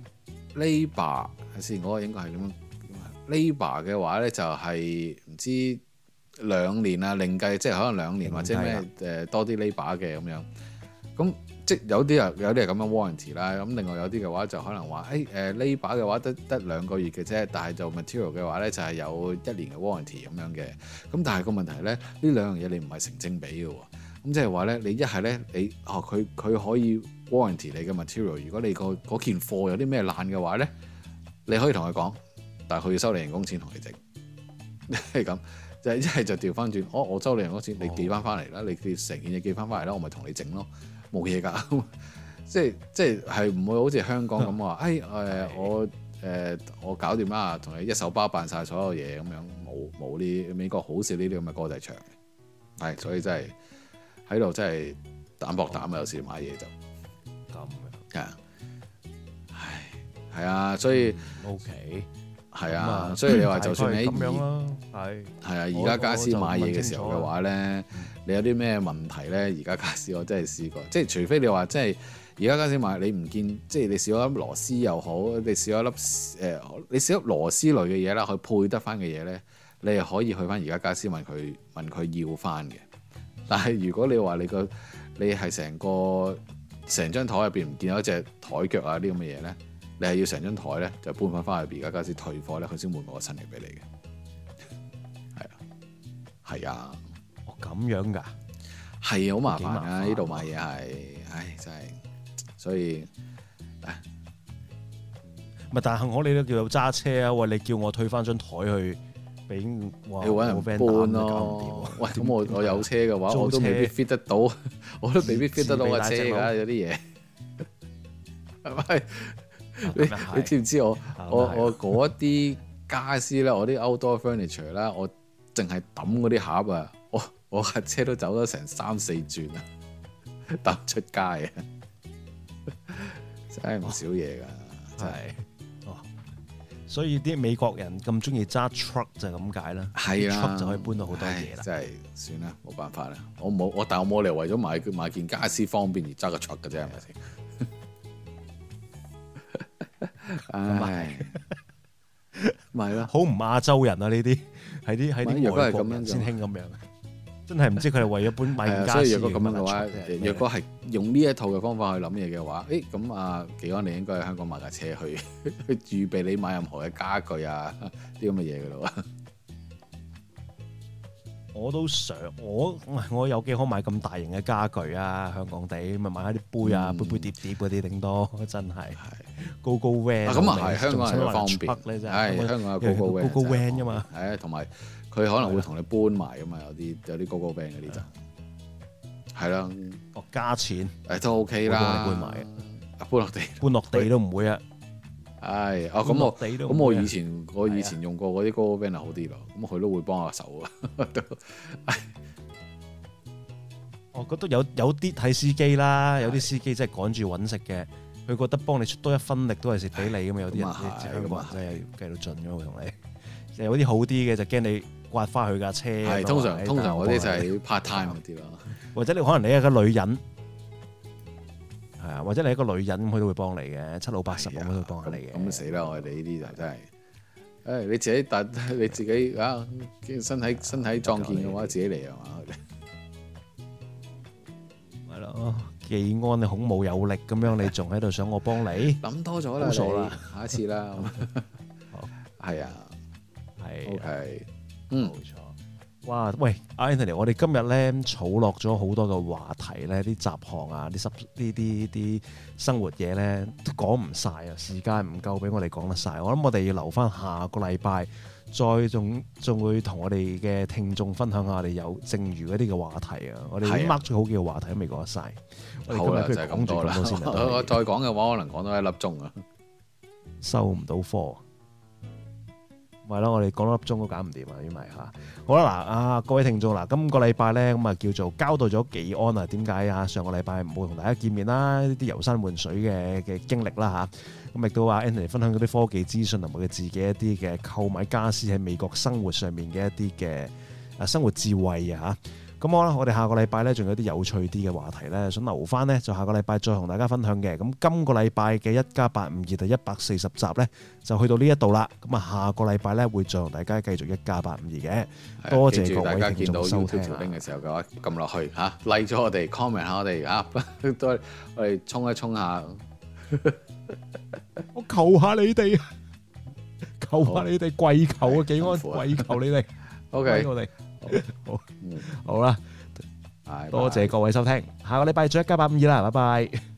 labour 係先，嗰個應該係點樣 labour 嘅話咧，就係、是、唔知兩年啊，另計即係可能兩年或者咩誒、呃、多啲 labour 嘅咁樣咁。即有啲啊，有啲係咁樣 warranty 啦，咁另外有啲嘅話就可能話，誒誒 labour 嘅話得得兩個月嘅啫，但係就 material 嘅話咧就係有一年嘅 warranty 咁樣嘅。咁但係個問題咧，呢兩樣嘢你唔係成正比嘅喎。咁即係話咧，你一係咧你哦佢佢可以 warranty 你嘅 material，如果你個嗰件貨有啲咩爛嘅話咧，你可以同佢講，但係佢要收你人工錢同你整，係咁。就一係就調翻轉，哦我收你人工錢，你寄翻翻嚟啦，你成件嘢寄翻翻嚟啦，我咪同你整咯。冇嘢㗎，即係即係係唔會好似香港咁話，誒誒、哎呃、我誒、呃、我搞掂啦，同你一手包辦晒所有嘢咁樣，冇冇呢美國好少呢啲咁嘅歌仔唱嘅，係所以真係喺度真係膽薄膽啊！有時買嘢就咁樣，係啊，唉，係啊，所以 OK，係啊，所以你話就算你咁樣咯，係係啊，而家家私買嘢嘅時候嘅話咧。你有啲咩問題咧？而家傢俬我真係試過，即係除非你話即係而家傢俬買你唔見，即係你少咗粒螺絲又好，你少咗粒誒、呃，你少粒螺絲類嘅嘢啦，去配得翻嘅嘢咧，你係可以去翻而家傢俬問佢問佢要翻嘅。但係如果你話你個你係成個成張台入邊唔見咗一隻台腳啊啲咁嘅嘢咧，你係要成張台咧就搬翻翻去而家傢俬退貨咧，佢先換個新嘅俾你嘅。係啊，係啊。 咁樣噶， 係好麻煩啊！呢度買嘢係，唉，真係，所以， 咪但係我哋都叫做揸車啊！喂，你叫我退翻張台去俾我， 要揾人搬咯。喂，咁我我有車嘅話，我都未必 fit 得到，我都未必 fit 得到架車㗎。有啲嘢係咪？你你知唔知我我我嗰啲傢俬咧，我啲 outdoor furniture 啦，我淨係抌嗰啲盒啊，我。我架車都走咗成三四轉啊，搭出街啊，真係唔少嘢噶。 真係。 哦，所以啲美國人咁中意揸 truck 就係咁解啦。 係啊， truck 就可以搬到好多嘢啦。 真係算啦，冇辦法啦。我冇我，但我冇理由為咗買買件家私方便而揸個 truck 嘅啫，係咪先？唉，咪咯， 好唔亞洲人啊！呢啲喺啲喺啲外國人先興咁樣。真係唔知佢係為咗搬買件家私。 所以若果咁樣嘅話，若果係用呢一套嘅方法去諗嘢嘅話，誒咁啊，技安你應該喺香港買架車去去預備你買任何嘅家具啊啲咁嘅嘢嘅咯。 我都想，我我有幾可買咁大型嘅家具啊？香港地咪買下啲杯啊、嗯、杯杯碟碟嗰啲頂多，真係高高 van。咁啊係，香港係方便咧，真係香港有高高 van 高高 van 噶嘛。 係啊，同埋佢可能會同你搬埋噶嘛，有啲有啲高高 van 嗰啲就係啦。 哦，加錢誒都 OK 啦， 幫你搬埋， 搬落地搬落地都唔會啊。 係啊，咁我咁我以前我以前用過嗰啲高高 van 係好啲咯，咁佢都會幫下手啊。 我覺得有有啲睇司機啦，有啲司機真係趕住揾食嘅，佢覺得幫你出多一分力都係蝕俾你咁嘛。有啲人香港人真係計到盡嘅，會同你。有啲好啲嘅就驚你刮翻佢架車。係通常通常嗰啲就係 part time 嗰啲咯，或者你可能你係個女人。係啊，或者你係一個女人咁，佢都會幫你嘅，七老八十咁都會幫下你嘅。咁死啦！我哋呢啲就真係，誒你自己但你自己啊，身體身體壯健嘅話，自己嚟係嘛？係咯，技安你孔武有力咁樣，你仲喺度想我幫你？諗多咗啦，好傻啦，下一次啦。好，係啊，係 OK，嗯，冇錯。哇！喂，Anthony，我哋今日咧儲落咗好多嘅話題咧，啲雜項啊，啲濕呢啲啲生活嘢咧都講唔晒啊，時間唔夠俾我哋講得晒。我諗我哋要留翻下個禮拜，再仲仲會同我哋嘅聽眾分享下我哋有剩餘嗰啲嘅話題啊。我哋已經 mark 咗好幾個話題都未講得晒。好啦，就係咁多啦。我再講嘅話，可能講多一粒鐘啊，收唔到貨。係咯，我哋講多粒鐘都搞唔掂啊！因為嚇，好啦嗱，啊各位聽眾嗱，今個禮拜咧咁啊叫做交代咗技安啊，點解啊上個禮拜唔會同大家見面啦？呢啲遊山玩水嘅嘅經歷啦嚇，咁亦都話 Anthony 分享嗰啲科技資訊同埋佢自己一啲嘅購買家私喺美國生活上面嘅一啲嘅啊生活智慧啊嚇。咁好啦，我哋下個禮拜咧仲有啲有趣啲嘅話題咧，想留翻咧就下個禮拜再同大家分享嘅。咁今個禮拜嘅一家八五二第一百四十集咧就去到呢一度啦。咁啊下個禮拜咧會再同大家繼續一家八五二嘅。多謝各位聽眾收聽。嘅時候嘅話撳落去嚇，like 咗我哋 comment 下我哋啊，都我哋衝一衝下。我求下你哋，求下你哋跪求啊！技安跪求你哋。OK，我哋。好，好啦，多謝各位收聽，下個禮拜再一家八五二啦，拜拜。